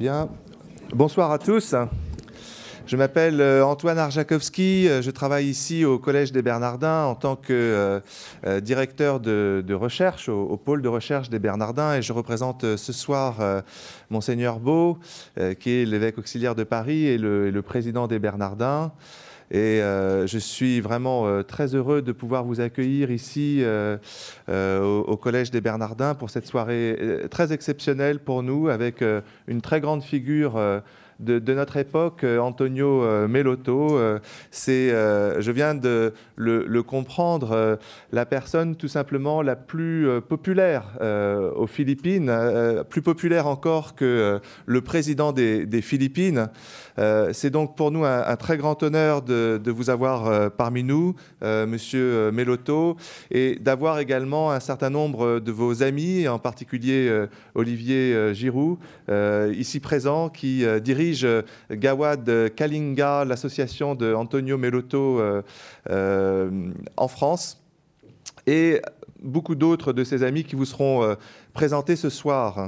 Bien. Bonsoir à tous. Je m'appelle Antoine Arjakovski. Je travaille ici au Collège des Bernardins en tant que directeur de recherche au pôle de recherche des Bernardins. Et je représente ce soir Monseigneur Beau, qui est l'évêque auxiliaire de Paris et le président des Bernardins. Et je suis vraiment très heureux de pouvoir vous accueillir ici au Collège des Bernardins pour cette soirée très exceptionnelle pour nous, avec une très grande figure de notre époque, Antonio Melotto. Je viens de le comprendre, la personne tout simplement la plus populaire aux Philippines, plus populaire encore que le président des Philippines. C'est donc pour nous un très grand honneur de vous avoir parmi nous, Monsieur Melotto, et d'avoir également un certain nombre de vos amis, en particulier Olivier Giroux, ici présent, qui dirige Gawad Kalinga, l'association de Antonio Melotto en France, et beaucoup d'autres de ses amis qui vous seront présentés ce soir.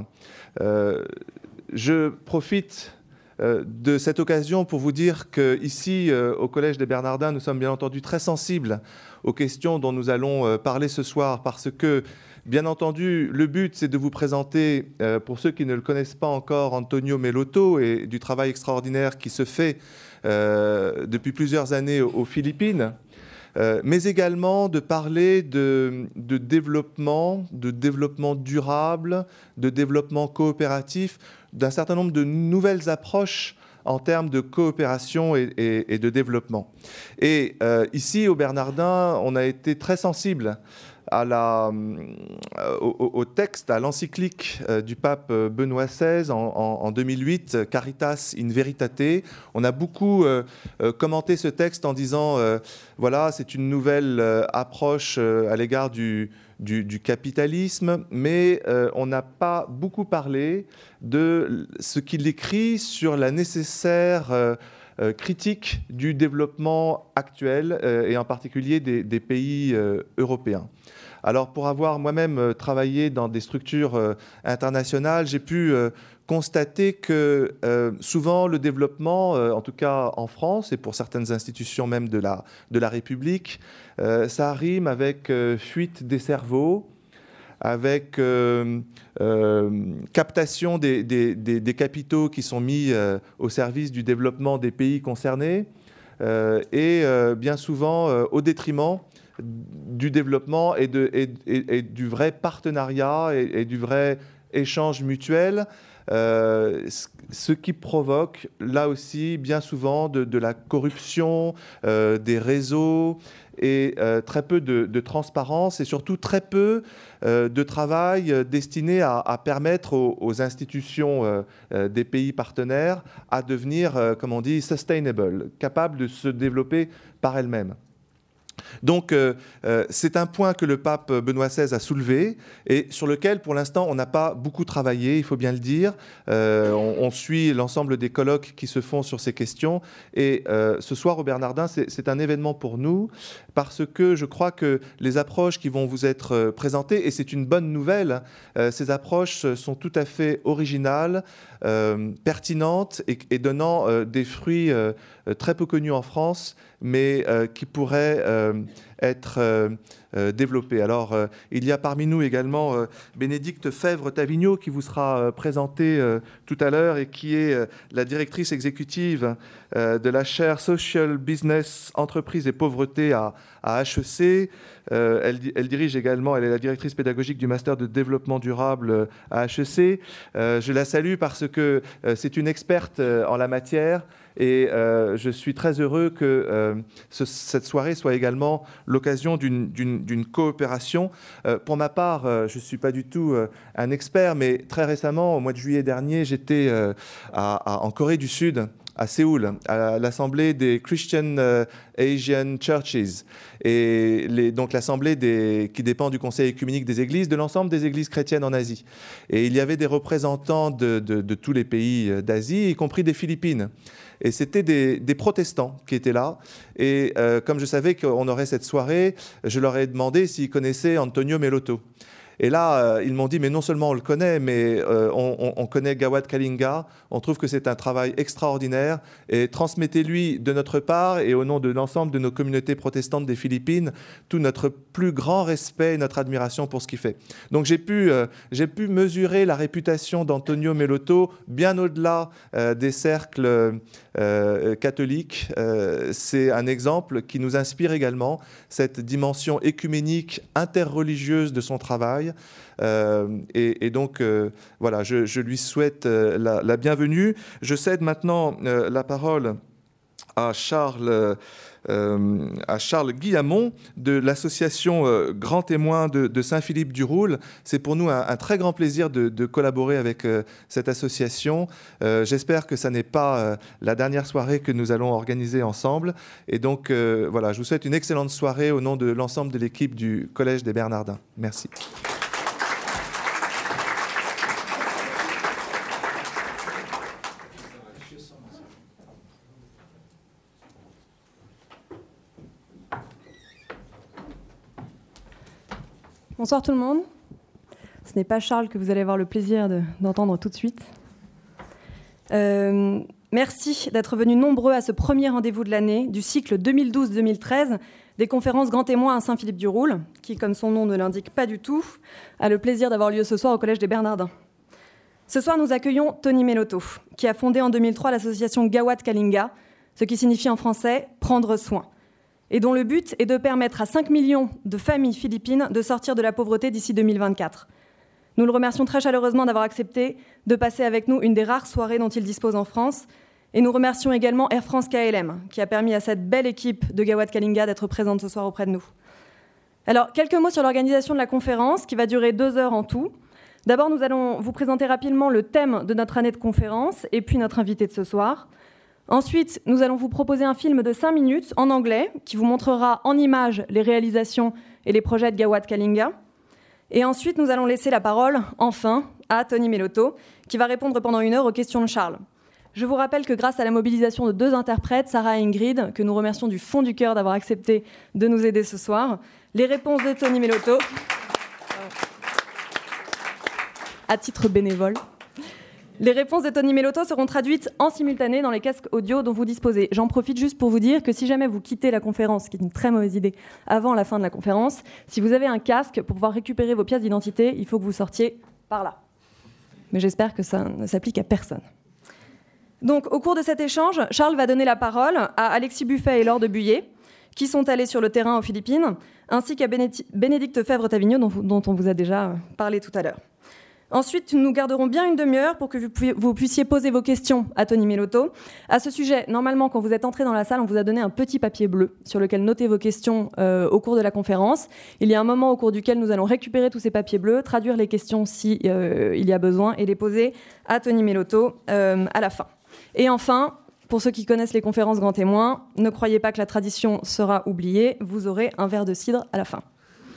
Je profite de cette occasion pour vous dire qu'ici, au Collège des Bernardins, nous sommes bien entendu très sensibles aux questions dont nous allons parler ce soir, parce que, bien entendu, le but, c'est de vous présenter, pour ceux qui ne le connaissent pas encore, Antonio Melotto et du travail extraordinaire qui se fait depuis plusieurs années aux Philippines, mais également de parler de développement durable, de développement coopératif, d'un certain nombre de nouvelles approches en termes de coopération et de développement. Et ici, au Bernardin, on a été très sensible au texte, à l'encyclique du pape Benoît XVI en 2008, Caritas in Veritate. On a beaucoup commenté ce texte en disant voilà, c'est une nouvelle approche à l'égard du capitalisme, mais on n'a pas beaucoup parlé de ce qu'il écrit sur la nécessaire critique du développement actuel et en particulier des pays européens. Alors, pour avoir moi-même travaillé dans des structures internationales, j'ai pu constater que souvent le développement, en tout cas en France et pour certaines institutions même de la République, ça rime avec fuite des cerveaux, avec captation des capitaux qui sont mis au service du développement des pays concernés et bien souvent au détriment du développement et du vrai partenariat et du vrai échange mutuel, ce qui provoque là aussi bien souvent de la corruption, des réseaux et très peu de transparence et surtout très peu de travail destiné à permettre aux institutions des pays partenaires à devenir, comme on dit, sustainable, capables de se développer par elles-mêmes. Donc, c'est un point que le pape Benoît XVI a soulevé et sur lequel, pour l'instant, on n'a pas beaucoup travaillé, il faut bien le dire. On suit l'ensemble des colloques qui se font sur ces questions. Et ce soir, au Bernardin, c'est un événement pour nous parce que je crois que les approches qui vont vous être présentées, et c'est une bonne nouvelle, ces approches sont tout à fait originales, pertinentes et donnant des fruits très peu connus en France, mais qui pourraient être développés. Alors, il y a parmi nous également Bénédicte Fèvre-Tavignot qui vous sera présentée tout à l'heure et qui est la directrice exécutive de la chaire Social Business, Entreprise et Pauvreté à HEC. Elle dirige également, elle est la directrice pédagogique du Master de Développement Durable à HEC. Je la salue parce que c'est une experte en la matière. Et je suis très heureux que cette soirée soit également l'occasion d'une coopération. Pour ma part, je ne suis pas du tout un expert, mais très récemment, au mois de juillet dernier, j'étais en Corée du Sud, à Séoul, à l'Assemblée des Christian Asian Churches, et donc l'Assemblée qui dépend du Conseil œcuménique des Églises, de l'ensemble des Églises chrétiennes en Asie. Et il y avait des représentants de tous les pays d'Asie, y compris des Philippines. Et c'était des protestants qui étaient là. Et comme je savais qu'on aurait cette soirée, je leur ai demandé s'ils connaissaient Antonio Melotto. Et là, ils m'ont dit, mais non seulement on le connaît, mais on connaît Gawat Kalinga, on trouve que c'est un travail extraordinaire, et transmettez-lui de notre part, et au nom de l'ensemble de nos communautés protestantes des Philippines, tout notre plus grand respect et notre admiration pour ce qu'il fait. Donc j'ai pu mesurer la réputation d'Antonio Melotto bien au-delà des cercles catholiques. C'est un exemple qui nous inspire également, cette dimension écuménique, interreligieuse de son travail. Et donc, voilà, je lui souhaite la bienvenue. Je cède maintenant la parole à Charles Guillamon de l'association Grand Témoin de Saint-Philippe-du-Roule. C'est pour nous un très grand plaisir de collaborer avec cette association. J'espère que ça n'est pas la dernière soirée que nous allons organiser ensemble. Et donc, voilà, je vous souhaite une excellente soirée au nom de l'ensemble de l'équipe du Collège des Bernardins. Merci. Bonsoir tout le monde. Ce n'est pas Charles que vous allez avoir le plaisir d'entendre tout de suite. Merci d'être venus nombreux à ce premier rendez-vous de l'année du cycle 2012-2013 des conférences Grand Témoin à Saint-Philippe-du-Roule, qui, comme son nom ne l'indique pas du tout, a le plaisir d'avoir lieu ce soir au Collège des Bernardins. Ce soir, nous accueillons Tony Melotto, qui a fondé en 2003 l'association Gawat Kalinga, ce qui signifie en français « prendre soin », et dont le but est de permettre à 5 millions de familles philippines de sortir de la pauvreté d'ici 2024. Nous le remercions très chaleureusement d'avoir accepté de passer avec nous une des rares soirées dont il dispose en France, et nous remercions également Air France KLM, qui a permis à cette belle équipe de Gawat Kalinga d'être présente ce soir auprès de nous. Alors, quelques mots sur l'organisation de la conférence, qui va durer 2 heures en tout. D'abord, nous allons vous présenter rapidement le thème de notre année de conférence, et puis notre invité de ce soir. Ensuite, nous allons vous proposer un film de 5 minutes en anglais qui vous montrera en images les réalisations et les projets de Gawat Kalinga. Et ensuite, nous allons laisser la parole, enfin, à Tony Melotto, qui va répondre pendant 1 heure aux questions de Charles. Je vous rappelle que grâce à la mobilisation de 2 interprètes, Sarah et Ingrid, que nous remercions du fond du cœur d'avoir accepté de nous aider ce soir, les réponses de Tony Melotto, à titre bénévole, les réponses de Tony Melotto seront traduites en simultané dans les casques audio dont vous disposez. J'en profite juste pour vous dire que si jamais vous quittez la conférence, ce qui est une très mauvaise idée, avant la fin de la conférence, si vous avez un casque, pour pouvoir récupérer vos pièces d'identité, il faut que vous sortiez par là. Mais j'espère que ça ne s'applique à personne. Donc, au cours de cet échange, Charles va donner la parole à Alexis Buffet et Laure de Buyer, qui sont allés sur le terrain aux Philippines, ainsi qu'à Bénédicte Fèvre-Tavignot, dont on vous a déjà parlé tout à l'heure. Ensuite, nous garderons bien 1 demi-heure pour que vous puissiez poser vos questions à Tony Melotto. À ce sujet, normalement, quand vous êtes entré dans la salle, on vous a donné un petit papier bleu sur lequel noter vos questions au cours de la conférence. Il y a un moment au cours duquel nous allons récupérer tous ces papiers bleus, traduire les questions si il y a besoin et les poser à Tony Melotto à la fin. Et enfin, pour ceux qui connaissent les conférences Grand Témoin, ne croyez pas que la tradition sera oubliée, vous aurez un verre de cidre à la fin.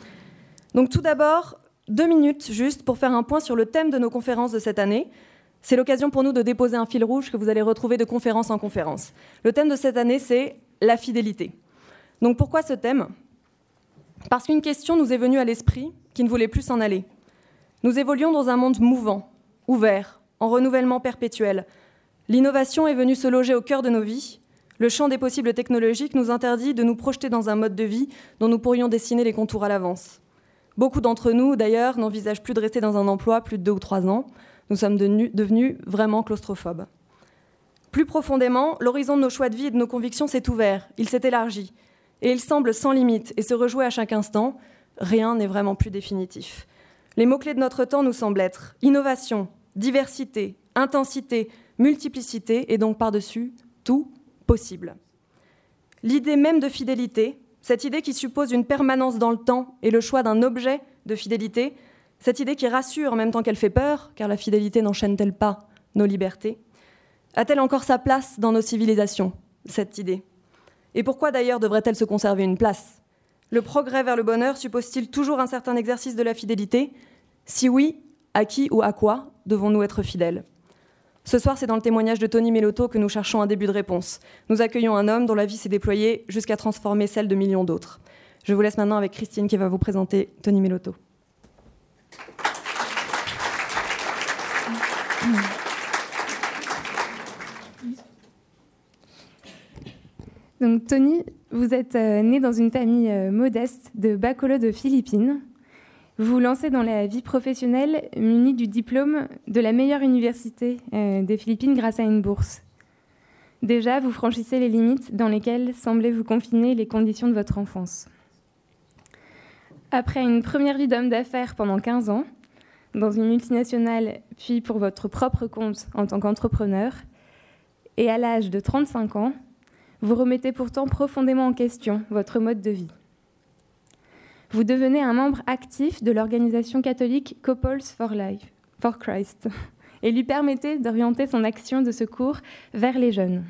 Donc tout d'abord, 2 minutes juste pour faire un point sur le thème de nos conférences de cette année. C'est l'occasion pour nous de déposer un fil rouge que vous allez retrouver de conférence en conférence. Le thème de cette année, c'est la fidélité. Donc pourquoi ce thème ? Parce qu'une question nous est venue à l'esprit qui ne voulait plus s'en aller. Nous évoluons dans un monde mouvant, ouvert, en renouvellement perpétuel. L'innovation est venue se loger au cœur de nos vies. Le champ des possibles technologiques nous interdit de nous projeter dans un mode de vie dont nous pourrions dessiner les contours à l'avance. Beaucoup d'entre nous, d'ailleurs, n'envisagent plus de rester dans un emploi plus de 2 ou 3 ans. Nous sommes devenus vraiment claustrophobes. Plus profondément, l'horizon de nos choix de vie et de nos convictions s'est ouvert, il s'est élargi. Et il semble sans limite et se rejouer à chaque instant. Rien n'est vraiment plus définitif. Les mots-clés de notre temps nous semblent être innovation, diversité, intensité, multiplicité et donc par-dessus, tout possible. L'idée même de fidélité, cette idée qui suppose une permanence dans le temps et le choix d'un objet de fidélité, cette idée qui rassure en même temps qu'elle fait peur, car la fidélité n'enchaîne-t-elle pas nos libertés ? A-t-elle encore sa place dans nos civilisations, cette idée ? Et pourquoi d'ailleurs devrait-elle se conserver une place ? Le progrès vers le bonheur suppose-t-il toujours un certain exercice de la fidélité ? Si oui, à qui ou à quoi devons-nous être fidèles ? Ce soir, c'est dans le témoignage de Tony Melotto que nous cherchons un début de réponse. Nous accueillons un homme dont la vie s'est déployée jusqu'à transformer celle de millions d'autres. Je vous laisse maintenant avec Christine qui va vous présenter Tony Melotto. Donc Tony, vous êtes né dans une famille modeste de Bacolod aux Philippines. Vous vous lancez dans la vie professionnelle muni du diplôme de la meilleure université des Philippines grâce à une bourse. Déjà, vous franchissez les limites dans lesquelles semblaient vous confiner les conditions de votre enfance. Après une première vie d'homme d'affaires pendant 15 ans, dans une multinationale, puis pour votre propre compte en tant qu'entrepreneur, et à l'âge de 35 ans, vous remettez pourtant profondément en question votre mode de vie. Vous devenez un membre actif de l'organisation catholique Couples for Christ et lui permettez d'orienter son action de secours vers les jeunes.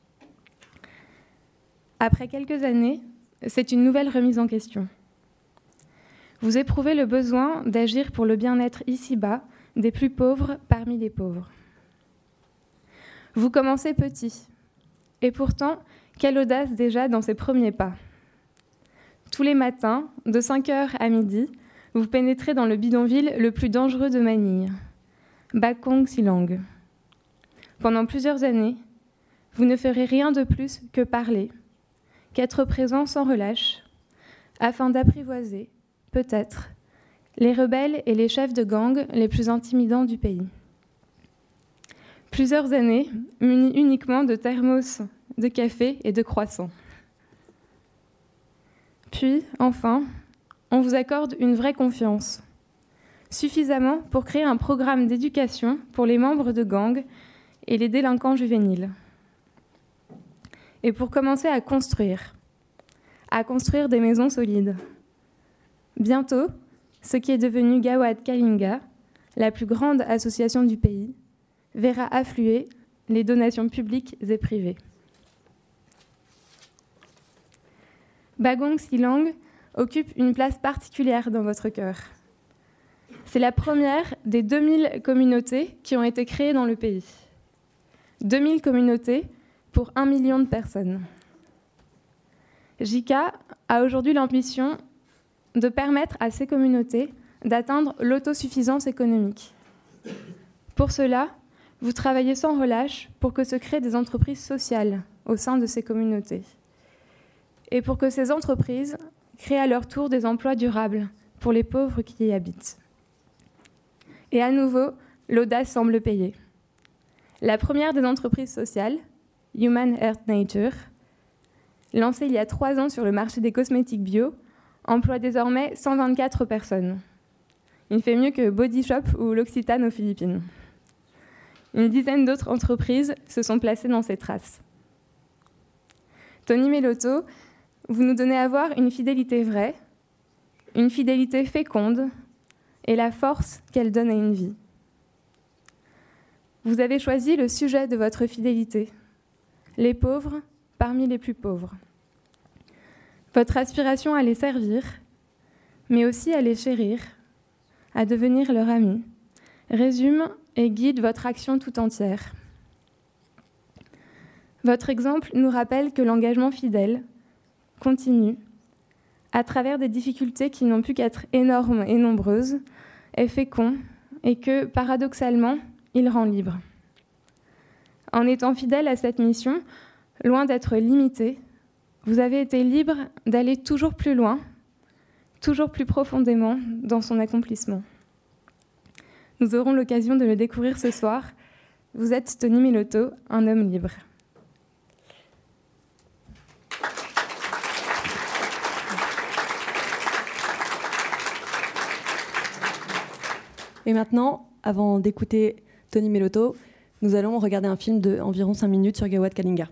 Après quelques années, c'est une nouvelle remise en question. Vous éprouvez le besoin d'agir pour le bien-être ici-bas des plus pauvres parmi les pauvres. Vous commencez petit, et pourtant, quelle audace déjà dans ces premiers pas. Tous les matins, de 5h à midi, vous pénétrez dans le bidonville le plus dangereux de Manille, Bakong Silang. Pendant plusieurs années, vous ne ferez rien de plus que parler, qu'être présent sans relâche, afin d'apprivoiser, peut-être, les rebelles et les chefs de gang les plus intimidants du pays. Plusieurs années munis uniquement de thermos, de café et de croissants. Puis, enfin, on vous accorde une vraie confiance, suffisamment pour créer un programme d'éducation pour les membres de gangs et les délinquants juvéniles. Et pour commencer à construire des maisons solides. Bientôt, ce qui est devenu Gawad Kalinga, la plus grande association du pays, verra affluer les donations publiques et privées. Bagong Silang occupe une place particulière dans votre cœur. C'est la première des 2000 communautés qui ont été créées dans le pays. 2000 communautés pour 1 million de personnes. JICA a aujourd'hui l'ambition de permettre à ces communautés d'atteindre l'autosuffisance économique. Pour cela, vous travaillez sans relâche pour que se créent des entreprises sociales au sein de ces communautés. Et pour que ces entreprises créent à leur tour des emplois durables pour les pauvres qui y habitent. Et à nouveau, l'audace semble payer. La première des entreprises sociales, Human Earth Nature, lancée il y a 3 ans sur le marché des cosmétiques bio, emploie désormais 124 personnes. Il fait mieux que Body Shop ou l'Occitane aux Philippines. Une dizaine d'autres entreprises se sont placées dans ses traces. Tony Mellotto, vous nous donnez à voir une fidélité vraie, une fidélité féconde et la force qu'elle donne à une vie. Vous avez choisi le sujet de votre fidélité, les pauvres parmi les plus pauvres. Votre aspiration à les servir, mais aussi à les chérir, à devenir leur ami, résume et guide votre action tout entière. Votre exemple nous rappelle que l'engagement fidèle continue, à travers des difficultés qui n'ont pu qu'être énormes et nombreuses, est fécond et que, paradoxalement, il rend libre. En étant fidèle à cette mission, loin d'être limité, vous avez été libre d'aller toujours plus loin, toujours plus profondément dans son accomplissement. Nous aurons l'occasion de le découvrir ce soir. Vous êtes Tony Mellotto, un homme libre. Et maintenant, avant d'écouter Tony Mellotto, nous allons regarder un film d'environ 5 minutes sur Gawad Kalinga.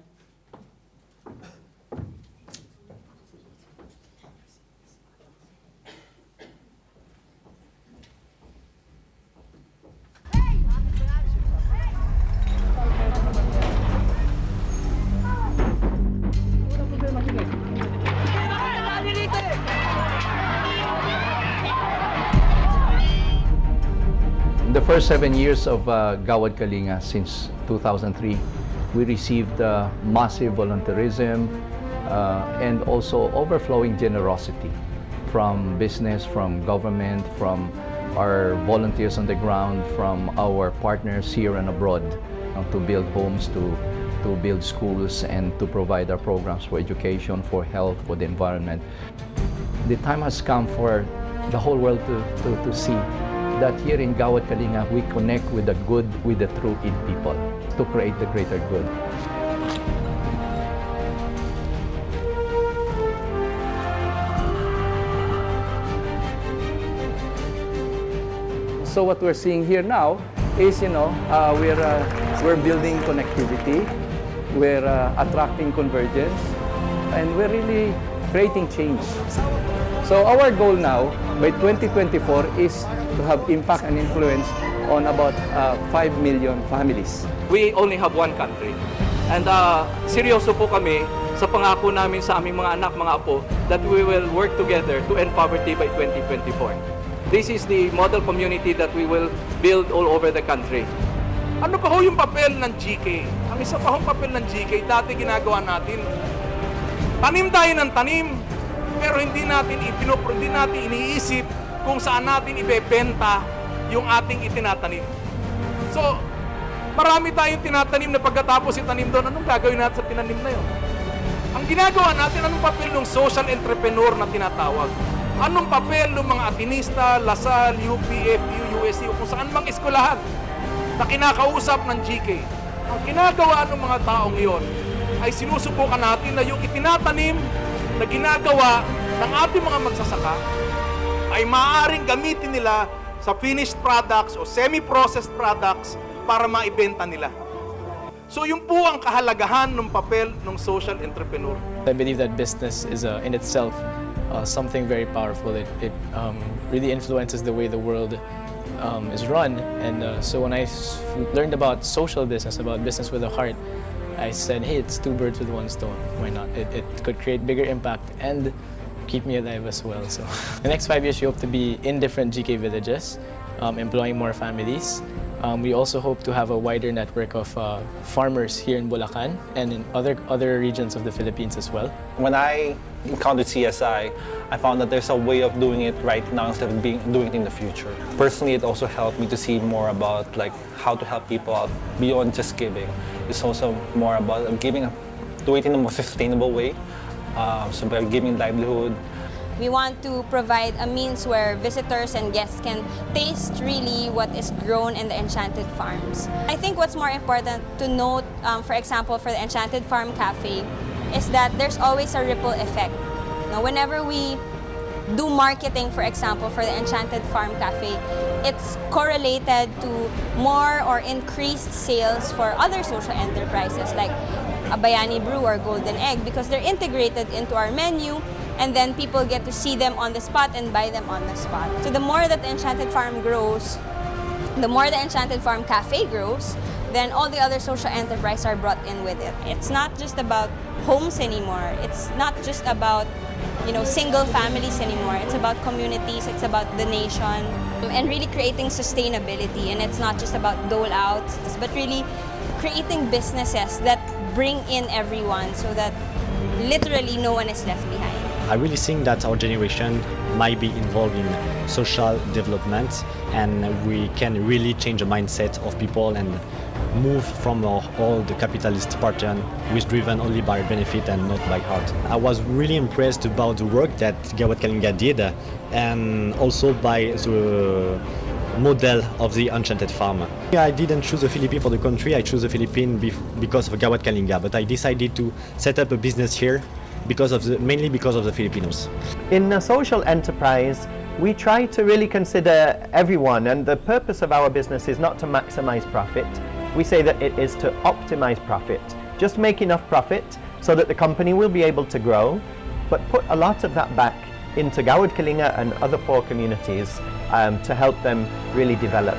The first 7 years of Gawad Kalinga, since 2003, we received massive volunteerism and also overflowing generosity from business, from government, from our volunteers on the ground, from our partners here and abroad, to build homes, to build schools, and to provide our programs for education, for health, for the environment. The time has come for the whole world to see that here in Gawad Kalinga, we connect with the good, with the true in people, to create the greater good. So what we're seeing here now is, we're building connectivity, we're attracting convergence, and we're really creating change. So our goal now, by 2024, is to have impact and influence on about 5 million families. We only have one country. And seryoso po kami sa pangako namin sa aming mga anak, mga apo, that we will work together to end poverty by 2024. This is the model community that we will build all over the country. Ano pa ho yung papel ng GK? Ang isa pa hong papel ng GK, dati ginagawa natin, tanim tayo ng tanim, pero hindi natin iniisip kung saan natin ibebenta yung ating itinatanim. So, marami tayong tinatanim na pagkatapos itanim doon, anong gagawin natin sa tinanim na yun? Ang ginagawa natin, anong papel ng social entrepreneur na tinatawag? Anong papel ng mga Atinista, Lasal, UP, FU, USC, o kung saan mang eskwelahan na kinakausap ng GK? Ang ginagawa ng mga taong iyon ay sinusubukan natin na yung itinatanim na ginagawa ng ating mga magsasaka ay maaaring gamitin nila sa finished products o semi-processed products para maibenta nila. So yun po ang kahalagahan ng papel ng social entrepreneur. I believe that business is in itself something very powerful. It really influences the way the world is run. And so when I learned about social business, about business with a heart, I said, hey, it's two birds with one stone. Why not? It could create bigger impact and keep me alive as well. So the next 5 years, we hope to be in different GK villages, employing more families. We also hope to have a wider network of farmers here in Bulacan and in other regions of the Philippines as well. When I encountered CSI, I found that there's a way of doing it right now instead of doing it in the future. Personally, it also helped me to see more about how to help people out beyond just giving. It's also more about giving, do it in a more sustainable way. So by giving livelihood. We want to provide a means where visitors and guests can taste really what is grown in the Enchanted Farms. I think what's more important to note, for example, for the Enchanted Farm Cafe, is that there's always a ripple effect. Now, whenever we do marketing, for example, for the Enchanted Farm Cafe, it's correlated to more or increased sales for other social enterprises like a Bayani Brew or Golden Egg, because they're integrated into our menu, and then people get to see them on the spot and buy them on the spot. So the more that the Enchanted Farm grows, the more the Enchanted Farm Cafe grows, then all the other social enterprises are brought in with it. It's not just about homes anymore. It's not just about, single families anymore. It's about communities, it's about the nation, and really creating sustainability. And it's not just about dole-outs, but really creating businesses that bring in everyone so that literally no one is left behind. I really think that our generation might be involved in social development, and we can really change the mindset of people and move from all the capitalist pattern, which is driven only by benefit and not by heart. I was really impressed about the work that Gawad Kalinga did, and also by the model of the Enchanted Farm. I didn't choose the Philippines for the country, I chose the Philippines because of Gawad Kalinga, but I decided to set up a business here mainly because of the Filipinos. In a social enterprise, we try to really consider everyone, and the purpose of our business is not to maximize profit. We say that it is to optimize profit. Just make enough profit so that the company will be able to grow, but put a lot of that back into Gawad Kalinga and other poor communities to help them really develop.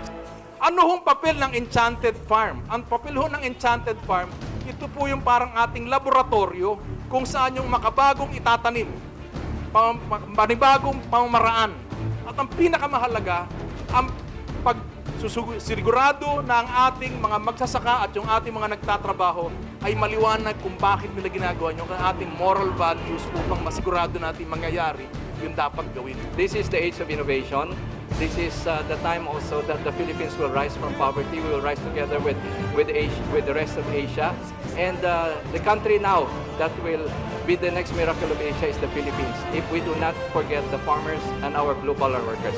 Ano hong papel ng Enchanted Farm? Ang papel ho ng Enchanted Farm, ito po yung parang ating laboratorio kung saan yung makabagong itatanim, panibagong pamamaraan. At ang pinakamahalaga, ang pagsigurado na ang ating mga magsasaka at yung ating mga nagtatrabaho ay maliwanag kung bakit nila ginagawa yung ating moral values upang masigurado natin mangyayari yung dapat gawin. This is the age of innovation. This is the time also that the Philippines will rise from poverty. We will rise together with the rest of Asia. And the country now that will be the next miracle of Asia is the Philippines, if we do not forget the farmers and our blue-collar workers.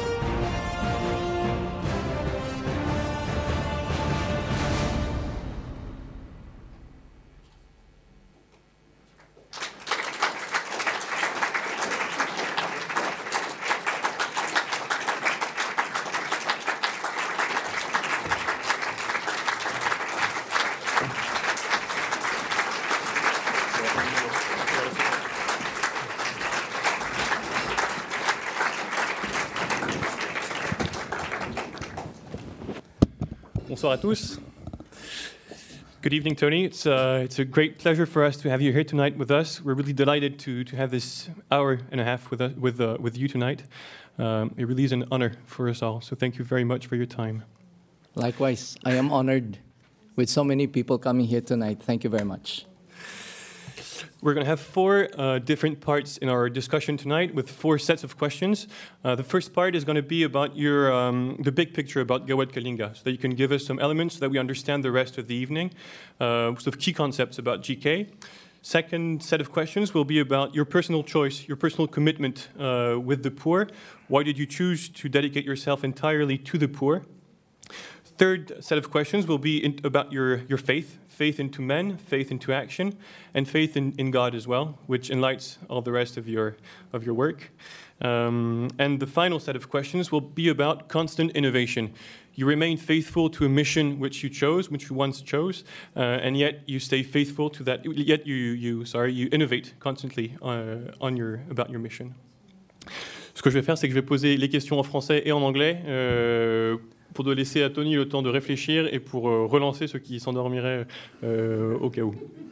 Bonsoir à tous. Good evening, Tony. It's a great pleasure for us to have you here tonight with us. We're really delighted to have this hour and a half with you tonight. It really is an honor for us all. So thank you very much for your time. Likewise, I am honored with so many people coming here tonight. Thank you very much. We're going to have four different parts in our discussion tonight with four sets of questions. The first part is going to be about your the big picture about Gawad Kalinga, so that you can give us some elements so that we understand the rest of the evening, sort of key concepts about GK. Second set of questions will be about your personal choice, your personal commitment with the poor. Why did you choose to dedicate yourself entirely to the poor? Third set of questions will be about your faith. Faith into men, faith into action, and faith in God as well, which enlightens all the rest of your work. And the final set of questions will be about constant innovation. You remain faithful to a mission which you chose, which you once chose, and yet you stay faithful to that. Yet you innovate constantly about your mission. Ce que je vais faire, c'est que je vais poser les questions en français et en anglais. Pour de laisser à Tony le temps de réfléchir et pour relancer ceux qui s'endormiraient au cas où.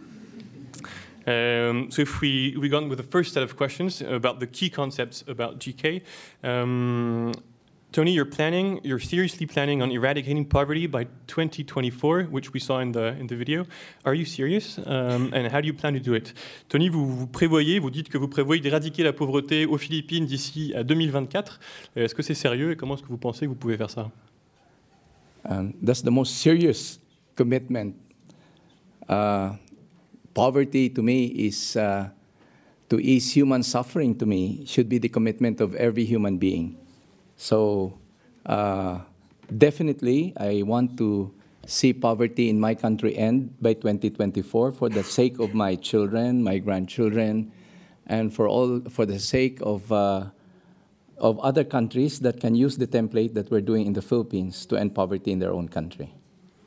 So if we go on with the first set of questions about the key concepts about GK, Tony, you're seriously planning on eradicating poverty by 2024, which we saw in the video. Are you serious? And how do you plan to do it? Tony, vous dites que vous prévoyez d'éradiquer la pauvreté aux Philippines d'ici à 2024. Est-ce que c'est sérieux et comment est-ce que vous pensez que vous pouvez faire ça? That's the most serious commitment. Poverty to me is, to ease human suffering to me, should be the commitment of every human being. So definitely I want to see poverty in my country end by 2024 for the sake of my children, my grandchildren, and for the sake of other countries that can use the template that we're doing in the Philippines to end poverty in their own country.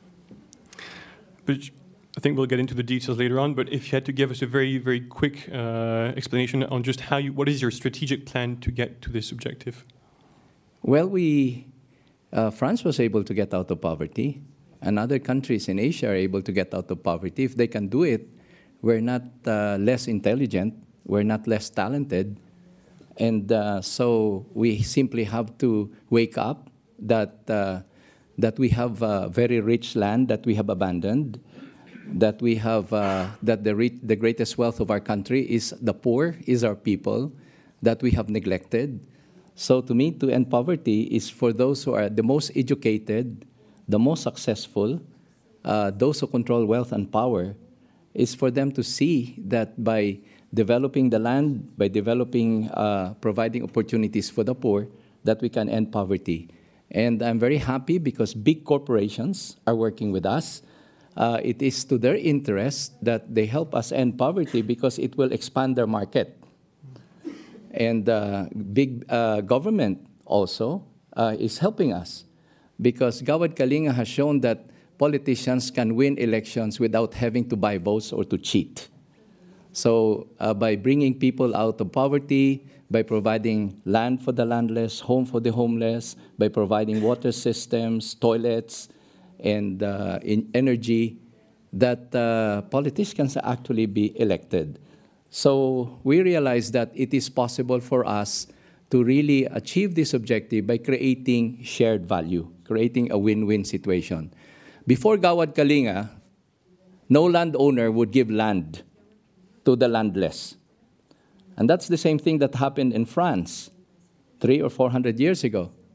But I think we'll get into the details later on, but if you had to give us a very, very quick explanation on just what is your strategic plan to get to this objective? Well, France was able to get out of poverty, and other countries in Asia are able to get out of poverty. If they can do it, we're not less intelligent, we're not less talented, and so we simply have to wake up that we have very rich land that we have abandoned, that we have that the greatest wealth of our country is the poor, is our people, that we have neglected. So to me, to end poverty is for those who are the most educated, the most successful, those who control wealth and power, is for them to see that by developing the land, by providing opportunities for the poor, that we can end poverty. And I'm very happy because big corporations are working with us. It is to their interest that they help us end poverty because it will expand their market. And big government also is helping us because Gawad Kalinga has shown that politicians can win elections without having to buy votes or to cheat. So by bringing people out of poverty, by providing land for the landless, home for the homeless, by providing water systems, toilets, and in energy, that politicians can actually be elected. So we realize that it is possible for us to really achieve this objective by creating shared value, creating a win-win situation. Before Gawad Kalinga, no landowner would give land to the landless. And that's the same thing that happened in France 300 or 400 years ago.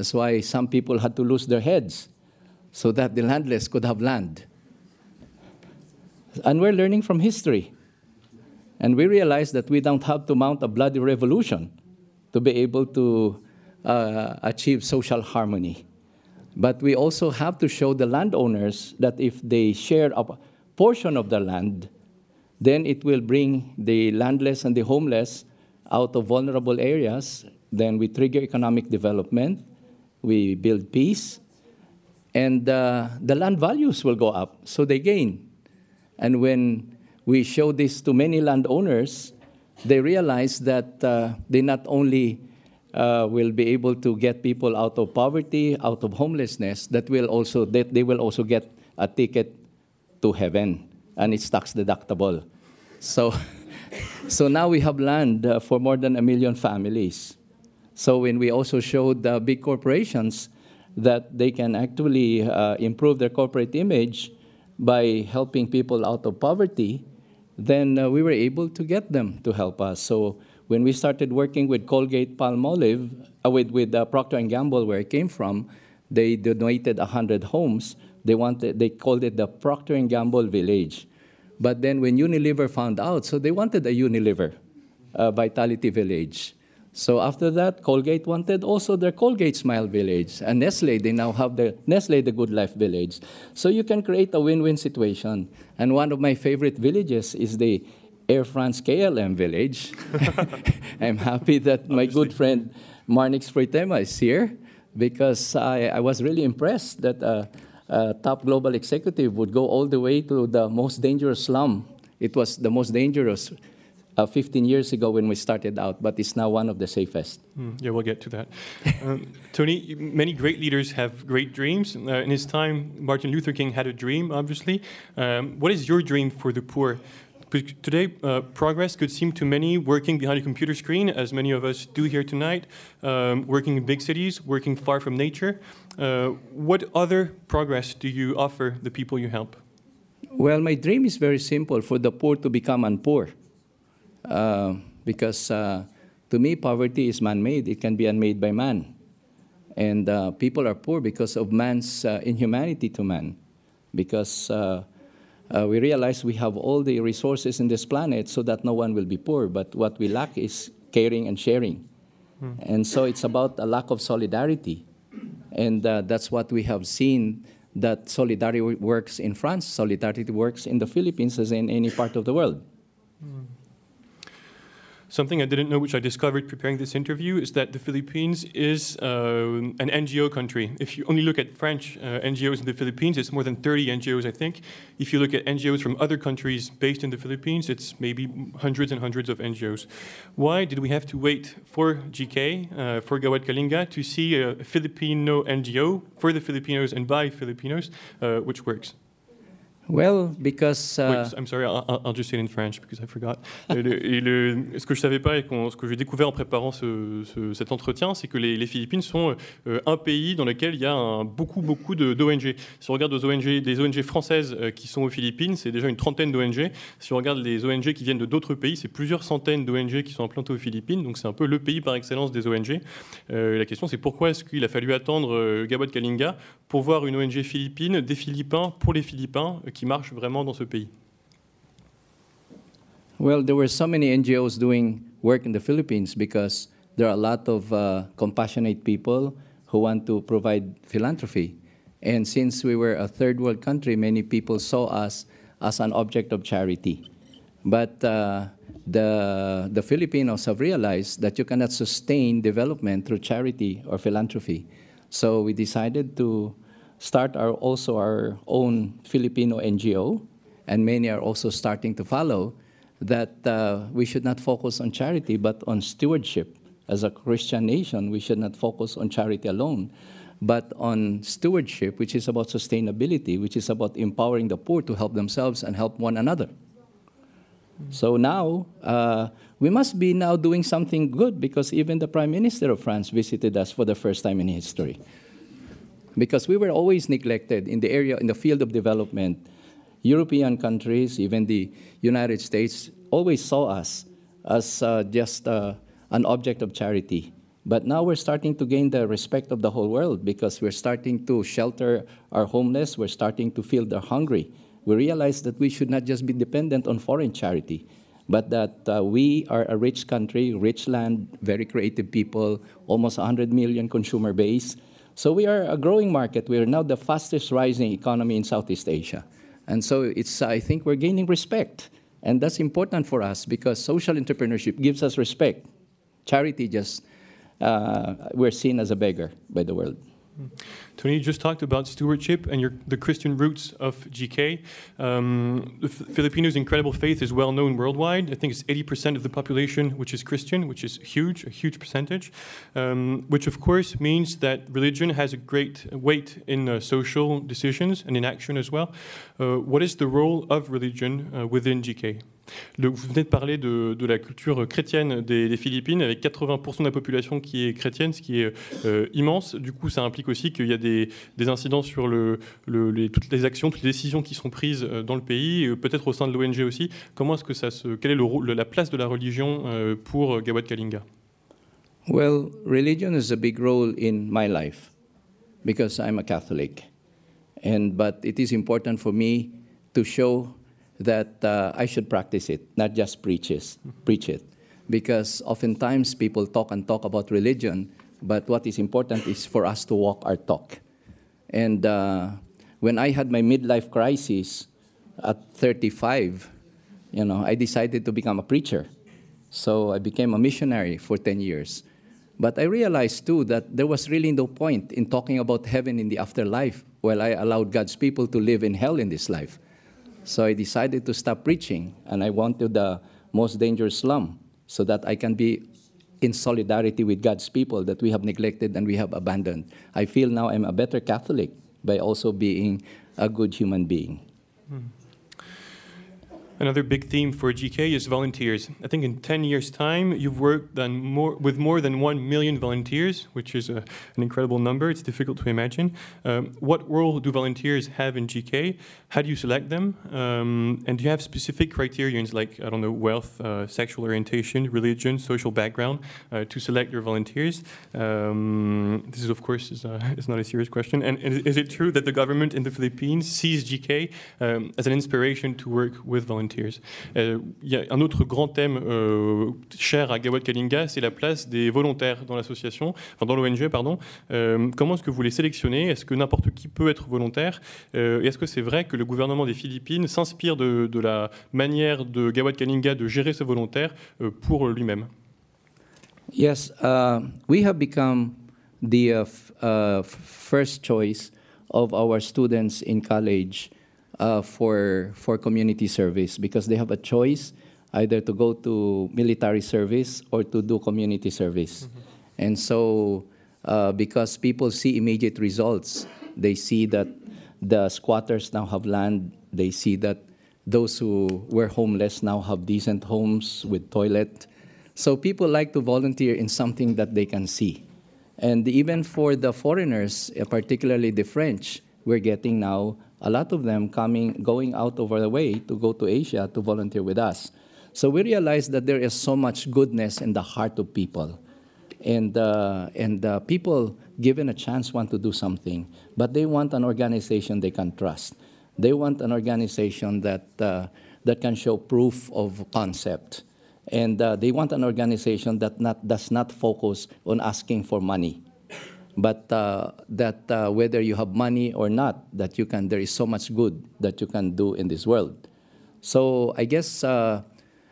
That's why some people had to lose their heads so that the landless could have land. And we're learning from history. And we realize that we don't have to mount a bloody revolution to be able to achieve social harmony. But we also have to show the landowners that if they share a portion of the land, then it will bring the landless and the homeless out of vulnerable areas. Then we trigger economic development, we build peace, and the land values will go up, so they gain. And when we show this to many landowners, they realize that they not only will be able to get people out of poverty, out of homelessness, that they will also get a ticket to heaven, and it's tax deductible. So now we have land for more than 1 million families. So when we also showed the big corporations that they can actually improve their corporate image by helping people out of poverty, then we were able to get them to help us. So when we started working with Colgate-Palmolive, with Procter & Gamble, where I came from, they donated 100 homes. They called it the Procter & Gamble Village. But then when Unilever found out, so they wanted a Unilever Vitality Village. So after that, Colgate wanted also their Colgate Smile Village. And Nestle, they now have the Nestle The Good Life Village. So you can create a win-win situation. And one of my favorite villages is the Air France KLM village. I'm happy that my good friend Marnix Fritema is here, because I was really impressed that a top global executive would go all the way to the most dangerous slum. It was the most dangerous 15 years ago when we started out, but it's now one of the safest. Yeah, we'll get to that. Tony, many great leaders have great dreams. In his time, Martin Luther King had a dream, obviously. What is your dream for the poor? Because today, progress could seem to many working behind a computer screen, as many of us do here tonight, working in big cities, working far from nature. What other progress do you offer the people you help? Well, my dream is very simple, for the poor to become unpoor. Because to me, poverty is man-made. It can be unmade by man. And people are poor because of man's inhumanity to man. Because we realize we have all the resources in this planet so that no one will be poor. But what we lack is caring and sharing. And so it's about a lack of solidarity. And that's what we have seen, that solidarity works in France, solidarity works in the Philippines, as in any part of the world. Something I didn't know, which I discovered preparing this interview, is that the Philippines is an NGO country. If you only look at French NGOs in the Philippines, it's more than 30 NGOs, I think. If you look at NGOs from other countries based in the Philippines, it's maybe hundreds and hundreds of NGOs. Why did we have to wait for GK, for Gawad Kalinga, to see a Filipino NGO for the Filipinos and by Filipinos, which works? Well, because... Wait, I'm sorry, I'll just say it in French because I forgot. Ce que je savais pas et ce que j'ai découvert en préparant cet entretien, c'est que les Philippines sont un pays dans lequel il y a beaucoup d'ONG. Si on regarde des ONG françaises qui sont aux Philippines, c'est déjà une trentaine d'ONG. Si on regarde les ONG qui viennent de d'autres pays, c'est plusieurs centaines d'ONG qui sont implantées aux Philippines. Donc c'est un peu le pays par excellence des ONG. La question, c'est pourquoi est-ce qu'il a fallu attendre Gawad Kalinga pour voir une ONG philippine, des Philippins, pour les Philippins, qui marche vraiment dans ce pays? Well, there were so many NGOs doing work in the Philippines because there are a lot of compassionate people who want to provide philanthropy. And since we were a third world country, many people saw us as an object of charity. But the Filipinos have realized that you cannot sustain development through charity or philanthropy. So we decided to start our own Filipino NGO, and many are also starting to follow, that we should not focus on charity but on stewardship. As a Christian nation, we should not focus on charity alone, but on stewardship, which is about sustainability, which is about empowering the poor to help themselves and help one another. So now, we must be now doing something good, because even the Prime Minister of France visited us for the first time in history. Because we were always neglected in the field of development. European countries, even the United States, always saw us as just an object of charity. But now we're starting to gain the respect of the whole world because we're starting to shelter our homeless, we're starting to feed the hungry. We realize that we should not just be dependent on foreign charity, but that we are a rich country, rich land, very creative people, almost 100 million consumer base. So we are a growing market. We are now the fastest rising economy in Southeast Asia. And so I think we're gaining respect. And that's important for us because social entrepreneurship gives us respect. Charity just, we're seen as a beggar by the world. Tony, you just talked about stewardship and the Christian roots of GK. The Filipinos' incredible faith is well known worldwide. I think it's 80% of the population which is Christian, which is huge, a huge percentage, which of course means that religion has a great weight in social decisions and in action as well. What is the role of religion within GK? Vous venez de parler de la culture chrétienne des Philippines, avec 80% de la population qui est chrétienne, ce qui est immense. Du coup, ça implique aussi qu'il y a des incidences sur toutes les actions, toutes les décisions qui sont prises dans le pays, peut-être au sein de l'ONG aussi. Comment est-ce que quelle est la place de la religion pour Gawad Kalinga? Well, religion is a big role in my life because I'm a Catholic. But it is important for me to show that I should practice it, not just preach it. Because oftentimes people talk about religion, but what is important is for us to walk our talk. And when I had my midlife crisis at 35, I decided to become a preacher. So I became a missionary for 10 years. But I realized too that there was really no point in talking about heaven in the afterlife while I allowed God's people to live in hell in this life. So I decided to stop preaching, and I went to the most dangerous slum so that I can be in solidarity with God's people that we have neglected and we have abandoned. I feel now I'm a better Catholic by also being a good human being. Another big theme for GK is volunteers. I think in 10 years' time, you've worked with more than 1 million volunteers, which is an incredible number. It's difficult to imagine. What role do volunteers have in GK? How do you select them? And do you have specific criterions like, I don't know, wealth, sexual orientation, religion, social background to select your volunteers? This is, of course, is not a serious question. And is it true that the government in the Philippines sees GK as an inspiration to work with volunteers? Il y a un autre grand thème cher à Gawad Kalinga, c'est la place des volontaires dans l'association, enfin dans l'ONG, pardon. Comment est-ce que vous les sélectionnez? Est-ce que n'importe qui peut être volontaire? Et est-ce que c'est vrai que le gouvernement des Philippines s'inspire de la manière de Gawad Kalinga de gérer ses volontaires pour lui-même? Yes, we have become the first choice of our students in college for community service because they have a choice either to go to military service or to do community service. Mm-hmm. And so because people see immediate results, they see that the squatters now have land, they see that those who were homeless now have decent homes with toilet. So people like to volunteer in something that they can see. And even for the foreigners, particularly the French, we're getting now a lot of them going out over the way to go to Asia to volunteer with us. So we realize that there is so much goodness in the heart of people. And people, given a chance, want to do something. But they want an organization they can trust. They want an organization that can show proof of concept. And they want an organization that does not focus on asking for money. But that whether you have money or not, there is so much good that you can do in this world. So I guess the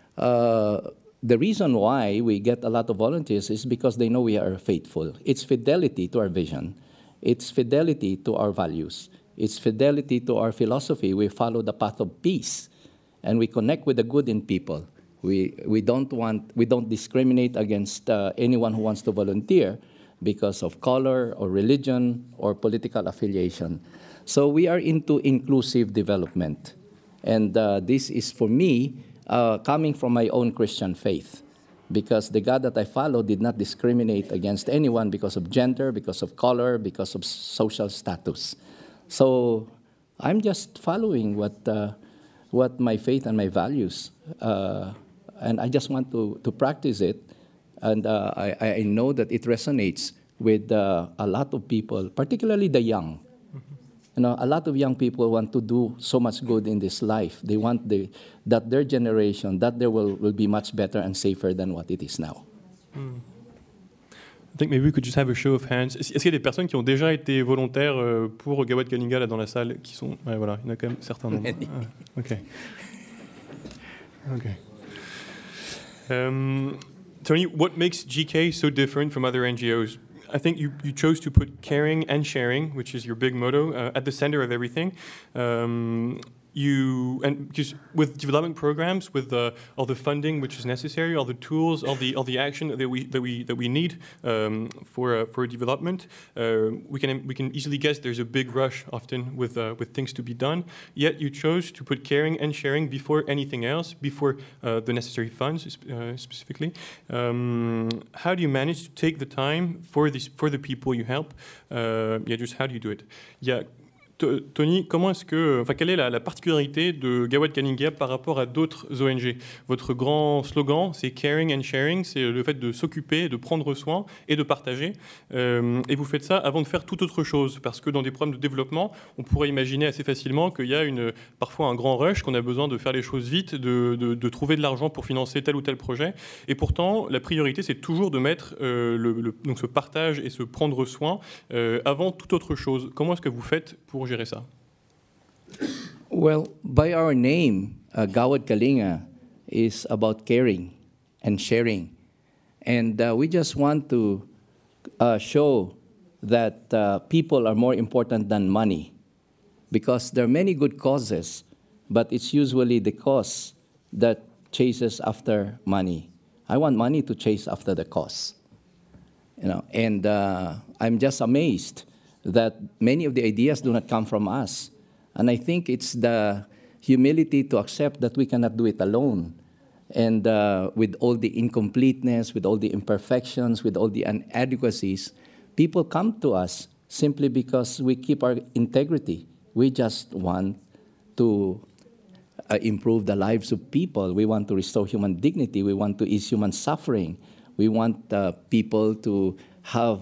reason why we get a lot of volunteers is because they know we are faithful. It's fidelity to our vision. It's fidelity to our values. It's fidelity to our philosophy. We follow the path of peace, and we connect with the good in people. We don't discriminate against anyone who wants to volunteer because of color or religion or political affiliation. So we are into inclusive development. And this is, for me, coming from my own Christian faith, because the God that I follow did not discriminate against anyone because of gender, because of color, because of social status. So I'm just following what my faith and my values, and I just want to practice it And I know that it resonates with a lot of people, particularly the young. You know, a lot of young people want to do so much good in this life. They want that their generation, that there will be much better and safer than what it is now. I think maybe we could just have a show of hands. Est-ce qu'il y a des personnes qui ont déjà été volontaires pour Gawad Kalinga là dans la salle qui sont... Ouais, voilà, il y en a quand même certains nombres. Ok. Tony, what makes GK so different from other NGOs? I think you chose to put caring and sharing, which is your big motto, at the center of everything. Just with development programs, with all the funding which is necessary, all the tools, all the action that we need for development, we can easily guess there's a big rush often with things to be done. Yet you chose to put caring and sharing before anything else, before the necessary funds specifically. How do you manage to take the time for the people you help? Just how do you do it? Tony, quelle est la particularité de Gawad Kalinga par rapport à d'autres ONG? Votre grand slogan, c'est caring and sharing, c'est le fait de s'occuper, de prendre soin et de partager. Et vous faites ça avant de faire toute autre chose, parce que dans des programmes de développement, on pourrait imaginer assez facilement qu'il y a parfois un grand rush, qu'on a besoin de faire les choses vite, de trouver de l'argent pour financer tel ou tel projet. Et pourtant, la priorité, c'est toujours de mettre donc ce partage et ce prendre soin avant toute autre chose. Comment est-ce que vous faites pour gérer ça? Well, by our name, Gawad Kalinga is about caring and sharing. And we just want to show that people are more important than money, because there are many good causes, but it's usually the cause that chases after money. I want money to chase after the cause. And I'm just amazed that many of the ideas do not come from us. And I think it's the humility to accept that we cannot do it alone. And with all the incompleteness, with all the imperfections, with all the inadequacies, people come to us simply because we keep our integrity. We just want to improve the lives of people. We want to restore human dignity. We want to ease human suffering. We want people to have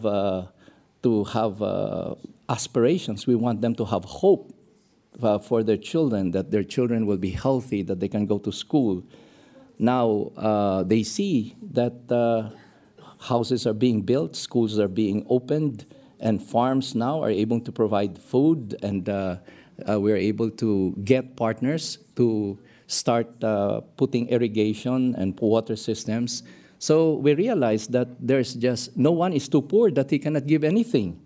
aspirations. We want them to have hope for their children, that their children will be healthy, that they can go to school. Now they see that houses are being built, schools are being opened, and farms now are able to provide food, and we're able to get partners to start putting irrigation and water systems. So we realize that there's just no one is too poor that he cannot give anything.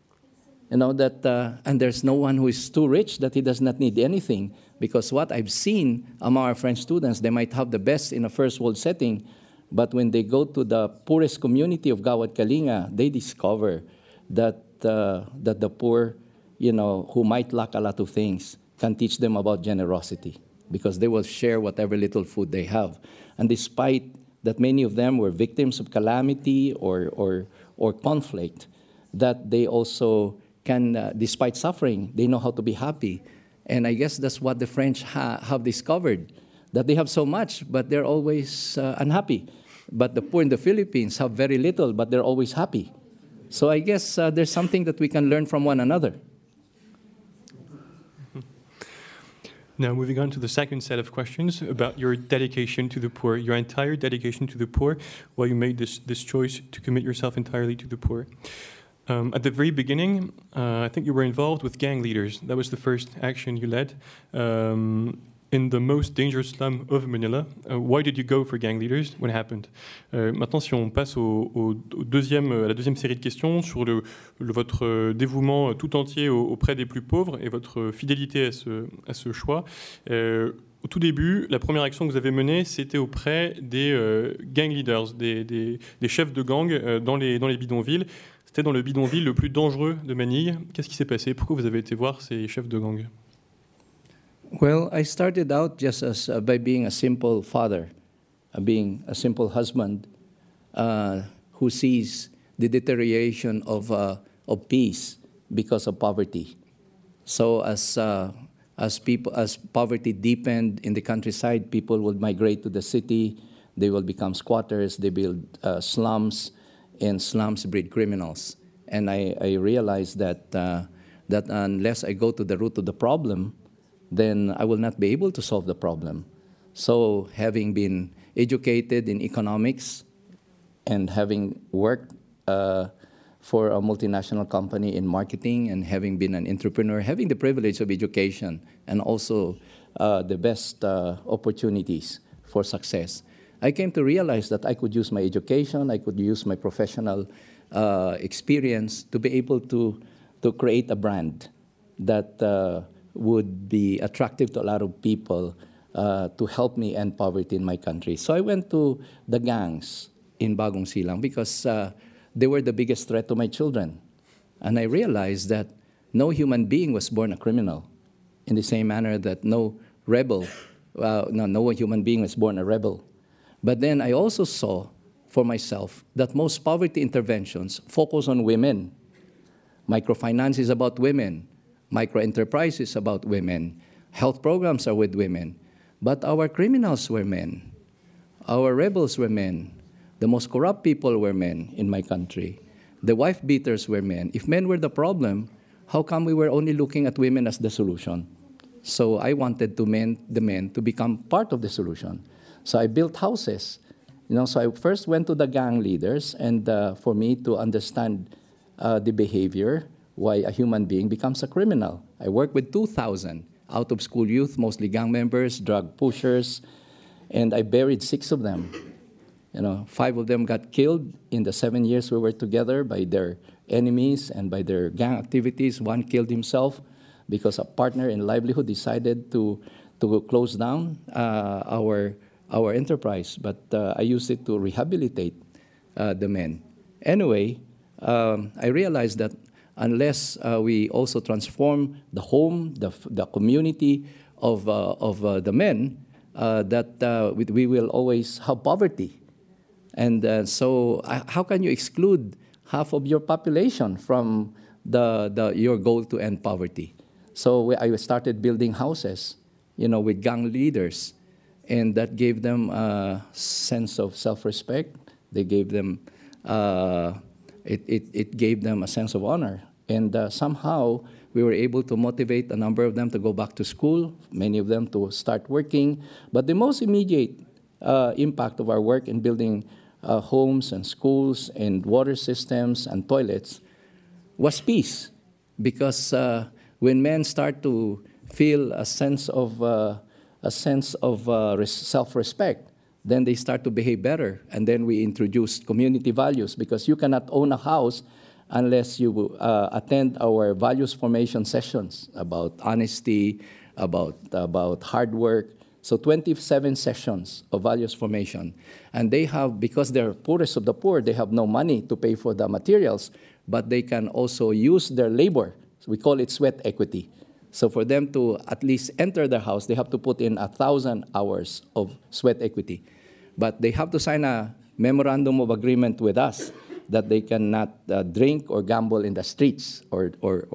And there's no one who is too rich that he does not need anything. Because what I've seen among our French students, they might have the best in a first world setting, but when they go to the poorest community of Gawad Kalinga, they discover that the poor, who might lack a lot of things, can teach them about generosity, because they will share whatever little food they have. And despite that many of them were victims of calamity or conflict, that they also can, despite suffering, they know how to be happy. And I guess that's what the French have discovered, that they have so much, but they're always unhappy. But the poor in the Philippines have very little, but they're always happy. So I guess there's something that we can learn from one another. Now, moving on to the second set of questions about your dedication to the poor, your entire dedication to the poor, while you made this choice to commit yourself entirely to the poor. At the very beginning, I think you were involved with gang leaders. That was the first action you led in the most dangerous slum of Manila. Why did you go for gang leaders? What happened? Maintenant, si on passe à la deuxième série de questions sur votre dévouement tout entier auprès des plus pauvres et votre fidélité à ce choix. Au tout début, la première action que vous avez menée, c'était auprès des gang leaders, des chefs de gang dans les bidonvilles. C'était dans le bidonville le plus dangereux de Manille. Qu'est-ce qui s'est passé? Pourquoi vous avez été voir ces chefs de gang? Well, I started out just by being a simple father, being a simple husband who sees the deterioration of peace because of poverty. So as poverty deepened in the countryside, people would migrate to the city. They will become squatters, they build slums, and slums breed criminals. And I realized that, that unless I go to the root of the problem, then I will not be able to solve the problem. So having been educated in economics and having worked for a multinational company in marketing and having been an entrepreneur, having the privilege of education and also the best opportunities for success, I came to realize that I could use my education, I could use my professional experience to be able to create a brand that would be attractive to a lot of people to help me end poverty in my country. So I went to the gangs in Bagong Silang because they were the biggest threat to my children. And I realized that no human being was born a criminal, in the same manner that no human being was born a rebel. But then I also saw for myself that most poverty interventions focus on women. Microfinance is about women. Microenterprise is about women. Health programs are with women. But our criminals were men. Our rebels were men. The most corrupt people were men in my country. The wife beaters were men. If men were the problem, how come we were only looking at women as the solution? So I wanted the men to become part of the solution. So I built houses. So I first went to the gang leaders, and for me to understand the behavior, why a human being becomes a criminal. I worked with 2,000 out-of-school youth, mostly gang members, drug pushers, and I buried 6 of them. 5 of them got killed in the 7 years we were together by their enemies and by their gang activities. 1 killed himself because a partner in livelihood decided to close down our enterprise. But I used it to rehabilitate the men. Anyway, I realized that unless we also transform the home, the community of the men, that we will always have poverty. And so how can you exclude half of your population from your goal to end poverty? So I started building houses, with gang leaders, and that gave them a sense of self-respect. They gave them, it gave them a sense of honor. And somehow we were able to motivate a number of them to go back to school, many of them to start working. But the most immediate impact of our work in building homes and schools and water systems and toilets was peace. Because when men start to feel a sense of self-respect, then they start to behave better. And then we introduced community values, because you cannot own a house unless you attend our values formation sessions about honesty, about hard work. So 27 sessions of values formation. And they have, because they're poorest of the poor, they have no money to pay for the materials, but they can also use their labor. So we call it sweat equity. So for them to at least enter the house, they have to put in 1,000 hours of sweat equity. But they have to sign a memorandum of agreement with us that they cannot drink or gamble in the streets or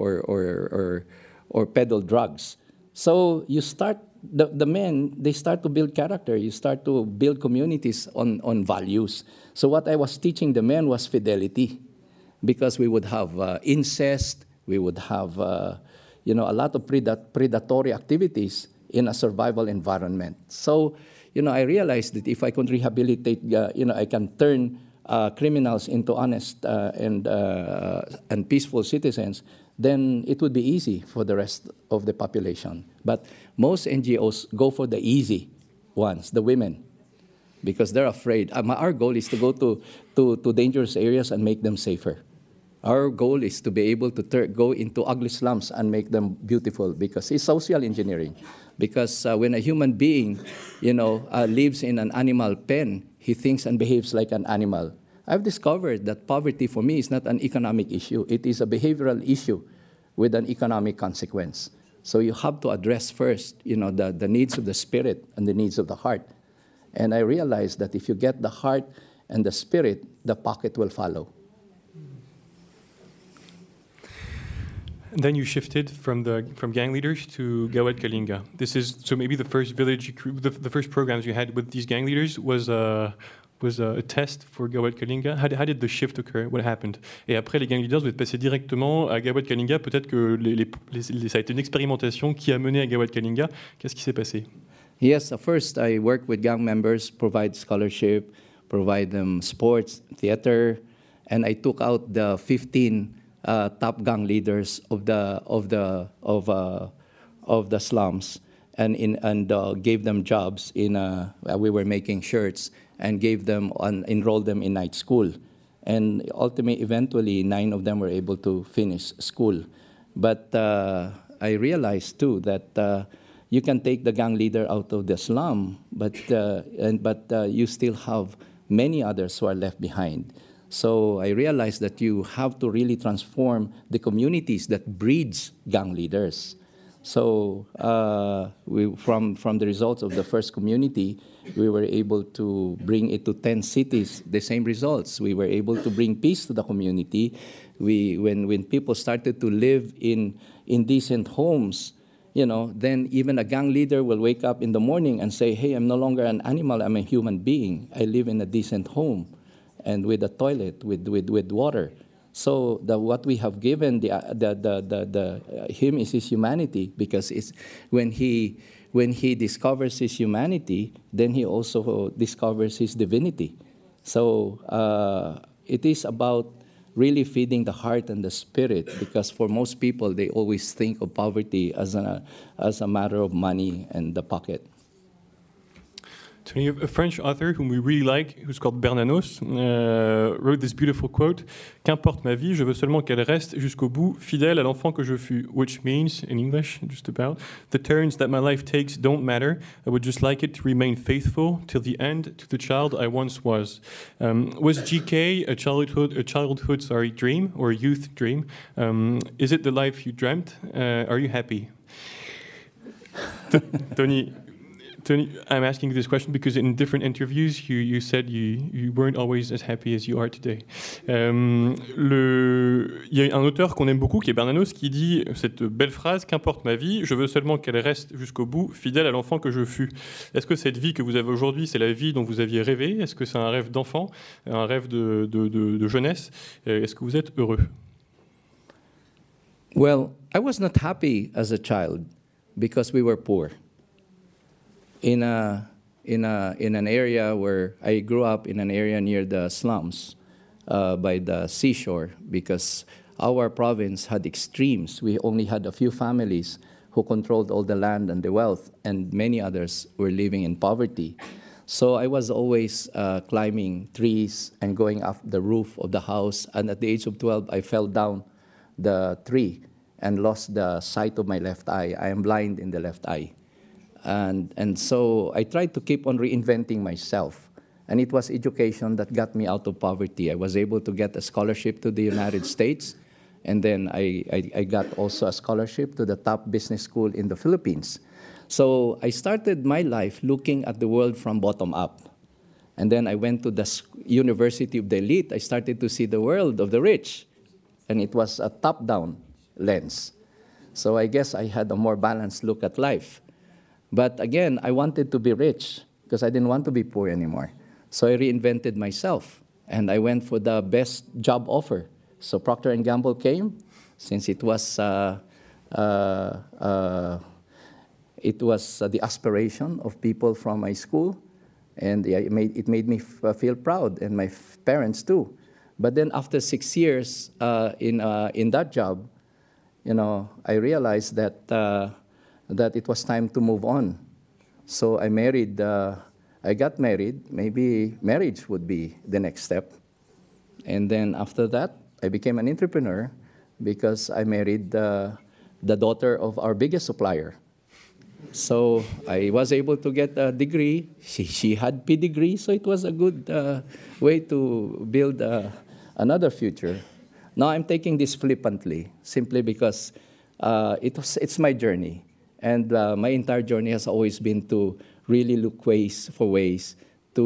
peddle drugs. So you start, the men, they start to build character. You start to build communities on values. So what I was teaching the men was fidelity, because we would have incest, we would have a lot of predatory activities in a survival environment. So, I realized that if I could rehabilitate, I can turn criminals into honest and peaceful citizens, then it would be easy for the rest of the population. But most NGOs go for the easy ones, the women, because they're afraid. Our goal is to go to dangerous areas and make them safer. Our goal is to be able to go into ugly slums and make them beautiful, because it's social engineering. Because when a human being, lives in an animal pen, he thinks and behaves like an animal. I've discovered that poverty for me is not an economic issue. It is a behavioral issue with an economic consequence. So you have to address first, the needs of the spirit and the needs of the heart. And I realized that if you get the heart and the spirit, the pocket will follow. And then you shifted from gang leaders to Gawad Kalinga. This is so maybe the first village, the first programs you had with these gang leaders was a test for Gawad Kalinga. How did the shift occur? What happened? Et après les gang leaders, vous êtes passé directement à Gawad Kalinga. Peut-être que ça a été une expérimentation qui a mené à Gawad Kalinga. Qu'est-ce qui s'est passé? Yes, first I work with gang members, provide scholarship, provide them sports, theater, and I took out the 15 top gang leaders of the slums, and gave them jobs we were making shirts, and enrolled them in night school, and eventually 9 of them were able to finish school. But I realized too that you can take the gang leader out of the slum, but you still have many others who are left behind. So I realized that you have to really transform the communities that breeds gang leaders. So from the results of the first community, we were able to bring it to 10 cities, the same results. We were able to bring peace to the community. When people started to live in decent homes, then even a gang leader will wake up in the morning and say, hey, I'm no longer an animal, I'm a human being. I live in a decent home and with a toilet, with water. So what we have given him is his humanity, because it's when he discovers his humanity, then he also discovers his divinity. So it is about really feeding the heart and the spirit, because for most people, they always think of poverty as a matter of money and the pocket. Tony, a French author whom we really like, who's called Bernanos, wrote this beautiful quote: "Qu'importe ma vie, je veux seulement qu'elle reste jusqu'au bout fidèle à l'enfant que je fus." Which means, in English, just about, the turns that my life takes don't matter. I would just like it to remain faithful till the end to the child I once was. Was GK a childhood dream or a youth dream? Is it the life you dreamt? Are you happy? Tony, I'm asking this question because in different interviews, you said you weren't always as happy as you are today. Il y a un auteur qu'on aime beaucoup, qui est Bernanos, qui dit cette belle phrase: qu'importe ma vie, je veux seulement qu'elle reste jusqu'au bout, fidèle à l'enfant que je fus. Est-ce que cette vie que vous avez aujourd'hui, c'est la vie dont vous aviez rêvé? Est-ce que c'est un rêve d'enfant, un rêve de jeunesse? Est-ce que vous êtes heureux? Well, I was not happy as a child because we were poor. In an area where I grew up, in an area near the slums, by the seashore, because our province had extremes. We only had a few families who controlled all the land and the wealth, and many others were living in poverty. So I was always climbing trees and going up the roof of the house. And at the age of 12, I fell down the tree and lost the sight of my left eye. I am blind in the left eye. And so I tried to keep on reinventing myself. And it was education that got me out of poverty. I was able to get a scholarship to the United States. And then I got also a scholarship to the top business school in the Philippines. So I started my life looking at the world from bottom up. And then I went to the University of the Elite. I started to see the world of the rich. And it was a top-down lens. So I guess I had a more balanced look at life. But again, I wanted to be rich because I didn't want to be poor anymore. So I reinvented myself, and I went for the best job offer. So Procter & Gamble came, since it was the aspiration of people from my school, and it made me feel proud, and my parents too. But then after 6 years in that job, I realized that it was time to move on. So I got married. Maybe marriage would be the next step. And then after that, I became an entrepreneur because I married the daughter of our biggest supplier. So I was able to get a degree. She had pedigree, so it was a good way to build another future. Now I'm taking this flippantly, simply because it's my journey. And my entire journey has always been to really look for ways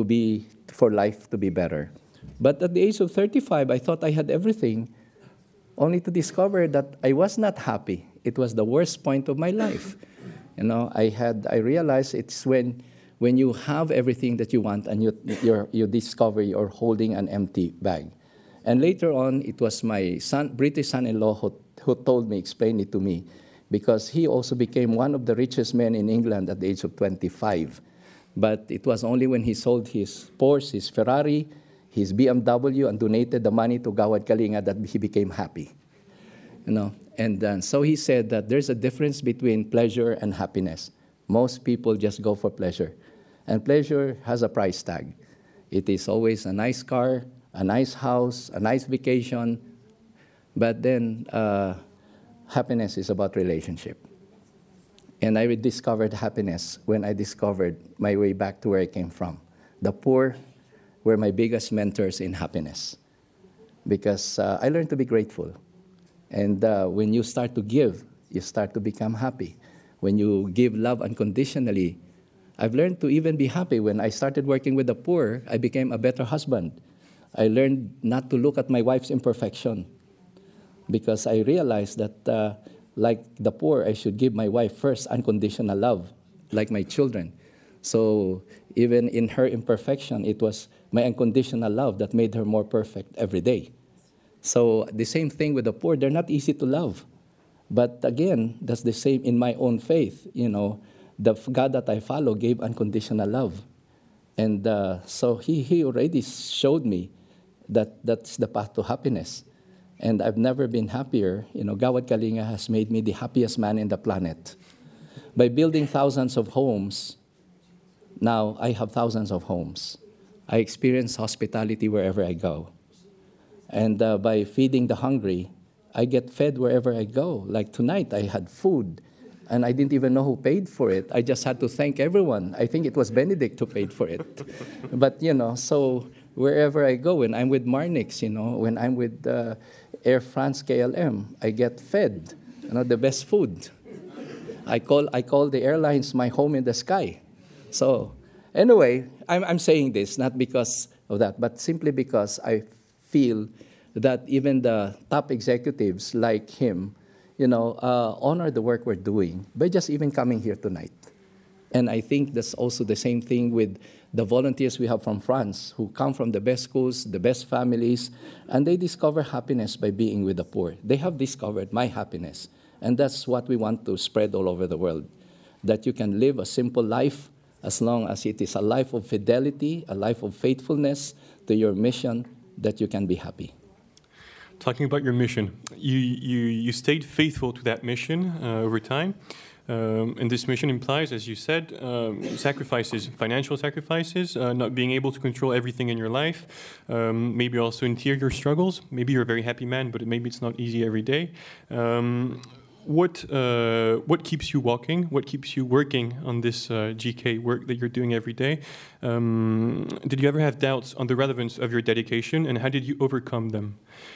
for life to be better. But at the age of 35, I thought I had everything only to discover that I was not happy. It was the worst point of my life. You know, I realized it's when you have everything that you want and you discover you're holding an empty bag. And later on, it was my British son-in-law who told me, explained it to me, because he also became one of the richest men in England at the age of 25. But it was only when he sold his Porsche, his Ferrari, his BMW, and donated the money to Gawad Kalinga that he became happy. You know, and so he said that there's a difference between pleasure and happiness. Most people just go for pleasure. And pleasure has a price tag. It is always a nice car, a nice house, a nice vacation. But then happiness is about relationship. And I discovered happiness when I discovered my way back to where I came from. The poor were my biggest mentors in happiness, because I learned to be grateful. And when you start to give, you start to become happy. When you give love unconditionally, I've learned to even be happy. When I started working with the poor, I became a better husband. I learned not to look at my wife's imperfection, because I realized that like the poor, I should give my wife first unconditional love, like my children. So even in her imperfection, it was my unconditional love that made her more perfect every day. So the same thing with the poor. They're not easy to love. But again, that's the same in my own faith. You know, the God that I follow gave unconditional love. And so he already showed me that that's the path to happiness. And I've never been happier. You know, Gawad Kalinga has made me the happiest man in the planet. By building thousands of homes, now I have thousands of homes. I experience hospitality wherever I go. And by feeding the hungry, I get fed wherever I go. Like tonight, I had food, and I didn't even know who paid for it. I just had to thank everyone. I think it was Benedict who paid for it. But, you know, so wherever I go, when I'm with Marnix, you know, when I'm with Air France KLM, I get fed, you know, the best food. I call the airlines my home in the sky. So anyway, I'm saying this not because of that, but simply because I feel that even the top executives like him, you know, honor the work we're doing by just even coming here tonight. And I think that's also the same thing with the volunteers we have from France, who come from the best schools, the best families, and they discover happiness by being with the poor. They have discovered my happiness, and that's what we want to spread all over the world, that you can live a simple life as long as it is a life of fidelity, a life of faithfulness to your mission, that you can be happy. Talking about your mission, you stayed faithful to that mission over time. And this mission implies, as you said, sacrifices, financial sacrifices, not being able to control everything in your life, maybe also interior struggles. Maybe you're a very happy man, but maybe it's not easy every day. What keeps you walking? What keeps you working on this GK work that you're doing every day? Did you ever have doubts on the relevance of your dedication, and how did you overcome them?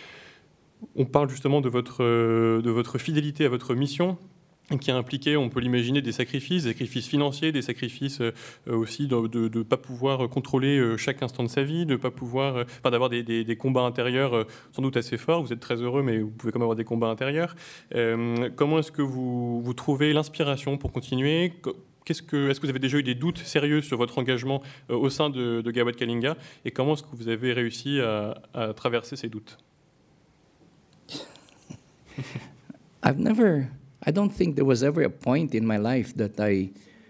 On parle justement de votre fidélité à votre mission, qui a impliqué, on peut l'imaginer, des sacrifices financiers, des sacrifices aussi de ne pas pouvoir contrôler chaque instant de sa vie, de pas pouvoir, d'avoir des combats intérieurs sans doute assez forts. Vous êtes très heureux, mais vous pouvez quand même avoir des combats intérieurs. Comment est-ce que vous trouvez l'inspiration pour continuer ? Est-ce que vous avez déjà eu des doutes sérieux sur votre engagement au sein de Gawad Kalinga ? Et comment est-ce que vous avez réussi à traverser ces doutes ? I don't think there was ever a point in my life that I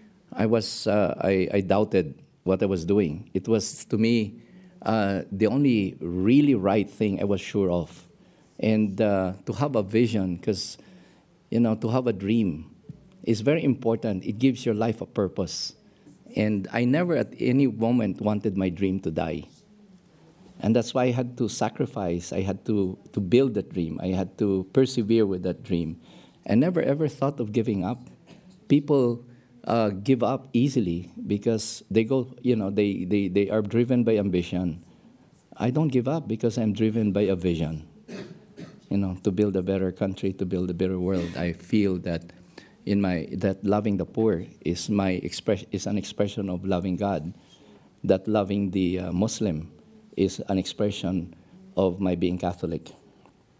doubted what I was doing. It was, to me, the only really right thing I was sure of. And to have a vision, because, you know, to have a dream is very important. It gives your life a purpose. And I never at any moment wanted my dream to die. And that's why I had to sacrifice. I had to build that dream. I had to persevere with that dream. I never ever thought of giving up. People give up easily because they go, you know, they are driven by ambition. I don't give up because I'm driven by a vision, you know, to build a better country, to build a better world. I feel that that loving the poor is an expression of loving God. That loving the Muslim is an expression of my being Catholic.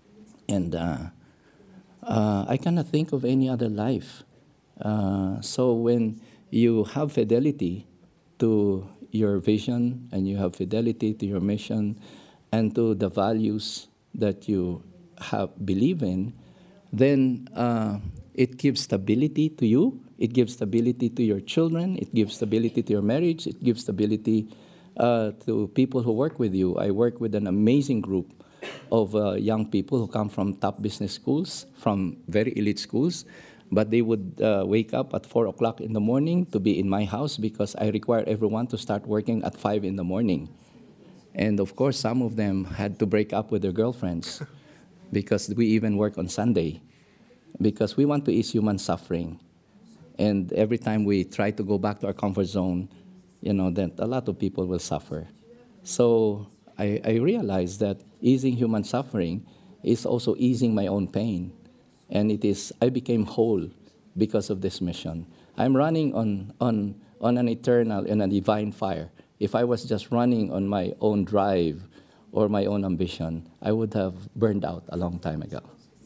And I cannot think of any other life. So when you have fidelity to your vision and you have fidelity to your mission and to the values that you believe in, then it gives stability to you, it gives stability to your children, it gives stability to your marriage, it gives stability to people who work with you. I work with an amazing group of young people who come from top business schools, from very elite schools, but they would wake up at 4 o'clock in the morning to be in my house because I require everyone to start working at 5 in the morning. And of course, some of them had to break up with their girlfriends because we even work on Sunday because we want to ease human suffering. And every time we try to go back to our comfort zone, that a lot of people will suffer. So I realized that easing human suffering is also easing my own pain. And I became whole because of this mission. I'm running on an eternal and a divine fire. If I was just running on my own drive or my own ambition, I would have burned out a long time ago.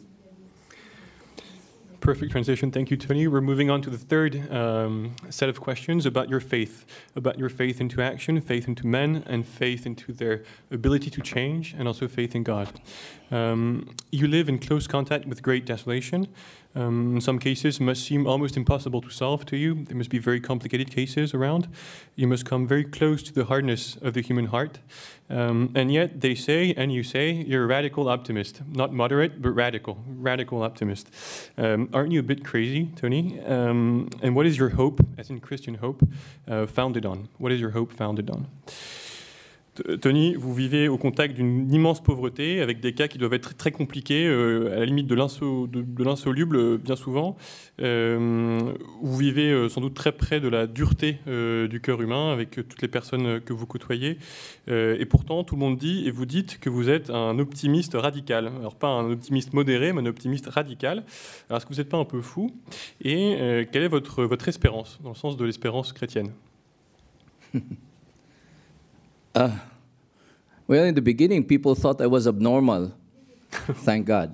Perfect transition. Thank you, Tony. We're moving on to the third set of questions about your faith into action, faith into men, and faith into their ability to change, and also faith in God. You live in close contact with great desolation. In some cases, must seem almost impossible to solve to you. There must be very complicated cases around. You must come very close to the hardness of the human heart. And yet they say, and you say, you're a radical optimist. Not moderate, but radical optimist. Aren't you a bit crazy, Tony? And what is your hope, as in Christian hope, founded on? What is your hope founded on? Tony, vous vivez au contact d'une immense pauvreté, avec des cas qui doivent être très compliqués, à la limite de l'insoluble bien souvent. Vous vivez sans doute très près de la dureté du cœur humain, avec toutes les personnes que vous côtoyez. Et pourtant, tout le monde dit, et vous dites, que vous êtes un optimiste radical. Alors pas un optimiste modéré, mais un optimiste radical. Alors est-ce que vous n'êtes pas un peu fou? Et quelle est votre espérance, dans le sens de l'espérance chrétienne? Well, in the beginning, people thought I was abnormal, thank God.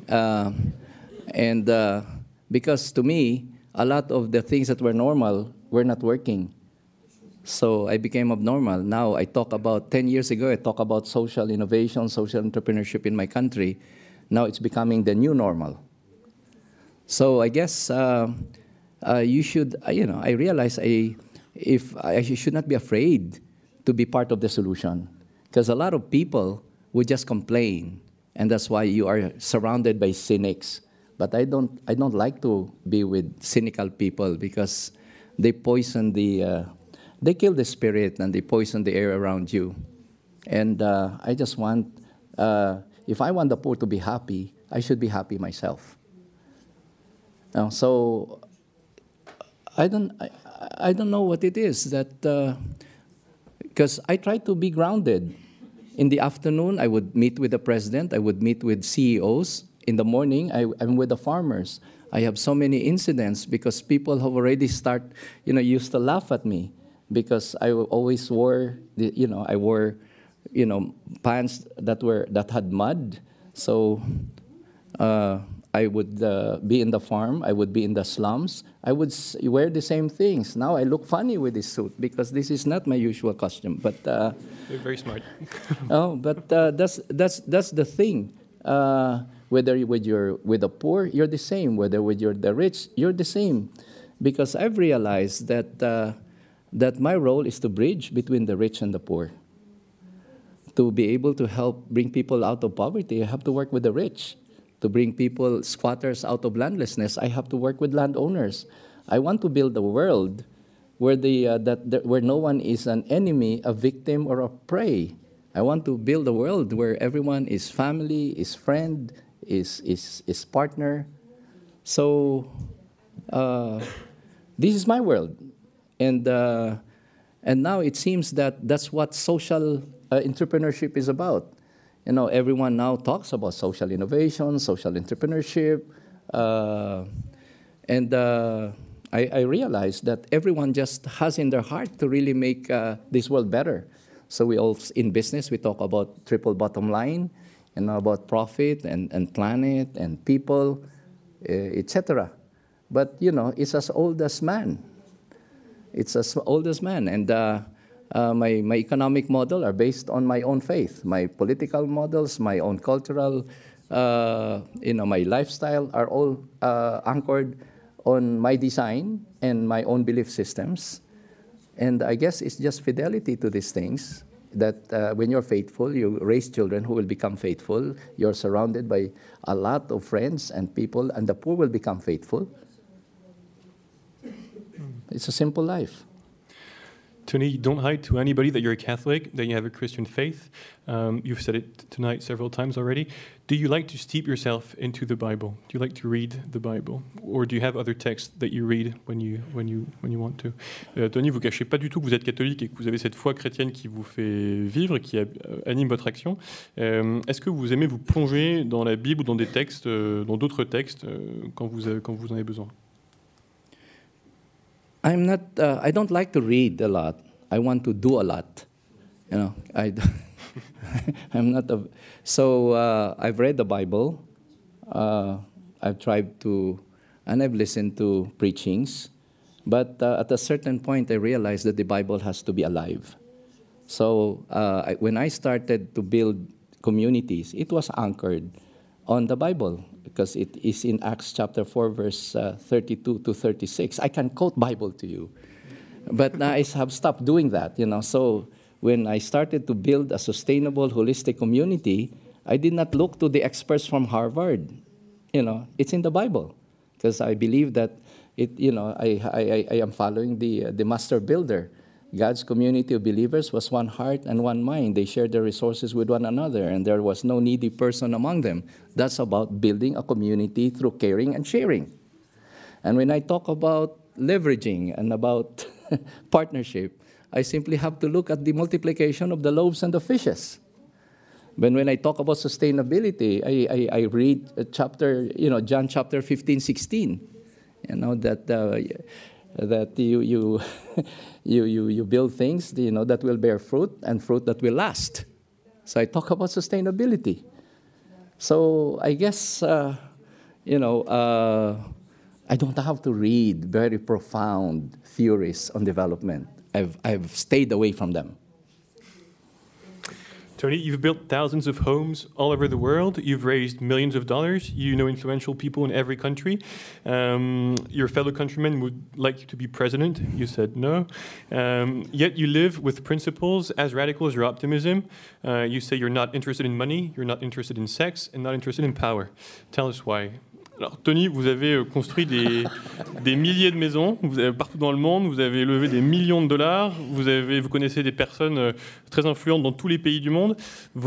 And because to me, a lot of the things that were normal were not working. So I became abnormal. Now I talk about, 10 years ago, I talk about social innovation, social entrepreneurship in my country. Now it's becoming the new normal. So I guess you should, I realize I should not be afraid to be part of the solution. Because a lot of people would just complain, and that's why you are surrounded by cynics. But I don't like to be with cynical people because they poison they kill the spirit and they poison the air around you. And I just want, if I want the poor to be happy, I should be happy myself. So I don't know what it is that. Because I try to be grounded. In the afternoon, I would meet with the president. I would meet with CEOs. In the morning, I'm with the farmers. I have so many incidents because people have already used to laugh at me because I always wore, pants that had mud. So I would be in the farm. I would be in the slums. I would wear the same things. Now I look funny with this suit because this is not my usual costume. But you're very smart. That's the thing. Whether with the poor, you're the same. Whether with the rich, you're the same. Because I've realized that my role is to bridge between the rich and the poor. To be able to help bring people out of poverty, I have to work with the rich. To bring squatters out of landlessness, I have to work with landowners. I want to build a world where where no one is an enemy, a victim, or a prey. I want to build a world where everyone is family, is friend, is partner. So this is my world, and now it seems that that's what social entrepreneurship is about. Everyone now talks about social innovation, social entrepreneurship, and I realized that everyone just has in their heart to really make this world better. So in business, we talk about triple bottom line, about profit and planet and people, etc. But, it's as old as man. It's as old as man. And my economic model are based on my own faith. My political models, my own cultural, my lifestyle are all anchored on my design and my own belief systems. And I guess it's just fidelity to these things that when you're faithful, you raise children who will become faithful. You're surrounded by a lot of friends and people, and the poor will become faithful. It's a simple life. Tony, don't hide to anybody that you're a Catholic, that you have a Christian faith. You've said it tonight several times already. Do you like to steep yourself into the Bible? Do you like to read the Bible? Or do you have other texts that you read when you want to? Tony, vous cachez pas du tout que vous êtes catholique et que vous avez cette foi chrétienne qui vous fait vivre, qui anime votre action. Est-ce que vous aimez vous plonger dans la Bible ou dans des textes, dans d'autres textes, quand vous en avez besoin? I don't like to read a lot. I want to do a lot. I'm not a... So I've read the Bible. I've tried to, and I've listened to preachings. But at a certain point, I realized that the Bible has to be alive. So when I started to build communities, it was anchored on the Bible, because it is in Acts chapter 4, verse 32 to 36. I can quote Bible to you. But I have stopped doing that, So when I started to build a sustainable, holistic community, I did not look to the experts from Harvard. It's in the Bible. Because I believe that I am following the master builder. God's community of believers was one heart and one mind. They shared their resources with one another, and there was no needy person among them. That's about building a community through caring and sharing. And when I talk about leveraging and about partnership, I simply have to look at the multiplication of the loaves and the fishes. But when I talk about sustainability, I read John chapter 15, 16, that you build things, that will bear fruit and fruit that will last. So I talk about sustainability. So I guess, I don't have to read very profound theories on development. I've stayed away from them. Tony, you've built thousands of homes all over the world. You've raised millions of dollars. You know influential people in every country. Your fellow countrymen would like you to be president. You said no. Yet you live with principles as radical as your optimism. You say you're not interested in money, you're not interested in sex, and not interested in power. Tell us why. Alors, Tony, vous avez construit des milliers de maisons partout dans le monde, vous avez levé des millions de dollars, vous connaissez des personnes très influentes dans tous les pays du monde.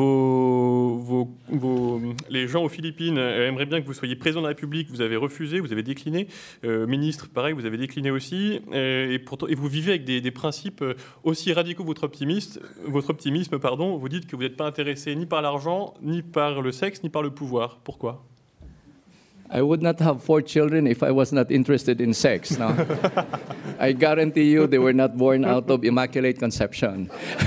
Les gens aux Philippines aimeraient bien que vous soyez président de la République, vous avez refusé, vous avez décliné. Ministre, pareil, vous avez décliné aussi. Et vous vivez avec des principes aussi radicaux que votre optimisme. Vous dites que vous n'êtes pas intéressé ni par l'argent, ni par le sexe, ni par le pouvoir. Pourquoi ? I would not have 4 children if I was not interested in sex. No? I guarantee you they were not born out of immaculate conception.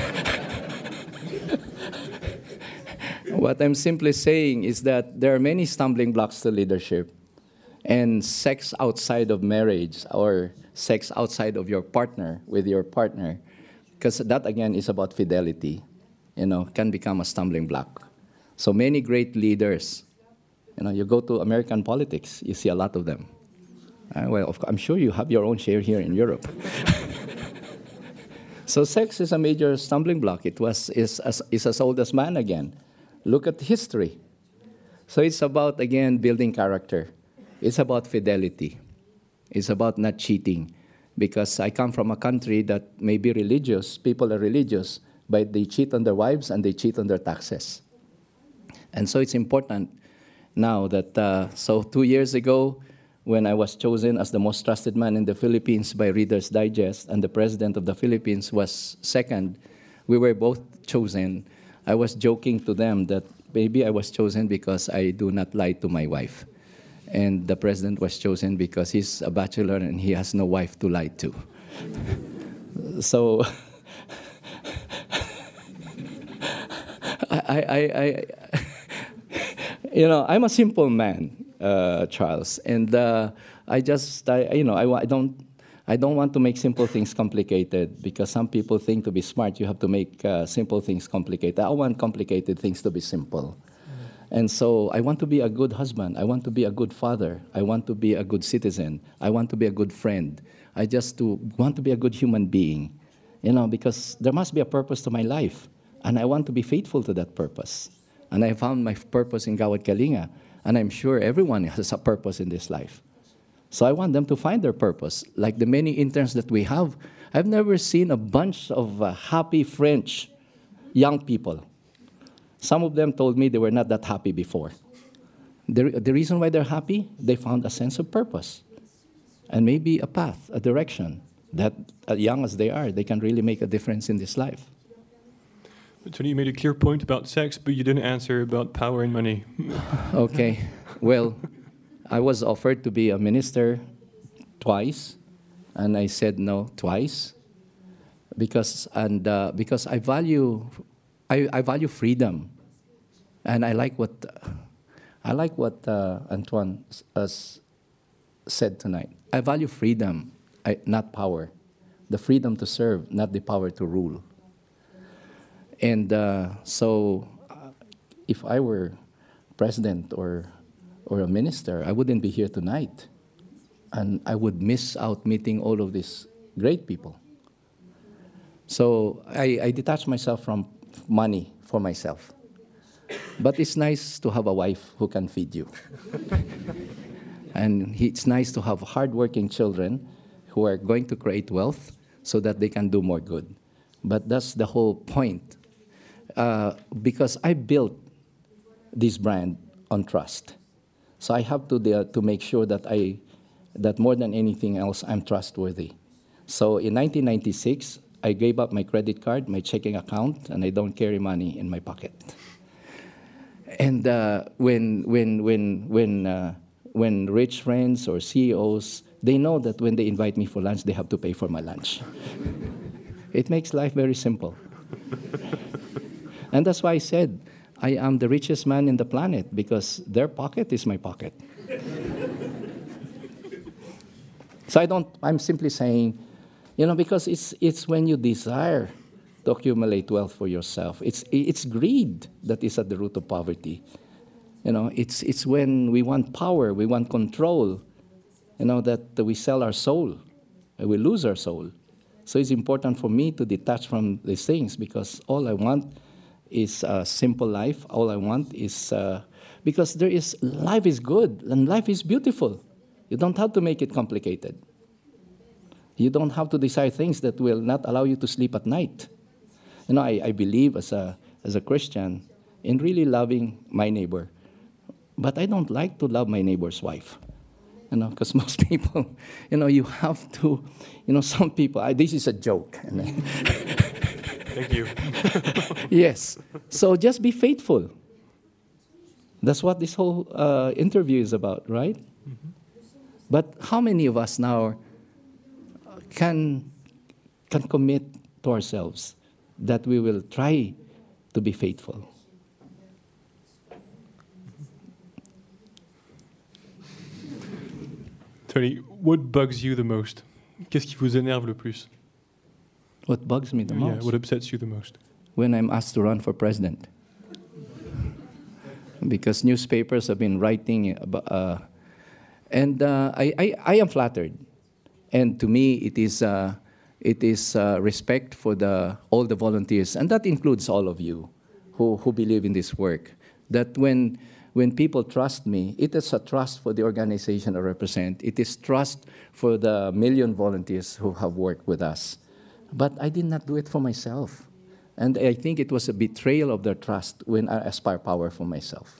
What I'm simply saying is that there are many stumbling blocks to leadership. And sex outside of marriage or sex outside of your partner, with your partner, because that again is about fidelity, can become a stumbling block. So many great leaders, you go to American politics, you see a lot of them. I'm sure you have your own share here in Europe. So sex is a major stumbling block. Is as old as man again. Look at history. So it's about, again, building character. It's about fidelity. It's about not cheating. Because I come from a country that may be religious, people are religious, but they cheat on their wives and they cheat on their taxes. And so it's important now that, so 2 years ago, when I was chosen as the most trusted man in the Philippines by Reader's Digest, and the president of the Philippines was second, we were both chosen. I was joking to them that maybe I was chosen because I do not lie to my wife. And the president was chosen because he's a bachelor and he has no wife to lie to. So You know, I'm a simple man, Charles, and I don't want to make simple things complicated, because some people think to be smart you have to make simple things complicated. I want complicated things to be simple. And so I want to be a good husband. I want to be a good father. I want to be a good citizen. I want to be a good friend. I just want to be a good human being, you know, because there must be a purpose to my life, and I want to be faithful to that purpose. And I found my purpose in Gawad Kalinga, and I'm sure everyone has a purpose in this life. So I want them to find their purpose. Like the many interns that we have, I've never seen a bunch of happy French young people. Some of them told me they were not that happy before. The reason why they're happy, they found a sense of purpose and maybe a path, a direction that, as young as they are, they can really make a difference in this life. Tony, you made a clear point about sex, but you didn't answer about power and money. Okay. Well, I was offered to be a minister twice, and I said no twice, because I value freedom, and I like what Antoine has said tonight. I value freedom, not power, the freedom to serve, not the power to rule. And so, if I were president or a minister, I wouldn't be here tonight. And I would miss out meeting all of these great people. So I detach myself from money for myself. But it's nice to have a wife who can feed you. And it's nice to have hardworking children who are going to create wealth so that they can do more good. But that's the whole point. Because I built this brand on trust. So I have to make sure that more than anything else, I'm trustworthy. So in 1996, I gave up my credit card, my checking account, and I don't carry money in my pocket. And when rich friends or CEOs, they know that when they invite me for lunch, they have to pay for my lunch. It makes life very simple. And that's why I said, I am the richest man in the planet, because their pocket is my pocket. So I'm simply saying, you know, because it's when you desire to accumulate wealth for yourself. It's greed that is at the root of poverty. You know, it's when we want power, we want control, you know, that we sell our soul, and we lose our soul. So it's important for me to detach from these things, because all I want is a simple life. All I want is, because life is good and life is beautiful. You don't have to make it complicated. You don't have to desire things that will not allow you to sleep at night. You know, I believe as a Christian in really loving my neighbor. But I don't like to love my neighbor's wife. You know, because most people, you know, you have to, you know, some people, this is a joke. Thank you. Yes. So just be faithful. That's what this whole interview is about, right? Mm-hmm. But how many of us now can commit to ourselves that we will try to be faithful? Tony, what bugs you the most? Qu'est-ce qui vous énerve le plus? What bugs me the most? Yeah, what upsets you the most? When I'm asked to run for president. Because newspapers have been writing about... I am flattered. And to me, it is respect for all the volunteers, and that includes all of you who believe in this work, that when people trust me, it is a trust for the organization I represent. It is trust for the million volunteers who have worked with us. But I did not do it for myself. And I think it was a betrayal of their trust when I aspire power for myself.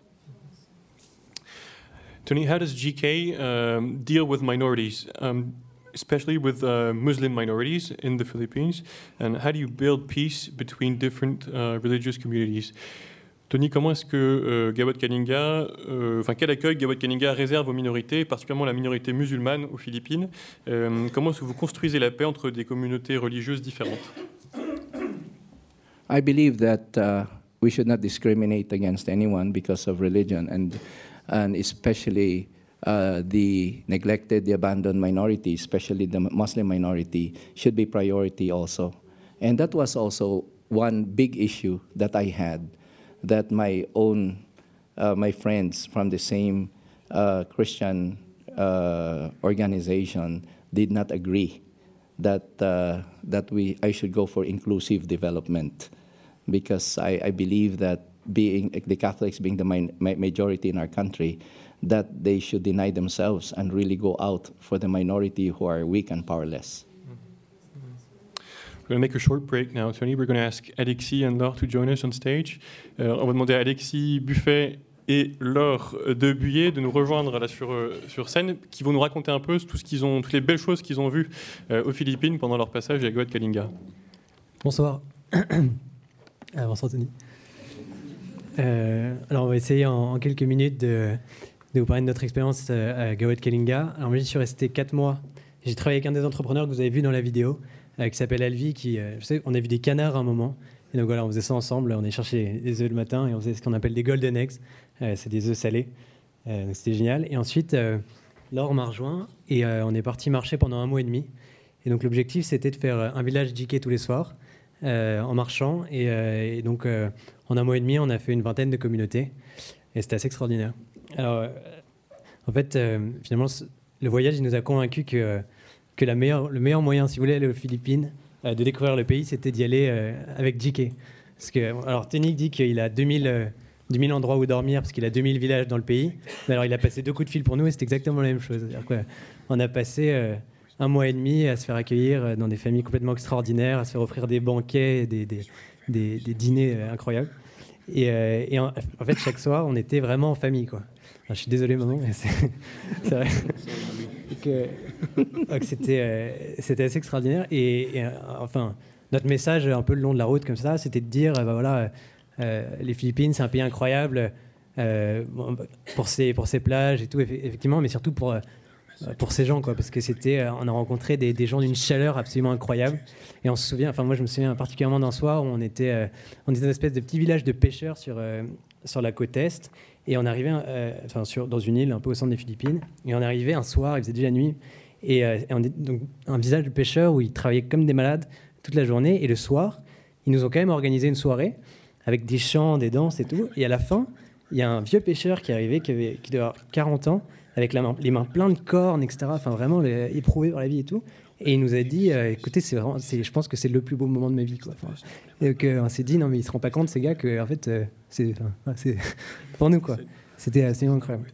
Tony, how does GK deal with minorities, especially with Muslim minorities in the Philippines? And how do you build peace between different religious communities? Tony, comment est-ce que Gawad Kalinga, quel accueil Gawad Kalinga réserve aux minorités, particulièrement la minorité musulmane aux Philippines? Comment est-ce que vous construisez la paix entre des communautés religieuses différentes? I believe that we should not discriminate against anyone because of religion, and especially the neglected, the abandoned minority, especially the Muslim minority, should be priority also. And that was also one big issue that I had, that my friends from the same Christian organization did not agree that I should go for inclusive development, because I believe that the Catholics being the majority in our country, that they should deny themselves and really go out for the minority who are weak and powerless. We're going to make a short break now, Tony. We're going to ask Alexis and Laure to join us on stage. On va demander à Alexis Buffet et Laure de Buyer de nous rejoindre là sur scène, qui vont nous raconter un peu toutes les belles choses qu'ils ont vues aux Philippines pendant leur passage à Gawad Kalinga. Bonsoir. Bonsoir Tony. Alors on va essayer en quelques minutes de vous parler de notre expérience à Gawad Kalinga. Alors moi j'y suis resté 4 mois. J'ai travaillé avec un des entrepreneurs que vous avez vu dans la vidéo, qui s'appelle Alvi, je sais, on a vu des canards à un moment, et donc voilà, on faisait ça ensemble, on est chercher des œufs le matin, et on faisait ce qu'on appelle des golden eggs, c'est des œufs salés, c'était génial. Et ensuite, Laure m'a rejoint, et on est parti marcher pendant 1 mois et demi, et donc l'objectif c'était de faire un village JK tous les soirs, en marchant, et donc en 1 mois et demi, on a fait une 20aine de communautés, et c'était assez extraordinaire. Alors, en fait, finalement, le voyage, il nous a convaincus que le meilleur moyen, si vous voulez aller aux Philippines, de découvrir le pays, c'était d'y aller avec JK. Parce que, alors, Tony dit qu'il a 2000 endroits où dormir, parce qu'il a 2000 villages dans le pays. Mais alors, il a passé 2 coups de fil pour nous, et c'est exactement la même chose. C'est-à-dire qu'on a passé 1 mois et demi à se faire accueillir dans des familles complètement extraordinaires, à se faire offrir des banquets, des dîners incroyables. Et en fait, chaque soir, on était vraiment en famille, quoi. Enfin, je suis désolé, maman, mais c'est vrai. Donc c'était assez extraordinaire. Et enfin, notre message un peu le long de la route comme ça, c'était de dire, les Philippines, c'est un pays incroyable pour ses plages et tout, effectivement, mais surtout pour ces gens, quoi, parce que on a rencontré des gens d'une chaleur absolument incroyable. Et on se souvient, enfin moi je me souviens particulièrement d'un soir où on était dans une espèce de petit village de pêcheurs sur la côte est. Et on arrivait dans une île un peu au centre des Philippines. Et on arrivait un soir, il faisait déjà nuit. Et on est donc un village de pêcheurs où ils travaillaient comme des malades toute la journée. Et le soir, ils nous ont quand même organisé une soirée avec des chants, des danses et tout. Et à la fin, il y a un vieux pêcheur qui est arrivé, qui devait avoir 40 ans, avec les mains pleines de cornes, etc. Enfin, vraiment éprouvé par la vie et tout. Et il nous a dit, écoutez, je pense que c'est le plus beau moment de ma vie, quoi. Enfin, et on s'est dit, non mais il se rend pas compte, ces gars, que en fait, c'est pour nous, quoi. C'était assez incroyable.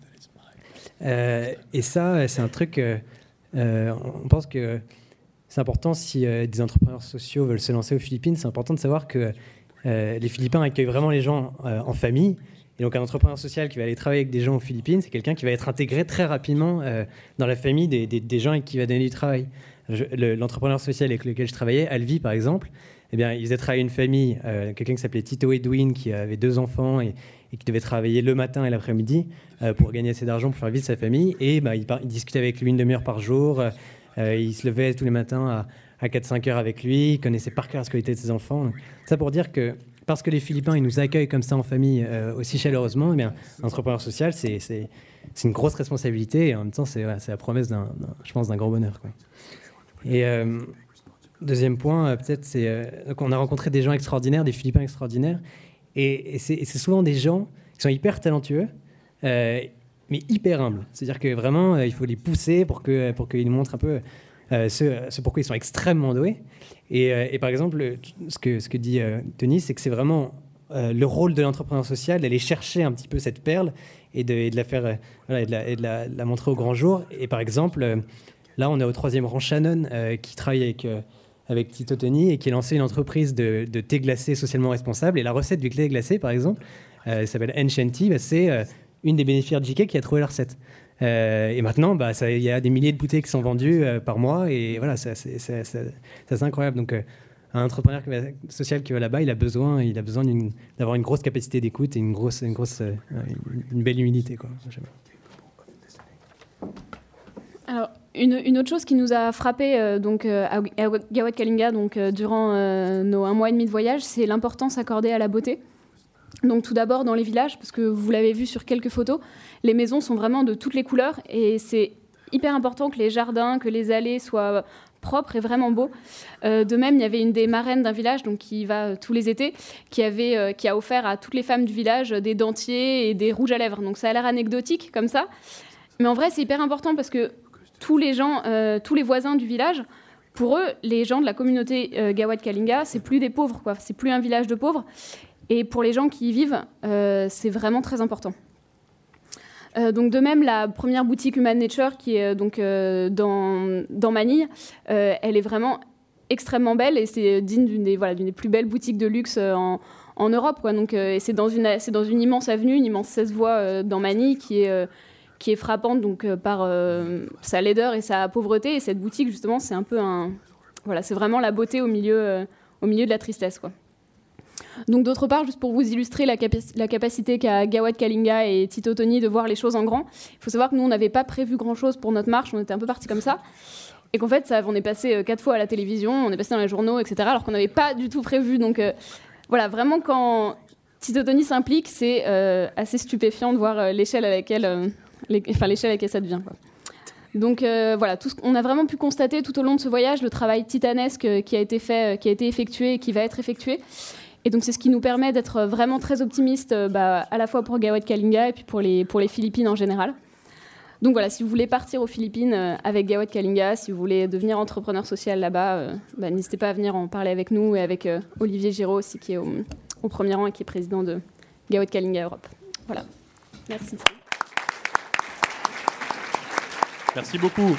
Et ça, c'est un truc, on pense que c'est important si des entrepreneurs sociaux veulent se lancer aux Philippines, c'est important de savoir que les Philippins accueillent vraiment les gens en famille. Et donc un entrepreneur social qui va aller travailler avec des gens aux Philippines, c'est quelqu'un qui va être intégré très rapidement dans la famille des gens avec qui il va donner du travail. L'entrepreneur social avec lequel je travaillais, Alvi par exemple, eh bien, il faisait travailler une famille, quelqu'un qui s'appelait Tito Edwin, qui avait 2 enfants et qui devait travailler le matin et l'après-midi pour gagner assez d'argent pour faire vivre sa famille. Et il discutait avec lui 1 demi-heure par jour, il se levait tous les matins à 4-5 heures avec lui, il connaissait par cœur la scolarité de ses enfants. Donc, ça pour dire que parce que les Philippins ils nous accueillent comme ça en famille aussi chaleureusement, eh bien, l'entrepreneur social, c'est une grosse responsabilité et en même temps, c'est la promesse je pense, d'un grand bonheur, quoi. Et deuxième point, peut-être, c'est qu'on a rencontré des gens extraordinaires, des Philippins extraordinaires, et c'est souvent des gens qui sont hyper talentueux, mais hyper humbles. C'est-à-dire que vraiment, il faut les pousser pour qu'ils nous montrent un peu ce pourquoi ils sont extrêmement doués. Et par exemple, ce que dit Tony, c'est que c'est vraiment le rôle de l'entrepreneur social d'aller chercher un petit peu cette perle et de la faire, et de la montrer au grand jour. Et par exemple, là, on est au 3e rang Shannon, qui travaille avec Tito Tony et qui a lancé une entreprise de thé glacé socialement responsable. Et la recette du thé glacé, par exemple, s'appelle Enchanty, c'est une des bénéficiaires de JK qui a trouvé la recette. Et maintenant, il y a des milliers de bouteilles qui sont vendues par mois. Et voilà, c'est assez incroyable. Donc, un entrepreneur social qui va là-bas, il a besoin d'avoir une grosse capacité d'écoute et une belle humilité, quoi. Alors, une autre chose qui nous a frappé à Gawad Kalinga durant nos 1 mois et demi de voyage, c'est l'importance accordée à la beauté. Donc tout d'abord dans les villages, parce que vous l'avez vu sur quelques photos, les maisons sont vraiment de toutes les couleurs et c'est hyper important que les jardins, que les allées soient propres et vraiment beaux. De même, il y avait une des marraines d'un village, donc qui y va tous les étés, qui a offert à toutes les femmes du village des dentiers et des rouges à lèvres. Donc ça a l'air anecdotique comme ça, mais en vrai c'est hyper important parce que tous les voisins du village, pour eux, les gens de la communauté Gawad Kalinga, c'est plus des pauvres, quoi. C'est plus un village de pauvres. Et pour les gens qui y vivent, c'est vraiment très important. Donc de même, la première boutique Human Nature, qui est dans Manille, elle est vraiment extrêmement belle et c'est digne d'une des plus belles boutiques de luxe en Europe, quoi. Donc, et c'est dans une immense avenue, une immense 16 voies dans Manille, qui est frappante donc, par sa laideur et sa pauvreté. Et cette boutique, justement, c'est un peu c'est vraiment la beauté au milieu de la tristesse, quoi. Donc d'autre part, juste pour vous illustrer la capacité qu'a Gawad Kalinga et Tito Toni de voir les choses en grand, il faut savoir que nous, on n'avait pas prévu grand-chose pour notre marche, on était un peu partis comme ça, et qu'en fait, on est passé 4 fois à la télévision, on est passé dans les journaux, etc., alors qu'on n'avait pas du tout prévu. Donc vraiment, quand Tito Toni s'implique, c'est assez stupéfiant de voir l'échelle à laquelle ça devient, quoi. Donc on a vraiment pu constater tout au long de ce voyage le travail titanesque qui a été effectué et qui va être effectué. Et donc c'est ce qui nous permet d'être vraiment très optimistes, à la fois pour Gawad Kalinga et puis pour les Philippines en général. Donc voilà, si vous voulez partir aux Philippines avec Gawad Kalinga, si vous voulez devenir entrepreneur social là-bas, n'hésitez pas à venir en parler avec nous et avec Olivier Giraud aussi, qui est au premier rang et qui est président de Gawad Kalinga Europe. Voilà, merci. Merci beaucoup.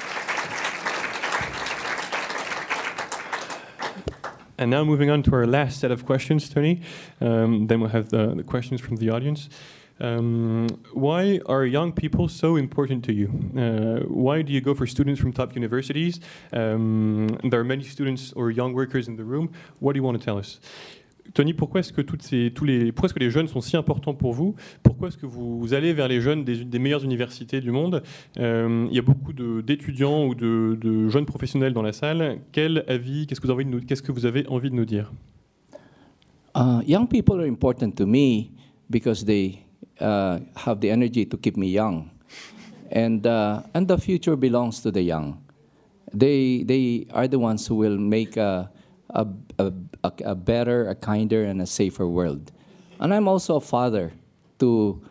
And now moving on to our last set of questions, Tony. Then we'll have the questions from the audience. Why are young people so important to you? Why do you go for students from top universities? There are many students or young workers in the room. What do you want to tell us? Tony, pourquoi est-ce que pourquoi est-ce que les jeunes sont si importants pour vous? Pourquoi est-ce que vous allez vers les jeunes des meilleures universités du monde? Il y a beaucoup d'étudiants ou de jeunes professionnels dans la salle. Quel avis, qu'est-ce que vous avez envie de nous dire? Young people are important to me because they have the energy to keep me young, and the future belongs to the young. They are the ones who will make a better, a kinder, and a safer world. And I'm also a father to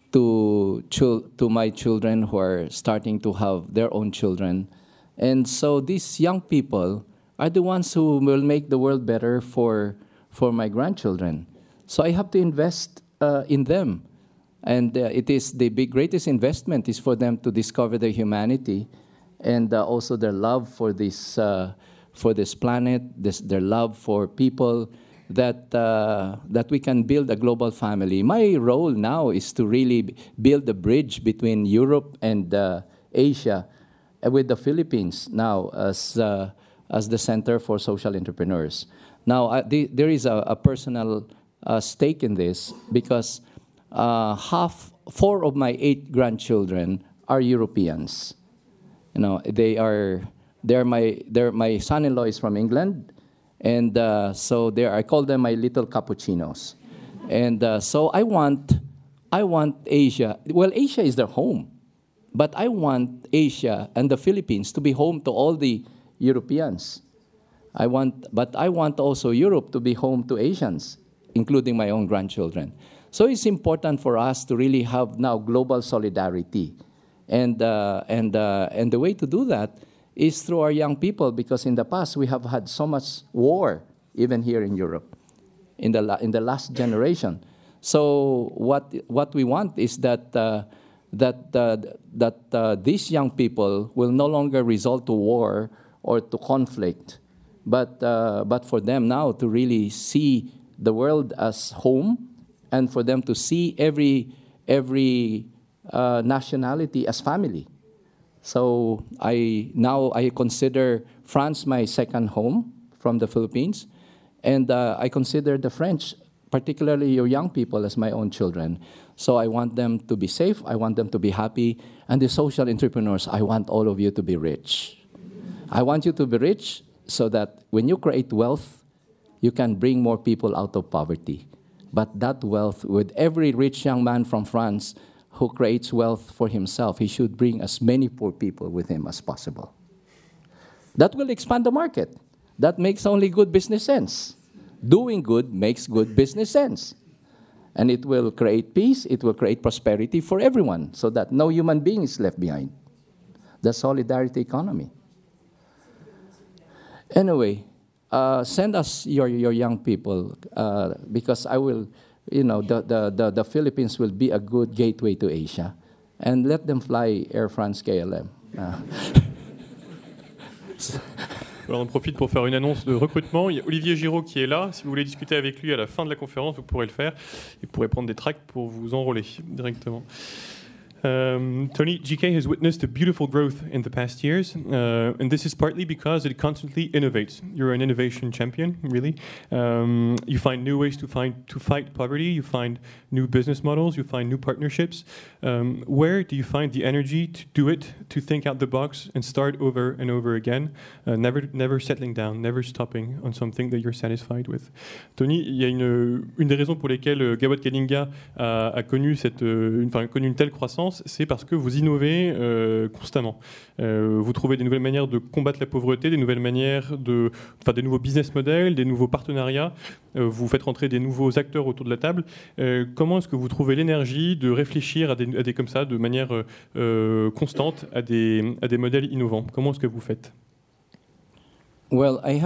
my children who are starting to have their own children. And so these young people are the ones who will make the world better for my grandchildren. So I have to invest in them. And it is the greatest investment is for them to discover their humanity and also their love for this planet, their love for people, that we can build a global family. My role now is to really build a bridge between Europe and Asia, with the Philippines now as the Center for Social Entrepreneurs. Now, there is a personal stake in this because 4 of my 8 grandchildren are Europeans. You know, my son-in-law is from England, and so I call them my little cappuccinos. And so I want Asia. Well, Asia is their home, but I want Asia and the Philippines to be home to all the Europeans. But I want also Europe to be home to Asians, including my own grandchildren. So it's important for us to really have now global solidarity, and the way to do that is through our young people, because in the past we have had so much war, even here in Europe, in the last generation. So what we want is that these young people will no longer resort to war or to conflict, but for them now to really see the world as home, and for them to see every nationality as family. So I consider France my second home from the Philippines, and I consider the French, particularly your young people, as my own children. So I want them to be safe, I want them to be happy, and the social entrepreneurs, I want all of you to be rich. I want you to be rich so that when you create wealth, you can bring more people out of poverty. But that wealth, with every rich young man from France who creates wealth for himself, he should bring as many poor people with him as possible. That will expand the market. That makes only good business sense. Doing good makes good business sense. And it will create peace, it will create prosperity for everyone, so that no human being is left behind. The solidarity economy. Anyway, send us your young people, because I will, the Philippines will be a good gateway to Asia. And let them fly Air France KLM. Alors on profite pour faire une annonce de recrutement. Il y a Olivier Giraud qui est là. Si vous voulez discuter avec lui à la fin de la conférence, vous pourrez le faire. Vous pourrez prendre des tracts pour vous enrôler directement. Tony, GK has witnessed a beautiful growth in the past years, and this is partly because it constantly innovates. You're an innovation champion, really. You find new ways to fight poverty. You find new business models. You find new partnerships. Where do you find the energy to do it, to think out the box and start over and over again, never settling down, never stopping on something that you're satisfied with? Tony, il y a une des raisons pour lesquelles Gawad Kalinga a connu une telle croissance, c'est parce que vous innovez constamment. Vous trouvez des nouvelles manières de combattre la pauvreté, des nouvelles manières des nouveaux business models, des nouveaux partenariats. Vous faites rentrer des nouveaux acteurs autour de la table. Comment est-ce que vous trouvez l'énergie de réfléchir à des comme ça, de manière constante, à des modèles innovants? Comment est-ce que vous faites? Well, I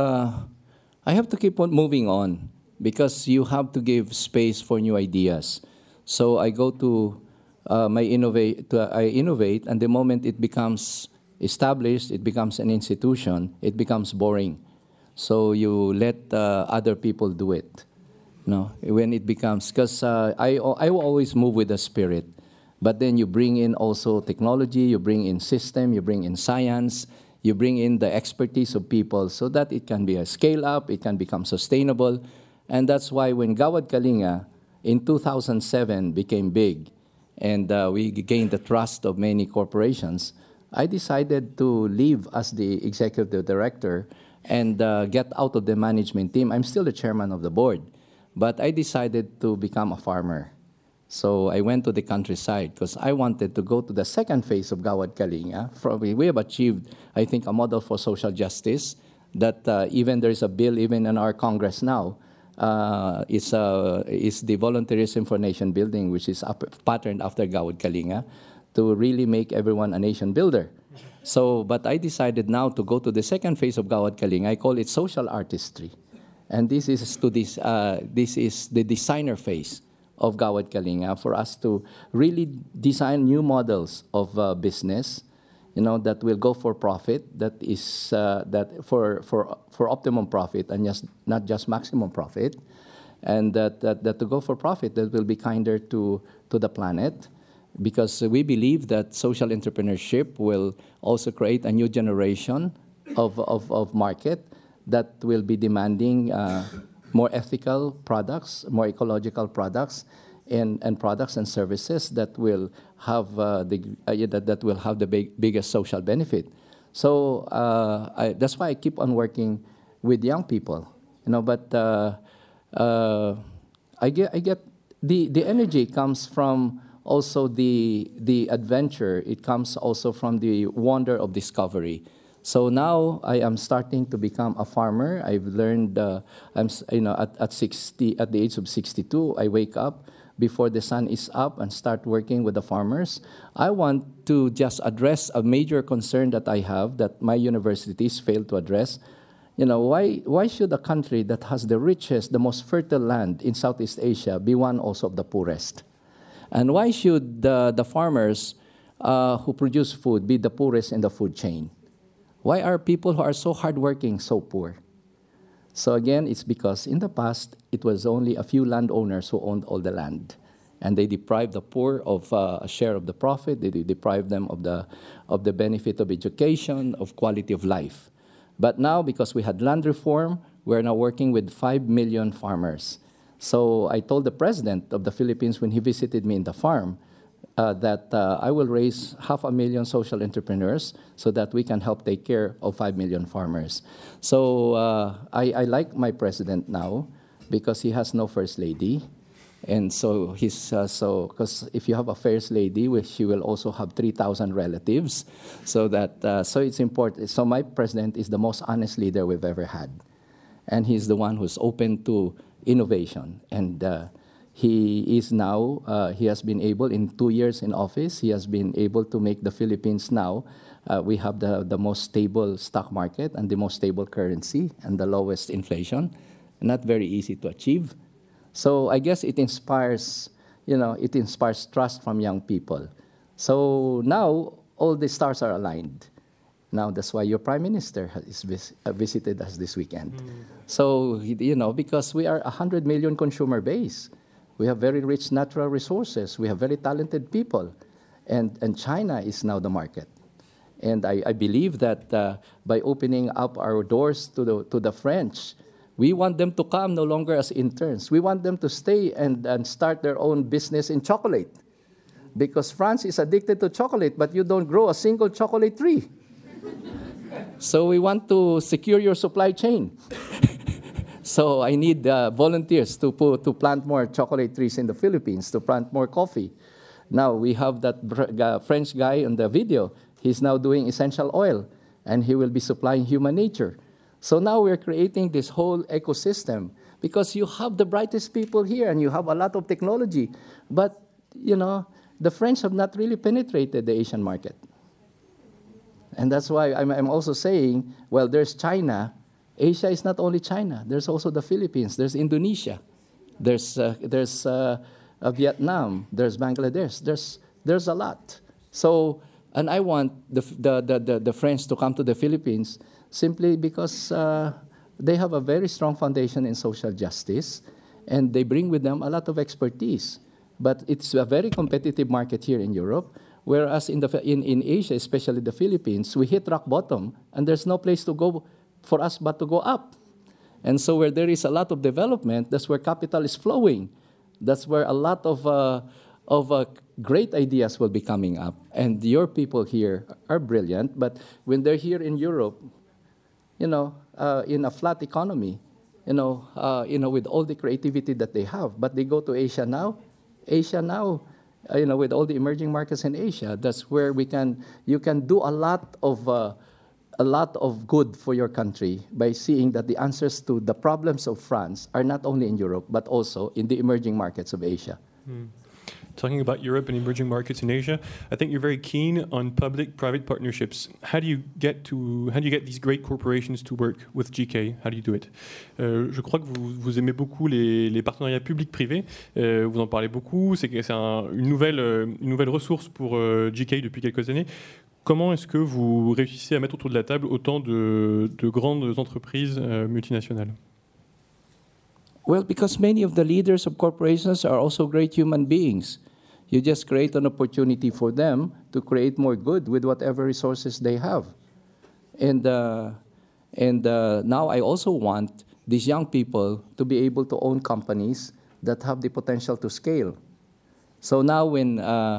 have to keep on moving on, because you have to give space for new ideas. So I go to I innovate, and the moment it becomes established, it becomes an institution, it becomes boring. So you let other people do it. When it becomes, because I will always move with the spirit, but then you bring in also technology, you bring in system, you bring in science, you bring in the expertise of people, so that it can be a scale up, it can become sustainable. And that's why when Gawad Kalinga in 2007 became big, and we gained the trust of many corporations, I decided to leave as the executive director and get out of the management team. I'm still the chairman of the board, but I decided to become a farmer. So I went to the countryside because I wanted to go to the second phase of Gawad Kalinga. We have achieved, I think, a model for social justice that even there is a bill even in our Congress now. It's the Volunteerism for Nation Building, which is patterned after Gawad Kalinga, to really make everyone a nation builder. So, but I decided now to go to the second phase of Gawad Kalinga. I call it social artistry, and this is the designer phase of Gawad Kalinga, for us to really design new models of business, that will go for profit, that is that for optimum profit and not just maximum profit, and that to go for profit that will be kinder to the planet, because we believe that social entrepreneurship will also create a new generation of market that will be demanding more ethical products, more ecological products, and products and services that will have the biggest social benefit. So that's why I keep on working with young people, But I get the energy comes from also the adventure. It comes also from the wonder of discovery. So now I am starting to become a farmer. I've learned, at the age of 62, I wake up before the sun is up and start working with the farmers. I want to just address a major concern that I have that my universities fail to address. Why should a country that has the richest, the most fertile land in Southeast Asia be one also of the poorest? And why should the farmers who produce food be the poorest in the food chain? Why are people who are so hardworking so poor? So again, it's because in the past, it was only a few landowners who owned all the land. And they deprived the poor of a share of the profit. They deprived them of the benefit of education, of quality of life. But now, because we had land reform, we're now working with 5 million farmers. So I told the president of the Philippines when he visited me in the farm that I will raise 500,000 social entrepreneurs so that we can help take care of 5 million farmers. So I like my president now because he has no first lady. And so because if you have a first lady, she will also have 3,000 relatives. So it's important. So my president is the most honest leader we've ever had. And he's the one who's open to innovation. And he has been able, in 2 years in office, he has been able to make the Philippines now, we have the most stable stock market and the most stable currency and the lowest inflation. Not very easy to achieve. So I guess it inspires trust from young people. So now all the stars are aligned. Now that's why your prime minister visited us this weekend. So, because we are a 100 million consumer base. We have very rich natural resources. We have very talented people. And China is now the market. And I believe that by opening up our doors to the French, we want them to come no longer as interns. We want them to stay and start their own business in chocolate. Because France is addicted to chocolate, but you don't grow a single chocolate tree. So we want to secure your supply chain. So I need volunteers to plant more chocolate trees in the Philippines, to plant more coffee. Now we have that French guy in the video. He's now doing essential oil, and he will be supplying human nature. So now we're creating this whole ecosystem because you have the brightest people here and you have a lot of technology. But, the French have not really penetrated the Asian market. And that's why I'm also saying, well, there's China. Asia is not only China. There's also the Philippines. There's Indonesia. There's Vietnam. There's Bangladesh. There's a lot. So, and I want the French to come to the Philippines simply because they have a very strong foundation in social justice, and they bring with them a lot of expertise. But it's a very competitive market here in Europe, whereas in Asia, especially the Philippines, we hit rock bottom, and there's no place to go for us but to go up. And so where there is a lot of development, that's where capital is flowing. That's where a lot of great ideas will be coming up. And your people here are brilliant, but when they're here in Europe, in a flat economy, with all the creativity that they have. But they go to Asia now, with all the emerging markets in Asia, that's where you can do a lot of good for your country by seeing that the answers to the problems of France are not only in Europe, but also in the emerging markets of Asia. Talking about Europe and emerging markets in Asia, I think you're very keen on public-private partnerships. How do you get these great corporations to work with GK? How do you do it? Je crois que vous aimez beaucoup les partenariats publics-privés. Vous en parlez beaucoup. C'est une nouvelle ressource pour GK depuis quelques années. Comment est-ce que vous réussissez à mettre autour de la table autant de grandes entreprises multinationales? Well, because many of the leaders of corporations are also great human beings. You just create an opportunity for them to create more good with whatever resources they have. And now I also want these young people to be able to own companies that have the potential to scale. So now when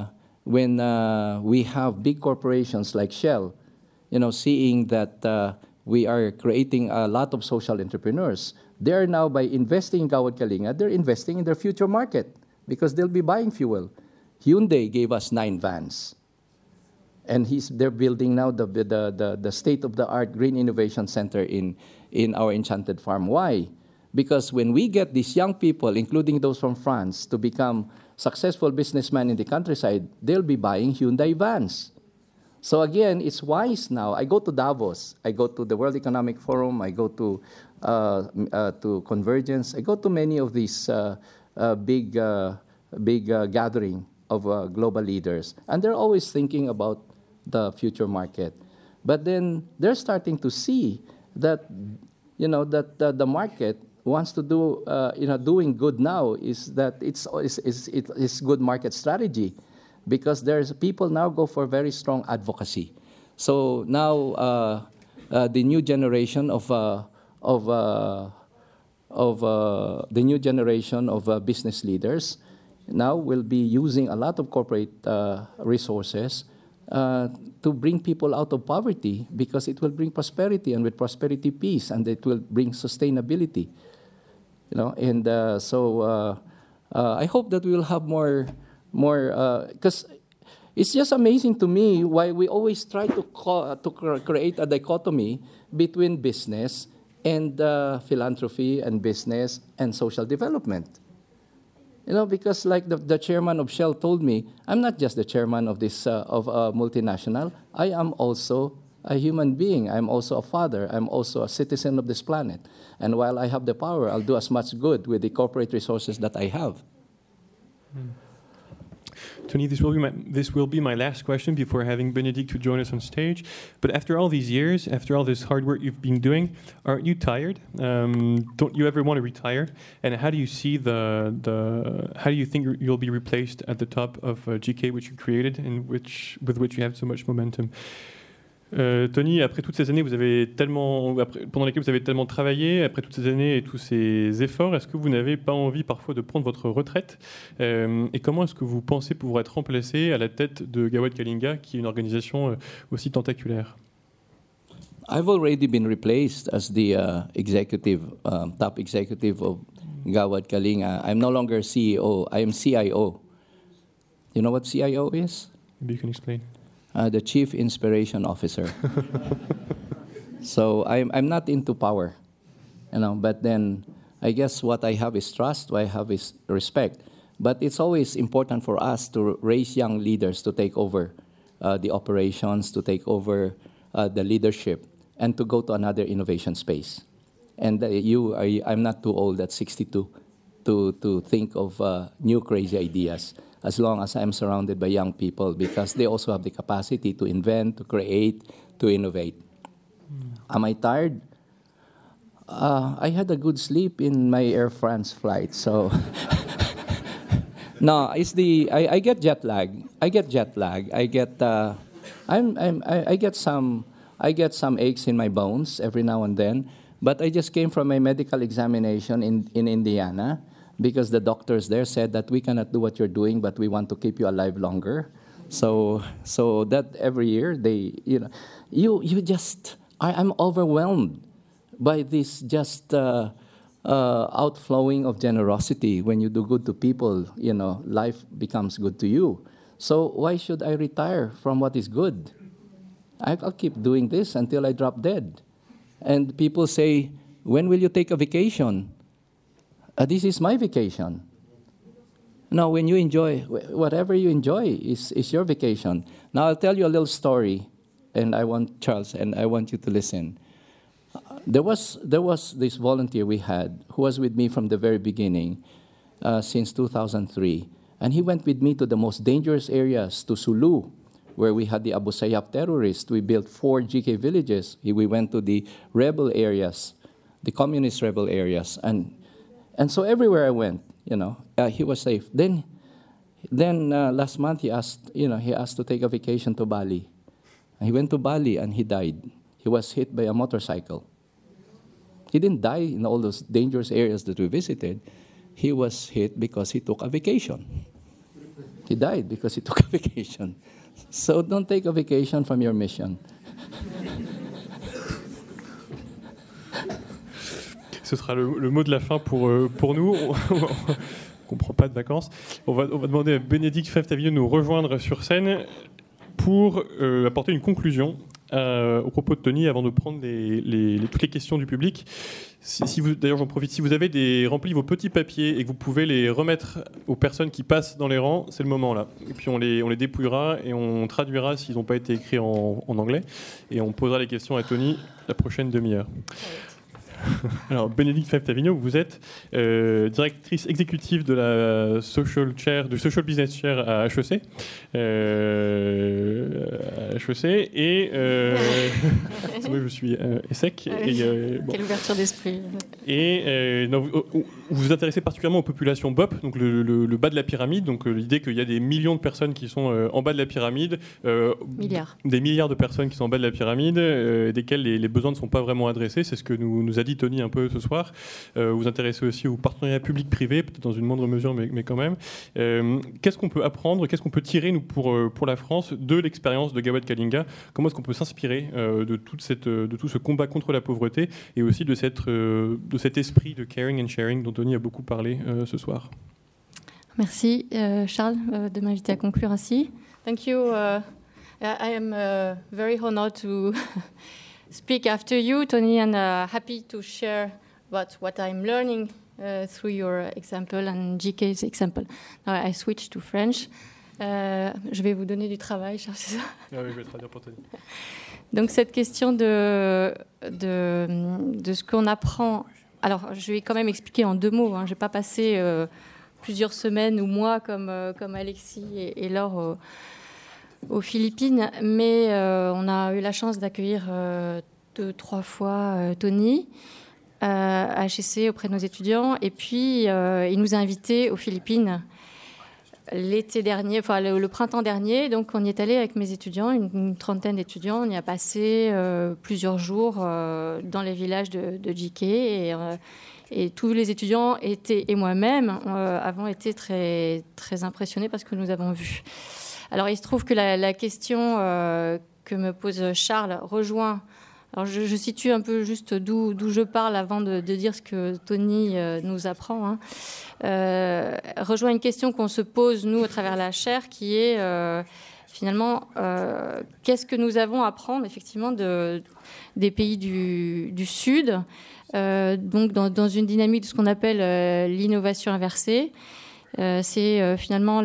we have big corporations like Shell, seeing that we are creating a lot of social entrepreneurs, they are now, by investing in Gawad Kalinga, they're investing in their future market because they'll be buying fuel. Hyundai gave us 9 vans. And they're building now the state-of-the-art Green Innovation Center in our Enchanted Farm. Why? Because when we get these young people, including those from France, to become successful businessmen in the countryside, they'll be buying Hyundai vans. So again, it's wise now. I go to Davos. I go to the World Economic Forum. I go to Convergence. I go to many of these big gathering of global leaders. And they're always thinking about the future market. But then they're starting to see that, the market wants to do, doing good now is that it's good market strategy. Because there's people now go for very strong advocacy. So now the new generation of business leaders now will be using a lot of corporate resources to bring people out of poverty, because it will bring prosperity, and with prosperity, peace, and it will bring sustainability. And I hope that we will have more, because it's just amazing to me why we always try to create a dichotomy between business and philanthropy and business and social development. Because like the chairman of Shell told me, I'm not just the chairman of this of a multinational. I am also a human being. I'm also a father. I'm also a citizen of this planet. And while I have the power, I'll do as much good with the corporate resources that I have. Tony, this will be my last question before having Bénédicte to join us on stage. But after all these years, after all this hard work you've been doing, aren't you tired? Don't you ever want to retire? And how do you see how do you think you'll be replaced at the top of GK, which you created and with which you have so much momentum? Tony, après toutes ces années pendant lesquelles vous avez tellement travaillé, après toutes ces années et tous ces efforts, est-ce que vous n'avez pas envie parfois de prendre votre retraite? Et comment est-ce que vous pensez pouvoir être remplacé à la tête de Gawad Kalinga, qui est une organisation aussi tentaculaire? I've already been replaced as the top executive of Gawad Kalinga. I'm no longer CEO, I am CIO. You know what CIO is? Maybe you can explain. The Chief Inspiration Officer. So I'm not into power, but then I guess what I have is trust, what I have is respect. But it's always important for us to raise young leaders to take over the operations, to take over the leadership, and to go to another innovation space. And I'm not too old at 62 to think of new crazy ideas, as long as I'm surrounded by young people, because they also have the capacity to invent, to create, to innovate. Am I tired? I had a good sleep in my Air France flight, so no, I get jet lag. I get some aches in my bones every now and then. But I just came from a medical examination in Indiana, because the doctors there said that we cannot do what you're doing, but we want to keep you alive longer. So that every year I'm overwhelmed by this just outflowing of generosity. When you do good to people, life becomes good to you. So why should I retire from what is good? I'll keep doing this until I drop dead. And people say, when will you take a vacation? This is my vacation. Now, when you enjoy, whatever you enjoy is your vacation. Now, I'll tell you a little story, and I want you to listen. There was this volunteer we had who was with me from the very beginning, since 2003. And he went with me to the most dangerous areas, to Sulu, where we had the Abu Sayyaf terrorists. We built 4 GK villages. We went to the rebel areas, the communist rebel areas. And so everywhere I went, he was safe. Then last month he asked to take a vacation to Bali. And he went to Bali and he died. He was hit by a motorcycle. He didn't die in all those dangerous areas that we visited. He was hit because he took a vacation. He died because he took a vacation. So don't take a vacation from your mission. Ce sera le mot de la fin pour nous. On ne prend pas de vacances. On va demander à Bénédicte Favre-Tavillon de nous rejoindre sur scène pour apporter une conclusion au propos de Tony avant de prendre toutes les questions du public. D'ailleurs, j'en profite. Si vous avez rempli vos petits papiers et que vous pouvez les remettre aux personnes qui passent dans les rangs, c'est le moment là. Et puis on les dépouillera et on traduira s'ils n'ont pas été écrits en anglais. Et on posera les questions à Tony la prochaine demi-heure. Alors, Bénédicte Favre-Tavillon, vous êtes directrice exécutive de la du Social Business Chair à HEC. Et oui, je suis ESSEC. Quelle ouverture d'esprit. Et vous vous intéressez particulièrement aux populations BOP, donc le bas de la pyramide, donc l'idée qu'il y a des millions de personnes qui sont en bas de la pyramide, milliards. Des milliards de personnes qui sont en bas de la pyramide, desquelles les besoins ne sont pas vraiment adressés. C'est ce que nous a dit dit Tony un peu ce soir. Vous vous intéressez aussi au partenariat public-privé, peut-être dans une moindre mesure, mais quand même. Qu'est-ce qu'on peut apprendre, qu'est-ce qu'on peut tirer, nous, pour la France, de l'expérience de Gawad Kalinga? Comment est-ce qu'on peut s'inspirer de tout ce combat contre la pauvreté et aussi de cet esprit de caring and sharing dont Tony a beaucoup parlé ce soir? Merci, Charles, de m'inviter à conclure ainsi. Thank you. I am very honored to speak after you, Tony, and happy to share about what I'm learning through your example and GK's example. Now I switch to French. Je vais vous donner du travail, Charles, c'est ça? Ah oui, je vais traduire pour Tony. Donc cette question de ce qu'on apprend. Alors, je vais quand même expliquer en 2 mots. Je ne vais pas passer plusieurs semaines ou mois comme Alexis et Laure aux Philippines, mais on a eu la chance d'accueillir 2-3 fois Tony à HEC auprès de nos étudiants, et puis il nous a invités aux Philippines l'été dernier, enfin le printemps dernier. Donc on y est allé avec mes étudiants, une trentaine d'étudiants. On y a passé plusieurs jours dans les villages de JK, et tous les étudiants et moi-même avons été très, très impressionnés par ce que nous avons vu. Alors il se trouve que la question que me pose Charles rejoint. Alors je situe un peu juste d'où je parle avant de dire ce que Tony nous apprend. Rejoint une question qu'on se pose, nous, à travers la chaire, qui est finalement qu'est-ce que nous avons à apprendre effectivement des pays du Sud, donc dans une dynamique de ce qu'on appelle l'innovation inversée. C'est finalement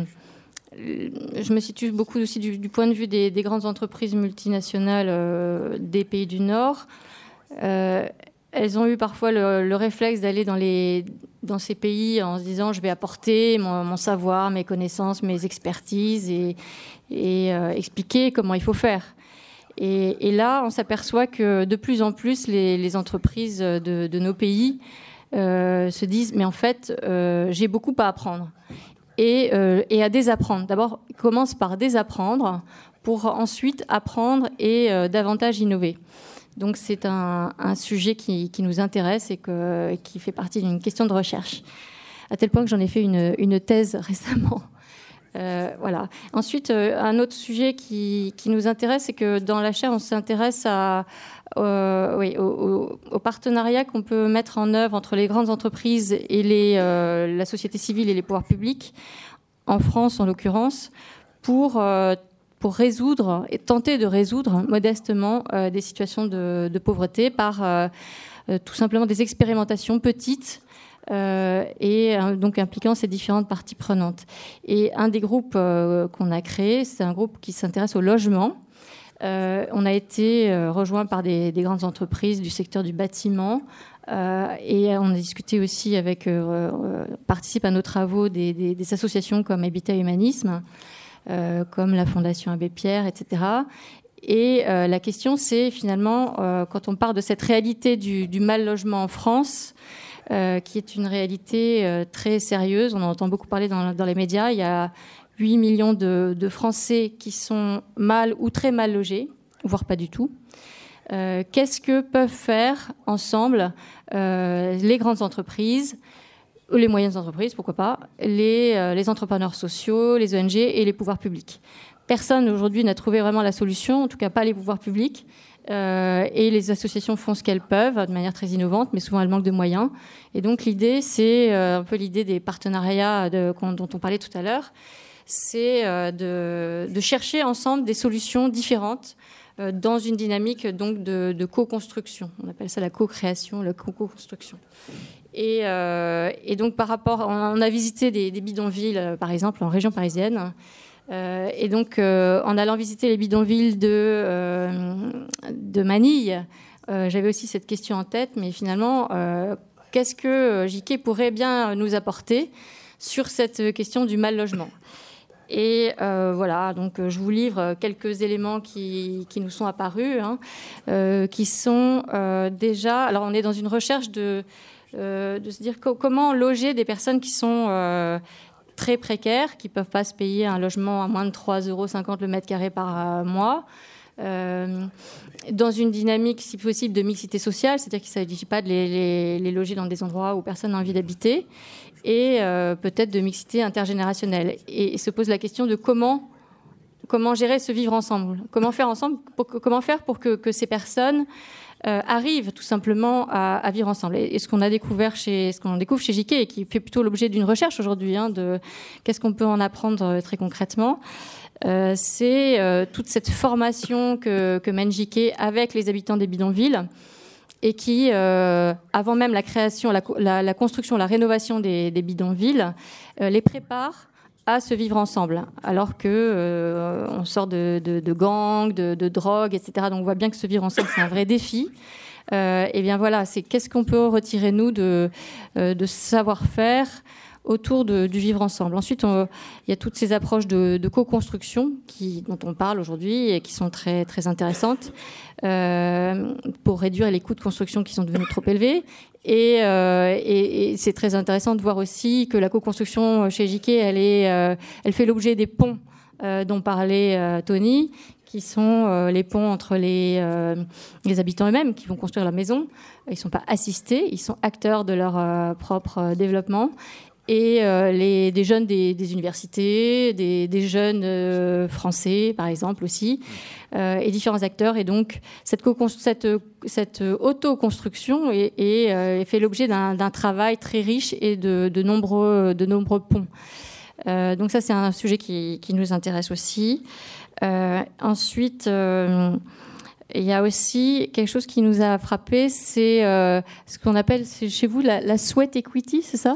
je me situe beaucoup aussi du point de vue des grandes entreprises multinationales des pays du Nord. Elles ont eu parfois le réflexe d'aller dans ces pays en se disant je vais apporter mon savoir, mes connaissances, mes expertises et expliquer comment il faut faire. Et là, on s'aperçoit que de plus en plus, les entreprises de nos pays se disent mais en fait, j'ai beaucoup à apprendre. Et à désapprendre. D'abord, commence par désapprendre pour ensuite apprendre et davantage innover. Donc c'est un sujet qui nous intéresse et qui fait partie d'une question de recherche. À tel point que j'en ai fait une thèse récemment. Voilà. Ensuite, un autre sujet qui nous intéresse, c'est que dans la chaire, on s'intéresse au partenariat qu'on peut mettre en œuvre entre les grandes entreprises et la société civile et les pouvoirs publics, en France en l'occurrence, pour résoudre et tenter de résoudre modestement des situations de pauvreté par tout simplement des expérimentations petites, et donc impliquant ces différentes parties prenantes. Et un des groupes qu'on a créé, c'est un groupe qui s'intéresse au logement. On a été rejoint par des grandes entreprises du secteur du bâtiment, et on a discuté aussi participe à nos travaux des associations comme Habitat Humanisme, comme la Fondation Abbé Pierre, etc. Et la question, c'est finalement, quand on parle de cette réalité du mal logement en France, qui est une réalité très sérieuse. On en entend beaucoup parler dans les médias. Il y a 8 millions de Français qui sont mal ou très mal logés, voire pas du tout. Qu'est-ce que peuvent faire ensemble les grandes entreprises, ou les moyennes entreprises, pourquoi pas, les entrepreneurs sociaux, les ONG et les pouvoirs publics? Personne aujourd'hui n'a trouvé vraiment la solution, en tout cas pas les pouvoirs publics. Et les associations font ce qu'elles peuvent de manière très innovante, mais souvent elles manquent de moyens. Et donc l'idée, c'est un peu l'idée des partenariats dont on parlait tout à l'heure, c'est de chercher ensemble des solutions différentes dans une dynamique donc de co-construction. On appelle ça la co-création, la co-construction. Et donc par rapport, on a visité des bidonvilles, par exemple en région parisienne. Et donc, en allant visiter les bidonvilles de Manille, j'avais aussi cette question en tête, mais finalement, qu'est-ce que JK pourrait bien nous apporter sur cette question du mal logement? Et voilà, donc je vous livre quelques éléments qui nous sont apparus, qui sont déjà... Alors, on est dans une recherche de se dire comment loger des personnes qui sont... très précaires, qui ne peuvent pas se payer un logement à moins de 3,50 € le mètre carré par mois, dans une dynamique, si possible, de mixité sociale, c'est-à-dire qu'il ne s'agit pas de les loger dans des endroits où personne n'a envie d'habiter, et peut-être de mixité intergénérationnelle. Et se pose la question de comment gérer ce vivre ensemble. Comment faire pour que ces personnes arrivent tout simplement à vivre ensemble. Et ce qu'on découvre chez JK, et qui fait plutôt l'objet d'une recherche aujourd'hui, de qu'est-ce qu'on peut en apprendre très concrètement, c'est toute cette formation que mène JK avec les habitants des bidonvilles, et qui, avant même la création, la construction, la rénovation des bidonvilles, les prépare à se vivre ensemble, alors que on sort de gangs, de drogue, etc. Donc on voit bien que se vivre ensemble, c'est un vrai défi. Et bien voilà, c'est qu'est-ce qu'on peut retirer, nous, de savoir-faire autour du vivre ensemble. Ensuite, il y a toutes ces approches de co-construction dont on parle aujourd'hui et qui sont très, très intéressantes pour réduire les coûts de construction qui sont devenus trop élevés. Et c'est très intéressant de voir aussi que la co-construction chez JK, elle fait l'objet des ponts dont parlait Tony, qui sont les ponts entre les habitants eux-mêmes qui vont construire la maison. Ils ne sont pas assistés, ils sont acteurs de leur propre développement. Et des jeunes des universités, des jeunes français, par exemple, aussi, et différents acteurs. Et donc, cette auto-construction fait l'objet d'un travail très riche et de nombreux ponts. Donc ça, c'est un sujet qui nous intéresse aussi. Ensuite, il y a aussi quelque chose qui nous a frappé, c'est ce qu'on appelle chez vous la sweat equity, c'est ça ?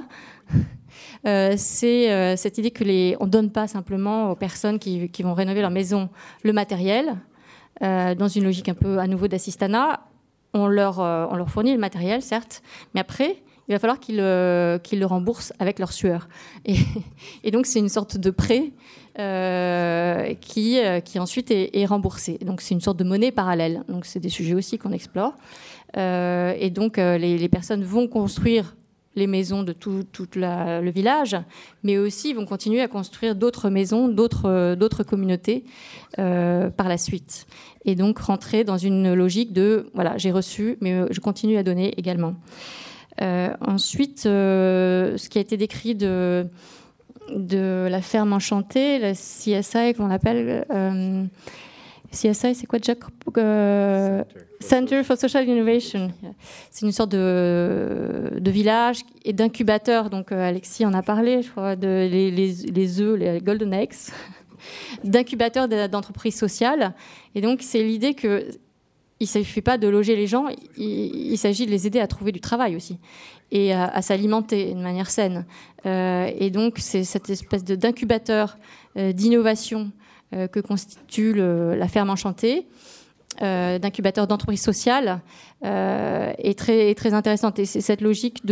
C'est cette idée que on ne donne pas simplement aux personnes qui vont rénover leur maison le matériel, dans une logique un peu à nouveau d'assistanat. On leur fournit le matériel, certes, mais après, il va falloir qu'ils le remboursent avec leur sueur. Et donc, c'est une sorte de prêt qui ensuite est remboursé. Donc, c'est une sorte de monnaie parallèle. Donc, c'est des sujets aussi qu'on explore. Et donc, les personnes vont construire les maisons de tout le village, mais aussi vont continuer à construire d'autres maisons, d'autres communautés par la suite. Et donc rentrer dans une logique de, voilà, j'ai reçu, mais je continue à donner également. Ensuite, ce qui a été décrit de la ferme enchantée, la CSI qu'on appelle... CSI, c'est quoi, Jack? Center for Social Innovation. C'est une sorte de village et d'incubateur. Donc, Alexis en a parlé, je crois, les œufs, les golden eggs, d'incubateur d'entreprises sociales. Et donc, c'est l'idée qu'il ne s'agit pas de loger les gens, il s'agit de les aider à trouver du travail aussi et à s'alimenter de manière saine. Et donc, c'est cette espèce d'incubateur d'innovation que constitue la ferme enchantée, d'incubateur d'entreprises sociales, est très, très intéressante. Et c'est cette logique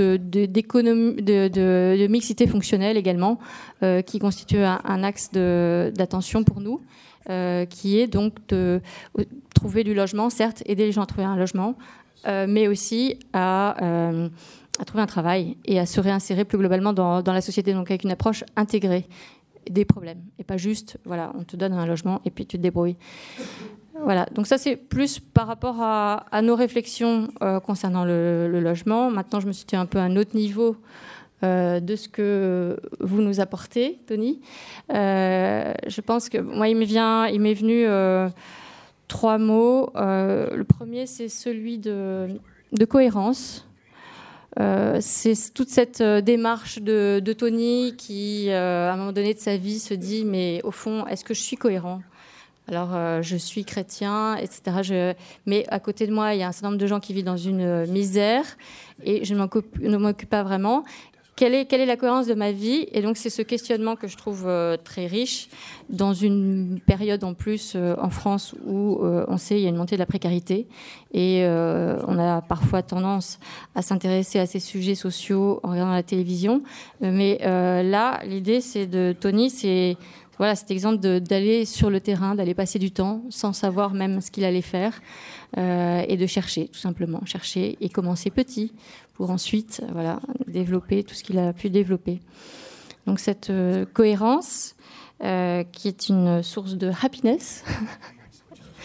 de mixité fonctionnelle également, qui constitue un axe d'attention pour nous, qui est donc de trouver du logement, certes, aider les gens à trouver un logement, mais aussi à trouver un travail et à se réinsérer plus globalement dans la société, donc avec une approche intégrée des problèmes, et pas juste, voilà, on te donne un logement et puis tu te débrouilles. Voilà, donc ça c'est plus par rapport à nos réflexions concernant le logement. Maintenant, je me suis située un peu à un autre niveau de ce que vous nous apportez, Tony. Je pense que moi, il m'est venu 3 mots. Le premier, c'est celui de cohérence. C'est toute cette démarche de Tony qui, à un moment donné de sa vie, se dit mais au fond, est-ce que je suis cohérent ? Alors, je suis chrétien, etc. Mais à côté de moi, il y a un certain nombre de gens qui vivent dans une misère et je ne m'occupe pas vraiment. Quelle est la cohérence de ma vie ? Et donc, c'est ce questionnement que je trouve très riche dans une période en plus en France où on sait qu'il y a une montée de la précarité et on a parfois tendance à s'intéresser à ces sujets sociaux en regardant la télévision. Mais là, l'idée, Tony, c'est voilà, cet exemple d'aller sur le terrain, d'aller passer du temps sans savoir même ce qu'il allait faire et de chercher, tout simplement. Chercher et commencer petit pour ensuite développer tout ce qu'il a pu développer. Donc cette cohérence qui est une source de happiness,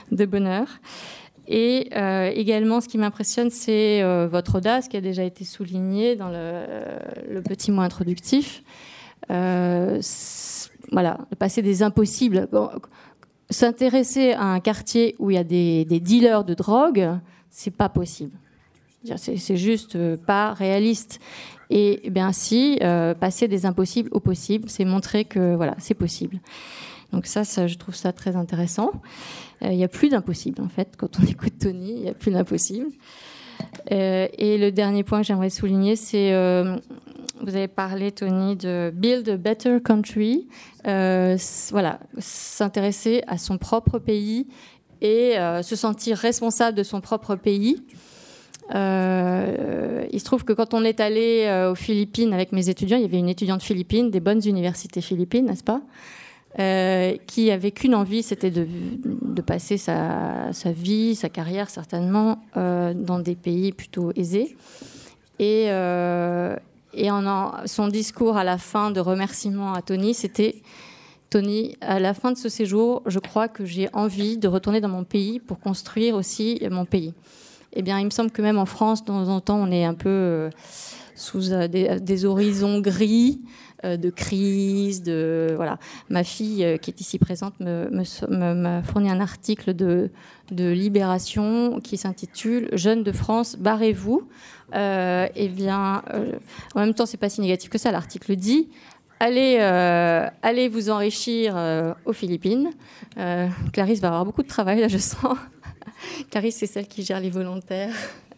bonheur. Et également, ce qui m'impressionne, c'est votre audace qui a déjà été soulignée dans le petit mot introductif. Voilà, passer des impossibles. Bon, s'intéresser à un quartier où il y a des dealers de drogue, c'est pas possible. C'est juste pas réaliste. Et bien si, passer des impossibles au possible, c'est montrer que voilà, c'est possible. Donc ça, je trouve ça très intéressant. Il n'y a plus d'impossible, en fait. Quand on écoute Tony, il n'y a plus d'impossible. Et le dernier point que j'aimerais souligner, c'est... vous avez parlé, Tony, de Build a Better Country. Voilà, s'intéresser à son propre pays et se sentir responsable de son propre pays. Il se trouve que quand on est allé aux Philippines avec mes étudiants, il y avait une étudiante philippine, des bonnes universités philippines, n'est-ce pas ? Qui avait qu'une envie, c'était de passer sa vie, sa carrière certainement, dans des pays plutôt aisés. Et son discours à la fin de remerciement à Tony, c'était « Tony, à la fin de ce séjour, je crois que j'ai envie de retourner dans mon pays pour construire aussi mon pays. » Eh bien, il me semble que même en France, de temps en temps, on est un peu sous des horizons gris, de crise, voilà. Ma fille, qui est ici présente, m'a fourni un article de Libération qui s'intitule « Jeunes de France, barrez-vous ». Eh bien, en même temps, c'est pas si négatif que ça. L'article dit allez vous enrichir aux Philippines. Clarisse va avoir beaucoup de travail, là, je sens. Clarisse, c'est celle qui gère les volontaires.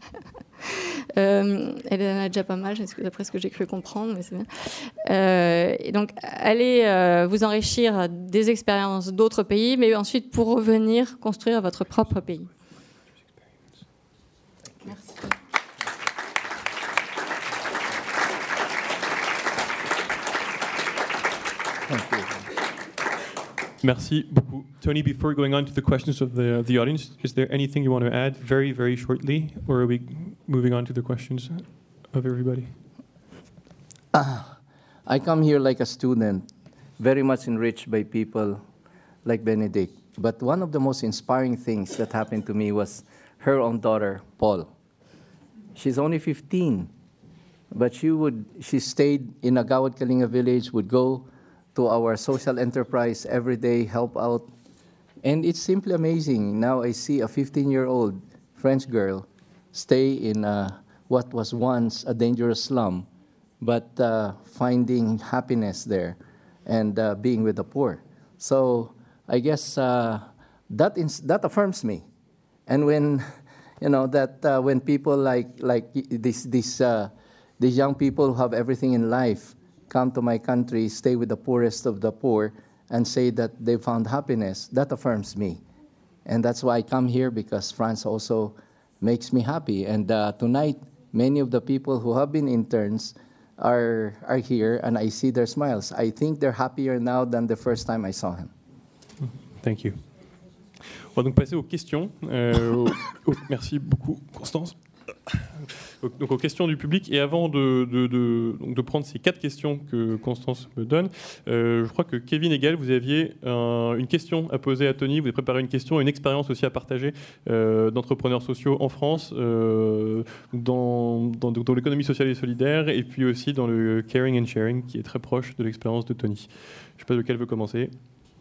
Elle en a déjà pas mal, d'après ce que j'ai cru comprendre, mais c'est bien. Et donc, allez vous enrichir des expériences d'autres pays, mais ensuite, pour revenir, construire votre propre pays. Merci. Merci beaucoup. Tony, before going on to the questions of the audience, is there anything you want to add very, very shortly, or are we moving on to the questions of everybody? I come here like a student, very much enriched by people like Benedict. But one of the most inspiring things that happened to me was her own daughter, Paul. She's only 15, but she stayed in Agawad Kalinga village, would go to our social enterprise every day, help out. And it's simply amazing. Now I see a 15-year-old French girl stay in what was once a dangerous slum, but finding happiness there and being with the poor. So I guess that affirms me. And when, when people like these young people who have everything in life come to my country, stay with the poorest of the poor, and say that they found happiness, that affirms me. And that's why I come here, because France also makes me happy. And tonight, many of the people who have been interns are here, and I see their smiles. I think they're happier now than the first time I saw him. Thank you. On va donc passer aux questions. Merci beaucoup, Constance. Donc aux questions du public, et avant de prendre ces 4 questions que Constance me donne, je crois que Kevin et Gaël, vous aviez une question à poser à Tony, vous avez préparé une question, une expérience aussi à partager d'entrepreneurs sociaux en France, dans l'économie sociale et solidaire, et puis aussi dans le caring and sharing qui est très proche de l'expérience de Tony. Je ne sais pas lequel veut commencer.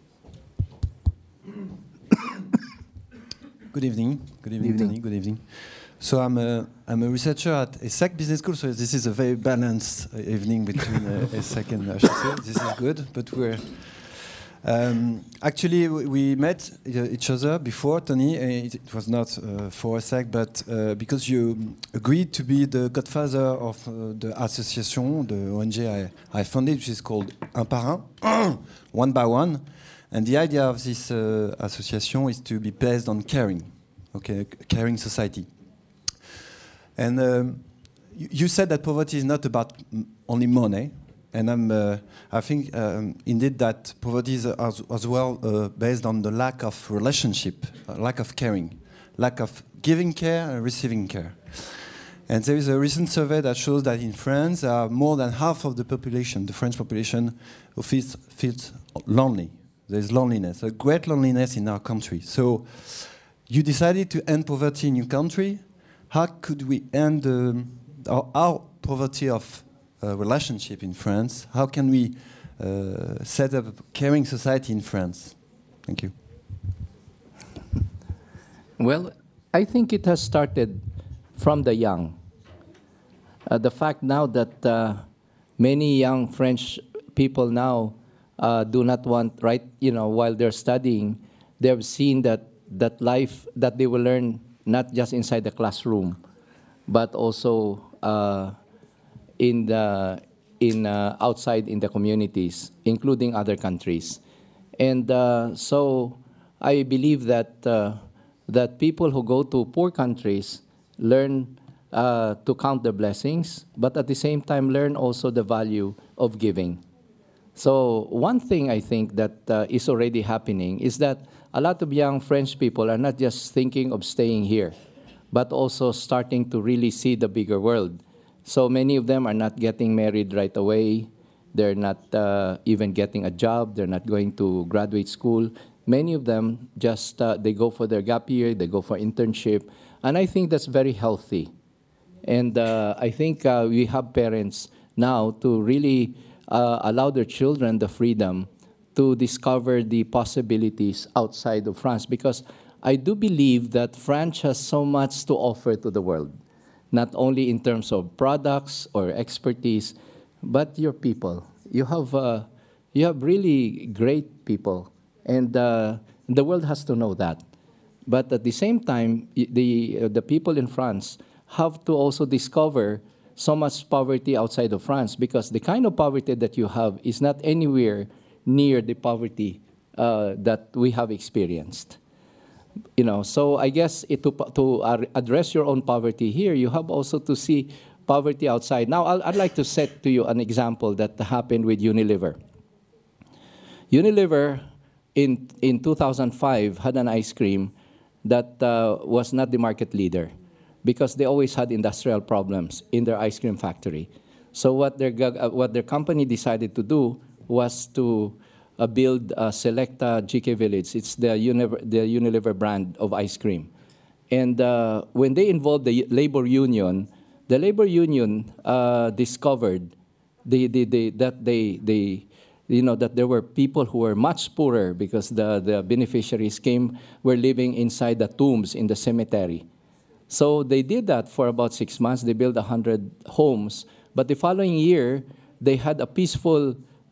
Good evening, Tony. Good evening. So I'm a researcher at ESSEC Business School. So this is a very balanced evening between ESSEC and HEC. This is good. But we're actually we met each other before, Tony. It was not for ESSEC, but because you agreed to be the godfather of the association, the ONG I founded, which is called Un par Un, One by One. And the idea of this association is to be based on caring, caring society. And you said that poverty is not about only money, and I think indeed that poverty is as well based on the lack of relationship, lack of caring, lack of giving care and receiving care. And there is a recent survey that shows that in France, more than half of the population, the French population, who feels lonely. There's loneliness, a great loneliness in our country. So You decided to end poverty in your country. How could we end our poverty of relationship in France? How can we set up a caring society in France? Thank you. Well, I think it has started from the young. The fact now that many young French people now do not want, right, while they're studying, they have seen that life that they will learn not just inside the classroom, but also outside in the communities, including other countries. And so I believe that people who go to poor countries learn to count their blessings, but at the same time learn also the value of giving. So one thing I think that is already happening is that a lot of young French people are not just thinking of staying here, but also starting to really see the bigger world. So many of them are not getting married right away. They're not even getting a job. They're not going to graduate school. Many of them just, they go for their gap year, they go for internship. And I think that's very healthy. And I think we have parents now to really allow their children the freedom to discover the possibilities outside of France. Because I do believe that France has so much to offer to the world, not only in terms of products or expertise, but your people. You have really great people, and the world has to know that. But at the same time, the people in France have to also discover so much poverty outside of France, because the kind of poverty that you have is not anywhere near the poverty that we have experienced. So I guess to address your own poverty here, you have also to see poverty outside. Now, I'd like to set to you an example that happened with Unilever. Unilever, in 2005, had an ice cream that was not the market leader, because they always had industrial problems in their ice cream factory. So what their company decided to do was to build Selecta GK Village. It's the Unilever brand of ice cream. And when they involved the labor union discovered that there were people who were much poorer, because the beneficiaries were living inside the tombs in the cemetery. So they did that for about 6 months. They built 100 homes. But the following year, they had a peaceful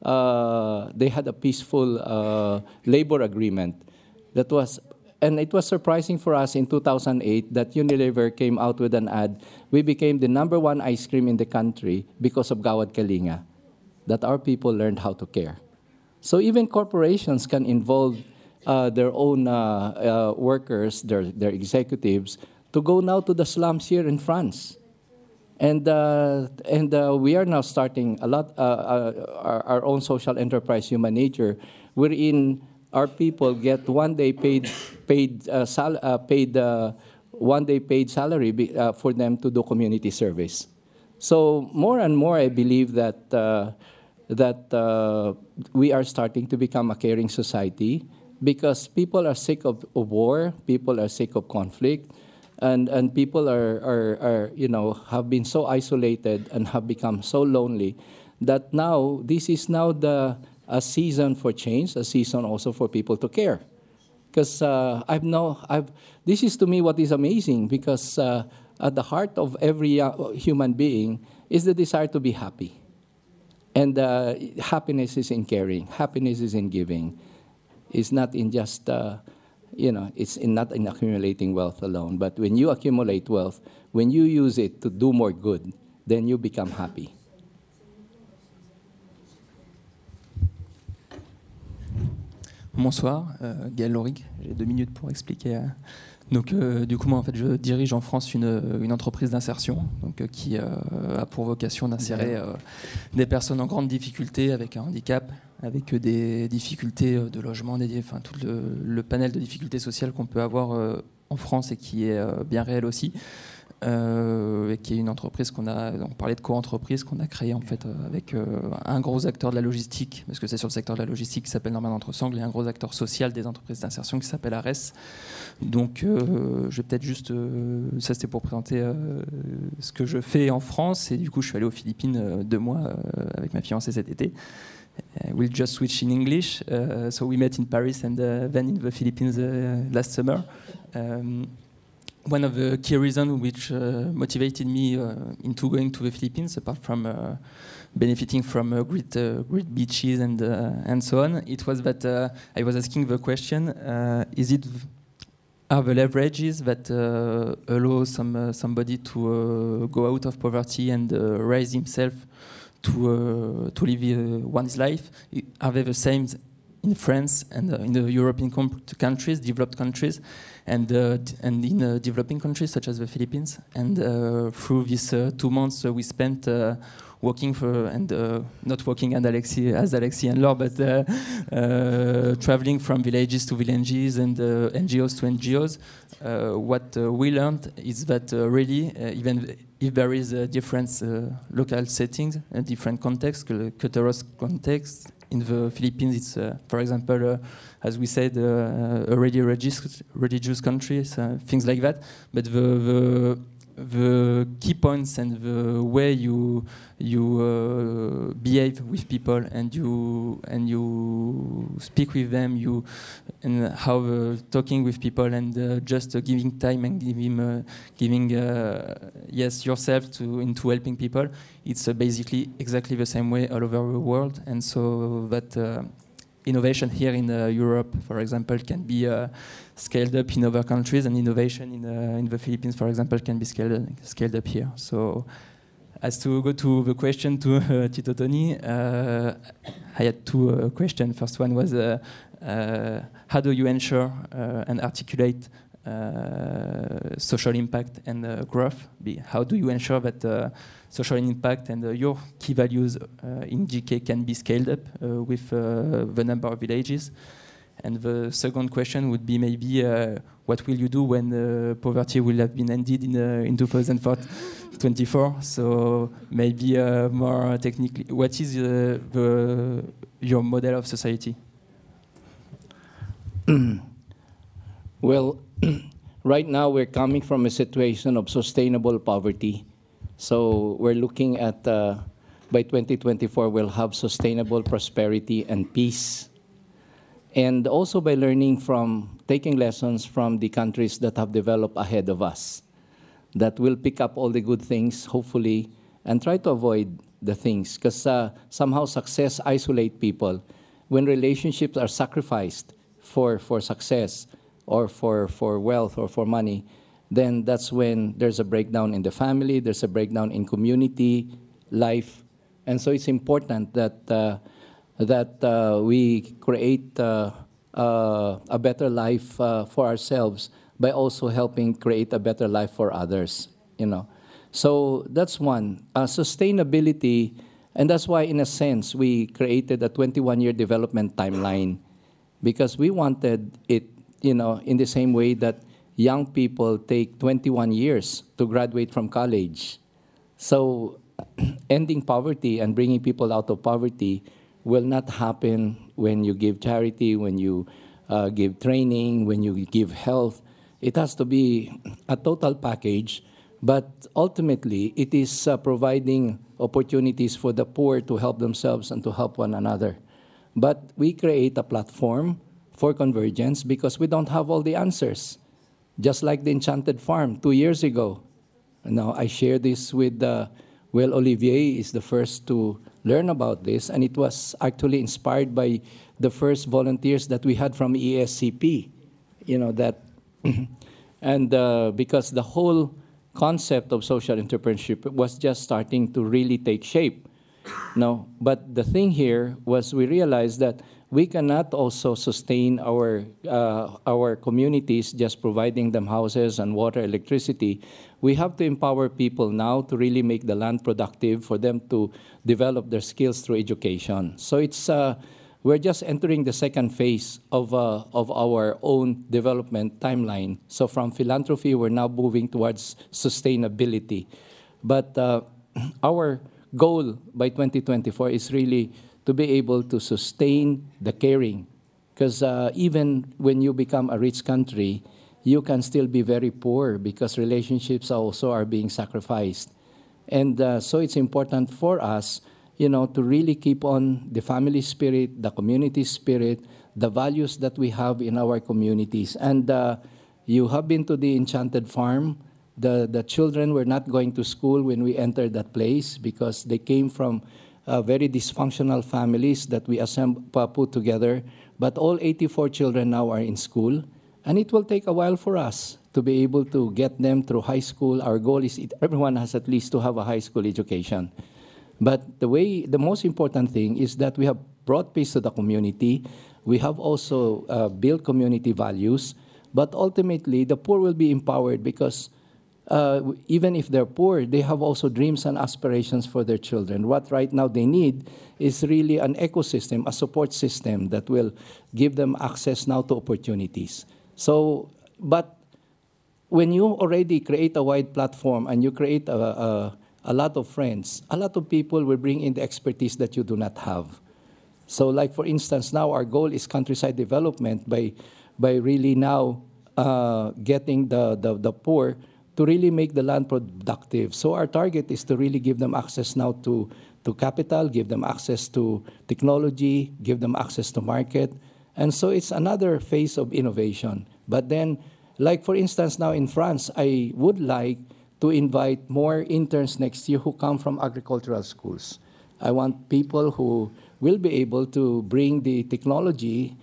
labor agreement. And it was surprising for us in 2008 that Unilever came out with an ad. We became the #1 ice cream in the country because of Gawad Kalinga, that our people learned how to care. So even corporations can involve their own workers, their executives, to go now to the slums here in France. And we are now starting our own social enterprise, Human Nature, wherein our people get 1 day paid salary for them to do community service. So more and more, I believe that we are starting to become a caring society, because people are sick of war, people are sick of conflict. And people have been so isolated and have become so lonely that now this is now a season for change, a season also for people to care. Because this is to me what is amazing, because at the heart of every human being is the desire to be happy. And happiness is in caring, happiness is in giving. It's not in just it's not in accumulating wealth alone, but when you accumulate wealth, when you use it to do more good, then you become happy. Bonsoir, Gaël Loric, j'ai 2 minutes pour expliquer. Donc, du coup, moi, en fait, je dirige en France une entreprise d'insertion, qui a pour vocation d'insérer des personnes en grande difficulté avec un handicap, avec des difficultés de logement, tout le panel de difficultés sociales qu'on peut avoir en France et qui est bien réel aussi. et qui est une entreprise on parlait de co-entreprise qu'on a créée en fait avec un gros acteur de la logistique, parce que c'est sur le secteur de la logistique qui s'appelle Norman Entresangles, et un gros acteur social des entreprises d'insertion qui s'appelle ARES. Donc je vais peut-être juste, ça c'était pour présenter ce que je fais en France, et du coup je suis allé aux Philippines 2 mois avec ma fiancée cet été. We'll just switch in English. So we met in Paris and then in the Philippines last summer. One of the key reasons which motivated me into going to the Philippines, apart from benefiting from great beaches and so on, it was that I was asking the question: are the leverages that allow somebody to go out of poverty and raise himself to live one's life, are they the same in France and in the European countries, developed countries, and in developing countries such as the Philippines? And through these 2 months we spent working for, and not working as Alexis and Laure, but traveling from villages to villages and NGOs to NGOs, what we learned is that really, even if there is a different local settings and different contexts, cultural context, in the Philippines, it's, for example, as we said, a really religious country, things like that. But the key points and the way you behave with people and you speak with them, and how talking with people and just giving time and giving yourself into helping people, it's basically exactly the same way all over the world. And so that innovation here in Europe, for example, can be scaled up in other countries, and innovation in the Philippines, for example, can be scaled up here. So, as to go to the question to Tito Tony, I had 2 questions. First one was, how do you ensure and articulate social impact and growth? How do you ensure that social impact and your key values in GK can be scaled up with the number of villages? And the second question would be maybe, what will you do when poverty will have been ended in 2024? So maybe more technically, what is your model of society? Well, right now we're coming from a situation of sustainable poverty. So we're looking at, by 2024, we'll have sustainable prosperity and peace. And also by taking lessons from the countries that have developed ahead of us, that will pick up all the good things, hopefully, and try to avoid the things. Because somehow success isolates people. When relationships are sacrificed for success, or for wealth, or for money, then that's when there's a breakdown in the family, there's a breakdown in community life. And so it's important that we create a better life for ourselves by also helping create a better life for others, So that's one. Sustainability, and that's why, in a sense, we created a 21-year development timeline, because we wanted it, in the same way that young people take 21 years to graduate from college. So ending poverty and bringing people out of poverty will not happen when you give charity, when you give training, when you give health. It has to be a total package, but ultimately it is providing opportunities for the poor to help themselves and to help one another. But we create a platform for convergence because we don't have all the answers. Just like the Enchanted Farm 2 years ago. Now, I share this with, Olivier is the first to learn about this, and it was actually inspired by the first volunteers that we had from ESCP, and because the whole concept of social entrepreneurship was just starting to really take shape. No, but the thing here was we realized that we cannot also sustain our communities just providing them houses and water, electricity. We have to empower people now to really make the land productive for them to develop their skills through education. So it's we're just entering the second phase of our own development timeline. So from philanthropy, we're now moving towards sustainability. But our goal by 2024 is really to be able to sustain the caring. Because even when you become a rich country, you can still be very poor because relationships also are being sacrificed. And so it's important for us, to really keep on the family spirit, the community spirit, the values that we have in our communities. And you have been to the Enchanted Farm. The children were not going to school when we entered that place because they came from very dysfunctional families that we put together. But all 84 children now are in school. And it will take a while for us to be able to get them through high school. Our goal is everyone has at least to have a high school education. But the most important thing is that we have brought peace to the community. We have also built community values. But ultimately, the poor will be empowered because even if they're poor, they have also dreams and aspirations for their children. What right now they need is really an ecosystem, a support system that will give them access now to opportunities. So, but when you already create a wide platform and you create a lot of friends, a lot of people will bring in the expertise that you do not have. So like, for instance, now our goal is countryside development by really now getting the poor to really make the land productive. So our target is to really give them access now to capital, give them access to technology, give them access to market. And so it's another phase of innovation. But then, like for instance, now in France, I would like to invite more interns next year who come from agricultural schools. I want people who will be able to bring the technology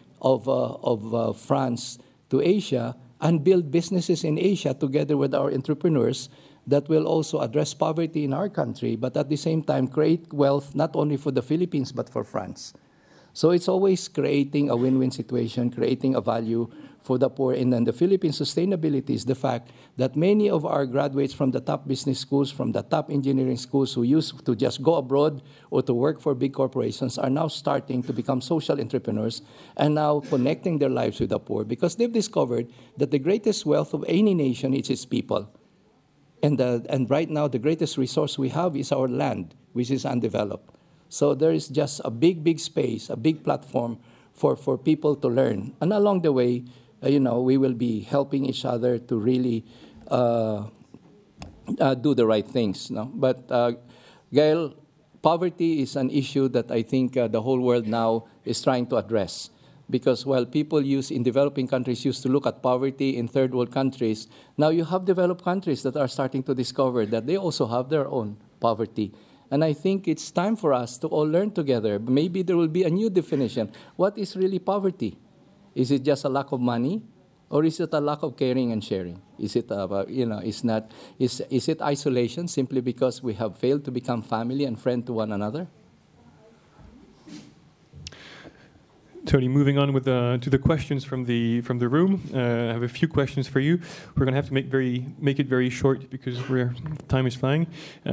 of France to Asia and build businesses in Asia together with our entrepreneurs that will also address poverty in our country, but at the same time create wealth not only for the Philippines but for France. So it's always creating a win-win situation, creating a value for the poor. And then the Philippine sustainability is the fact that many of our graduates from the top business schools, from the top engineering schools who used to just go abroad or to work for big corporations are now starting to become social entrepreneurs and now connecting their lives with the poor because they've discovered that the greatest wealth of any nation is its people. And right now, the greatest resource we have is our land, which is undeveloped. So there is just a big space, a big platform for people to learn. And along the way, we will be helping each other to really do the right things. No? But Gail, poverty is an issue that I think the whole world now is trying to address. Because while people in developing countries used to look at poverty in third world countries, now you have developed countries that are starting to discover that they also have their own poverty. And I think it's time for us to all learn together. Maybe there will be a new definition. What is really poverty? Is it just a lack of money? Or is it a lack of caring and sharing? Is it, is it isolation simply because we have failed to become family and friend to one another? Tony, moving on with to the questions from the room. I have a few questions for you. We're going to have to make it very short because time is flying.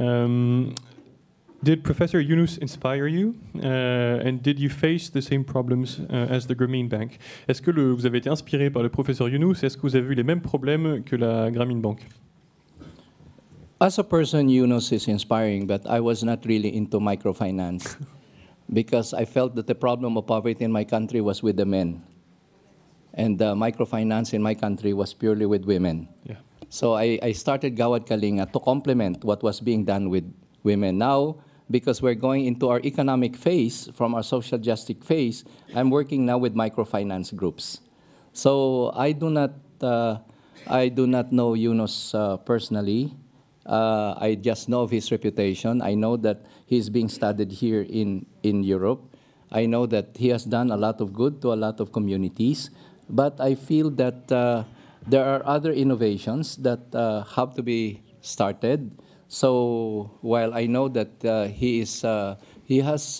Did Professor Yunus inspire you? And did you face the same problems as the Grameen Bank? Est-ce que vous avez été inspiré par le professeur Yunus? Est-ce que vous avez vu les mêmes problèmes que la Grameen Bank? As a person, Yunus is inspiring, but I was not really into microfinance because I felt that the problem of poverty in my country was with the men. And microfinance in my country was purely with women. Yeah. So I started Gawad Kalinga to complement what was being done with women. Now, because we're going into our economic phase from our social justice phase, I'm working now with microfinance groups. So I do not know Yunus personally. I just know of his reputation. I know that he's being studied here in Europe. I know that he has done a lot of good to a lot of communities. But I feel that there are other innovations that have to be started. So while I know that he has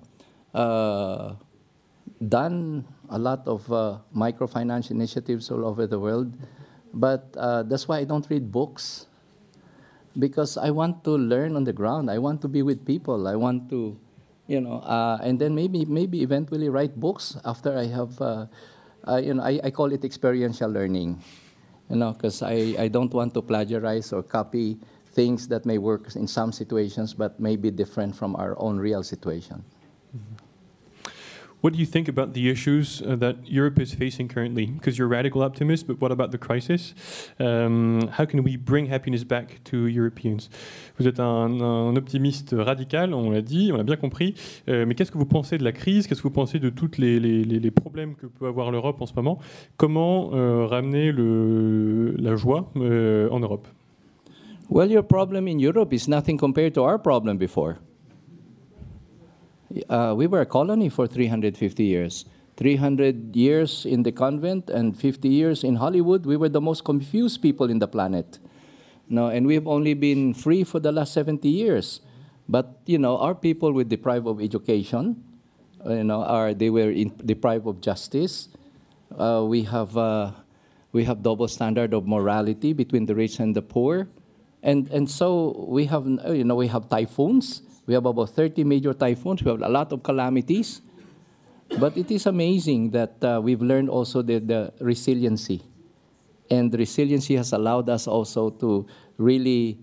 done a lot of microfinance initiatives all over the world, but that's why I don't read books, because I want to learn on the ground. I want to be with people. I want to and then maybe eventually write books after I have, I call it experiential learning, because I don't want to plagiarize or copy things that may work in some situations but may be different from our own real situation. Mm-hmm. What do you think about the issues that Europe is facing currently? Because you're a radical optimist, but what about the crisis? How can we bring happiness back to Europeans? Vous êtes un optimiste radical, on l'a dit, on l'a bien compris. Mais qu'est-ce que vous pensez de la crise? Qu'est-ce que vous pensez de tous les problèmes que peut avoir l'Europe en ce moment? Comment ramener la joie en Europe? Well, your problem in Europe is nothing compared to our problem before. We were a colony for 350 years. 300 years in the convent and 50 years in Hollywood. We were the most confused people in the planet. And we've only been free for the last 70 years. But, our people were deprived of education. They were deprived of justice. We have double standard of morality between the rich and the poor. And so we have typhoons. We have about 30 major typhoons. We have a lot of calamities. But it is amazing that we've learned also the resiliency. And the resiliency has allowed us also to really,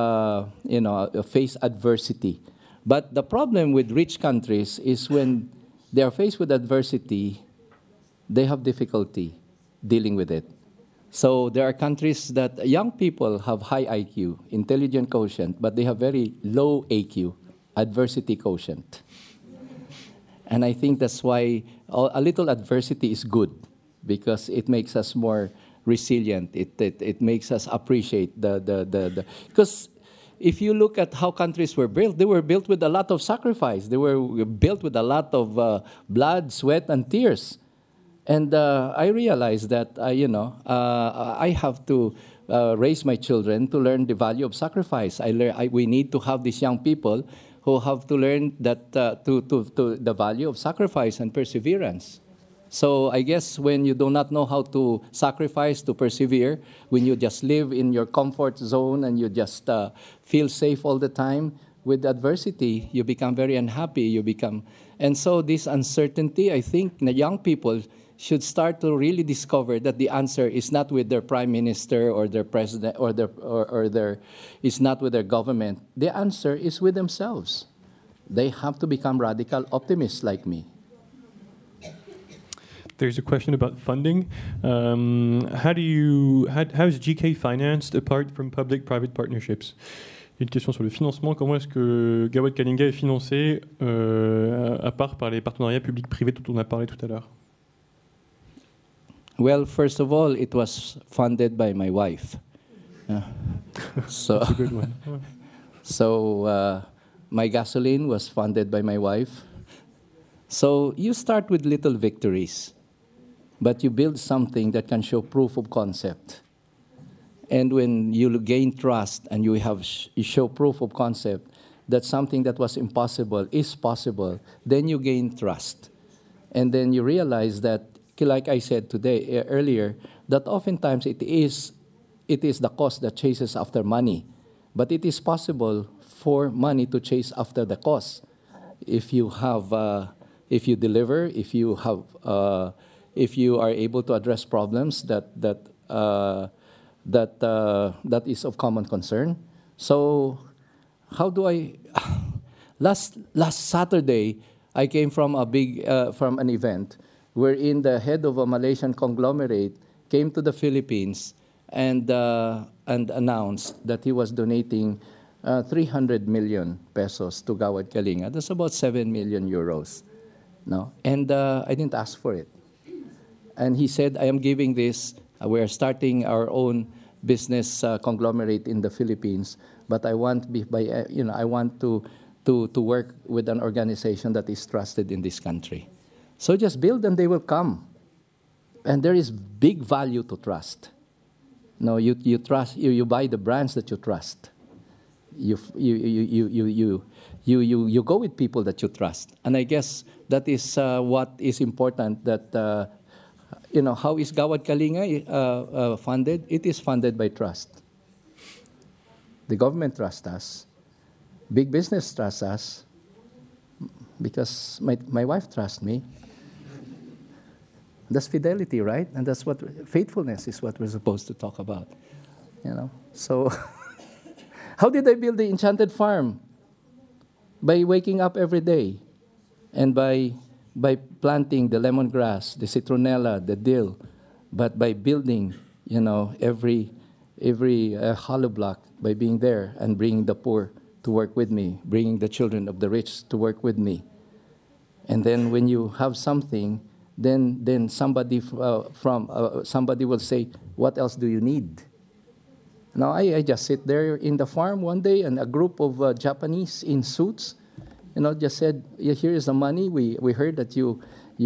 face adversity. But the problem with rich countries is when they are faced with adversity, they have difficulty dealing with it. So there are countries that young people have high IQ, intelligent quotient, but they have very low AQ, adversity quotient. And I think that's why a little adversity is good, because it makes us more resilient. It makes us appreciate the because if you look at how countries were built, they were built with a lot of sacrifice. They were built with a lot of blood, sweat, and tears. And I realized that, I have to raise my children to learn the value of sacrifice. We need to have these young people who have to learn that to the value of sacrifice and perseverance. So I guess when you do not know how to sacrifice, to persevere, when you just live in your comfort zone and you just feel safe all the time, with adversity, you become very unhappy. And so this uncertainty, I think the young people should start to really discover that the answer is not with their prime minister or their president is not with their government. The answer is with themselves. They have to become radical optimists like me. There's a question about funding. How is GK financed apart from public-private partnerships? Une question sur le financement. Comment est-ce que Gawad Kalinga est financé à part par les partenariats publics-privés dont on a parlé tout à l'heure? Well, first of all, it was funded by my wife. So, that's a good one. So my gasoline was funded by my wife. So you start with little victories, but you build something that can show proof of concept. And when you gain trust and you show proof of concept that something that was impossible is possible, then you gain trust. And then you realize that, like I said earlier, that oftentimes it is the cause that chases after money. But it is possible for money to chase after the cause. If you deliver, if you are able to address problems that is of common concern. So how do I? Last Saturday, I came from from an event wherein the head of a Malaysian conglomerate came to the Philippines and announced that he was donating 300 million pesos to Gawad Kalinga. That's about 7 million euros. No? And I didn't ask for it. And he said, I am giving this, we are starting our own business conglomerate in the Philippines, but I want to work with an organization that is trusted in this country. So just build and they will come. And there is big value to trust. No, you trust, you buy the brands that you trust. You go with people that you trust. And I guess that is what is important, that, how is Gawad Kalinga funded? It is funded by trust. The government trusts us. Big business trusts us. because my wife trusts me. That's fidelity, right? And that's what faithfulness is, what we're supposed to talk about. You know. So, how did I build the enchanted farm? By waking up every day, and by planting the lemongrass, the citronella, the dill, but by building, you know, every hollow block, by being there and bringing the poor to work with me, bringing the children of the rich to work with me. And then when you have something, then somebody somebody will say, "What else do you need?" Now I just sit there in the farm one day, and a group of Japanese in suits, you know, just said, "Yeah, here is the money. We heard that you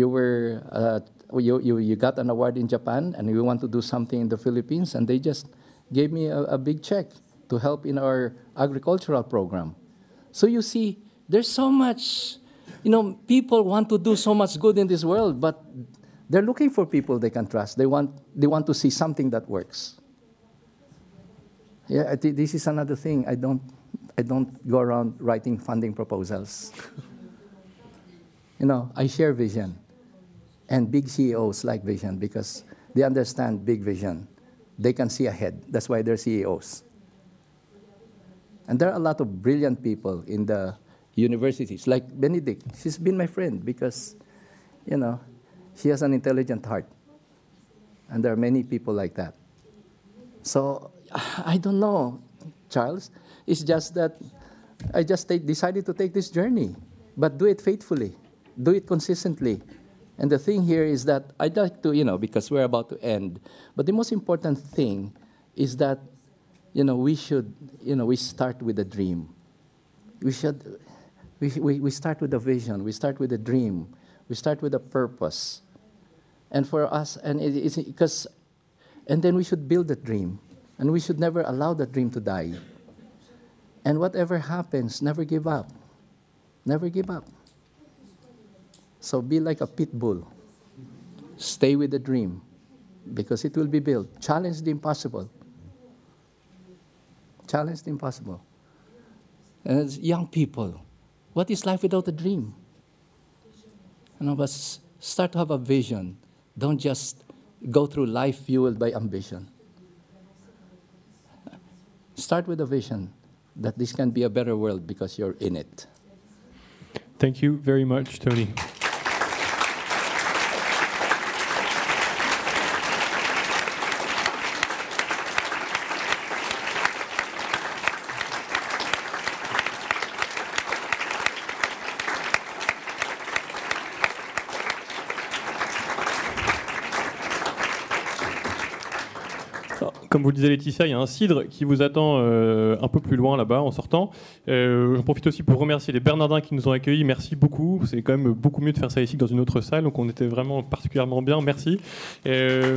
got an award in Japan, and we want to do something in the Philippines," and they just gave me a big check to help in our agricultural program. So you see, there's so much, you know, people want to do so much good in this world, but they're looking for people they can trust. They want to see something that works. Yeah, this is another thing. I don't go around writing funding proposals. You know, I share vision, and big CEOs like vision because they understand big vision. They can see ahead. That's why they're CEOs. And there are a lot of brilliant people in the universities, like Benedict. She's been my friend because, you know, she has an intelligent heart. And there are many people like that. So, I don't know, Charles. It's just that I just decided to take this journey. But do it faithfully. Do it consistently. And the thing here is that I'd like to, you know, because we're about to end, but the most important thing is that, you know, we should, you know, we start with a dream. We start with a vision. We start with a dream. We start with a purpose. And for us, and then we should build that dream. And we should never allow that dream to die. And whatever happens, never give up. Never give up. So be like a pit bull. Stay with the dream, because it will be built. Challenge the impossible. Challenge the impossible. And as young people, what is life without a dream? You know, but start to have a vision. Don't just go through life fueled by ambition. Start with a vision that this can be a better world because you're in it. Thank you very much, Tony. Comme vous le disait Laetitia, il y a un cidre qui vous attend un peu plus loin là-bas en sortant. J'en profite aussi pour remercier les Bernardins qui nous ont accueillis. Merci beaucoup. C'est quand même beaucoup mieux de faire ça ici que dans une autre salle. Donc on était vraiment particulièrement bien. Merci. Ouais.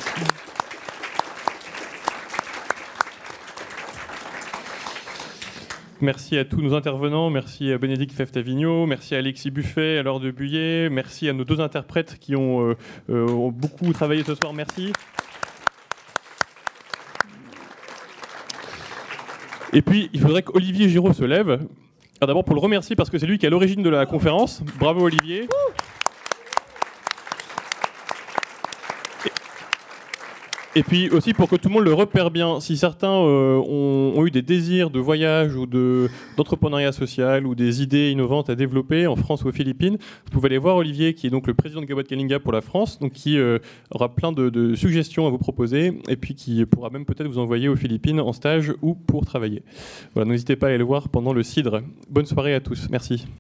Merci à tous nos intervenants, merci à Bénédicte Fèvre-Tavigno, merci à Alexis Buffet, à Laure de Buyer, merci à nos deux interprètes qui ont beaucoup travaillé ce soir. Merci. Et puis, il faudrait qu'Olivier Giraud se lève. Alors d'abord pour le remercier parce que c'est lui qui est à l'origine de la conférence. Bravo Olivier. Et puis aussi pour que tout le monde le repère bien, si certains ont eu des désirs de voyage ou d'entrepreneuriat social ou des idées innovantes à développer en France ou aux Philippines, vous pouvez aller voir Olivier qui est donc le président de Gawad Kalinga pour la France, donc qui aura plein de suggestions à vous proposer et puis qui pourra même peut-être vous envoyer aux Philippines en stage ou pour travailler. Voilà, n'hésitez pas à aller le voir pendant le cidre. Bonne soirée à tous, merci.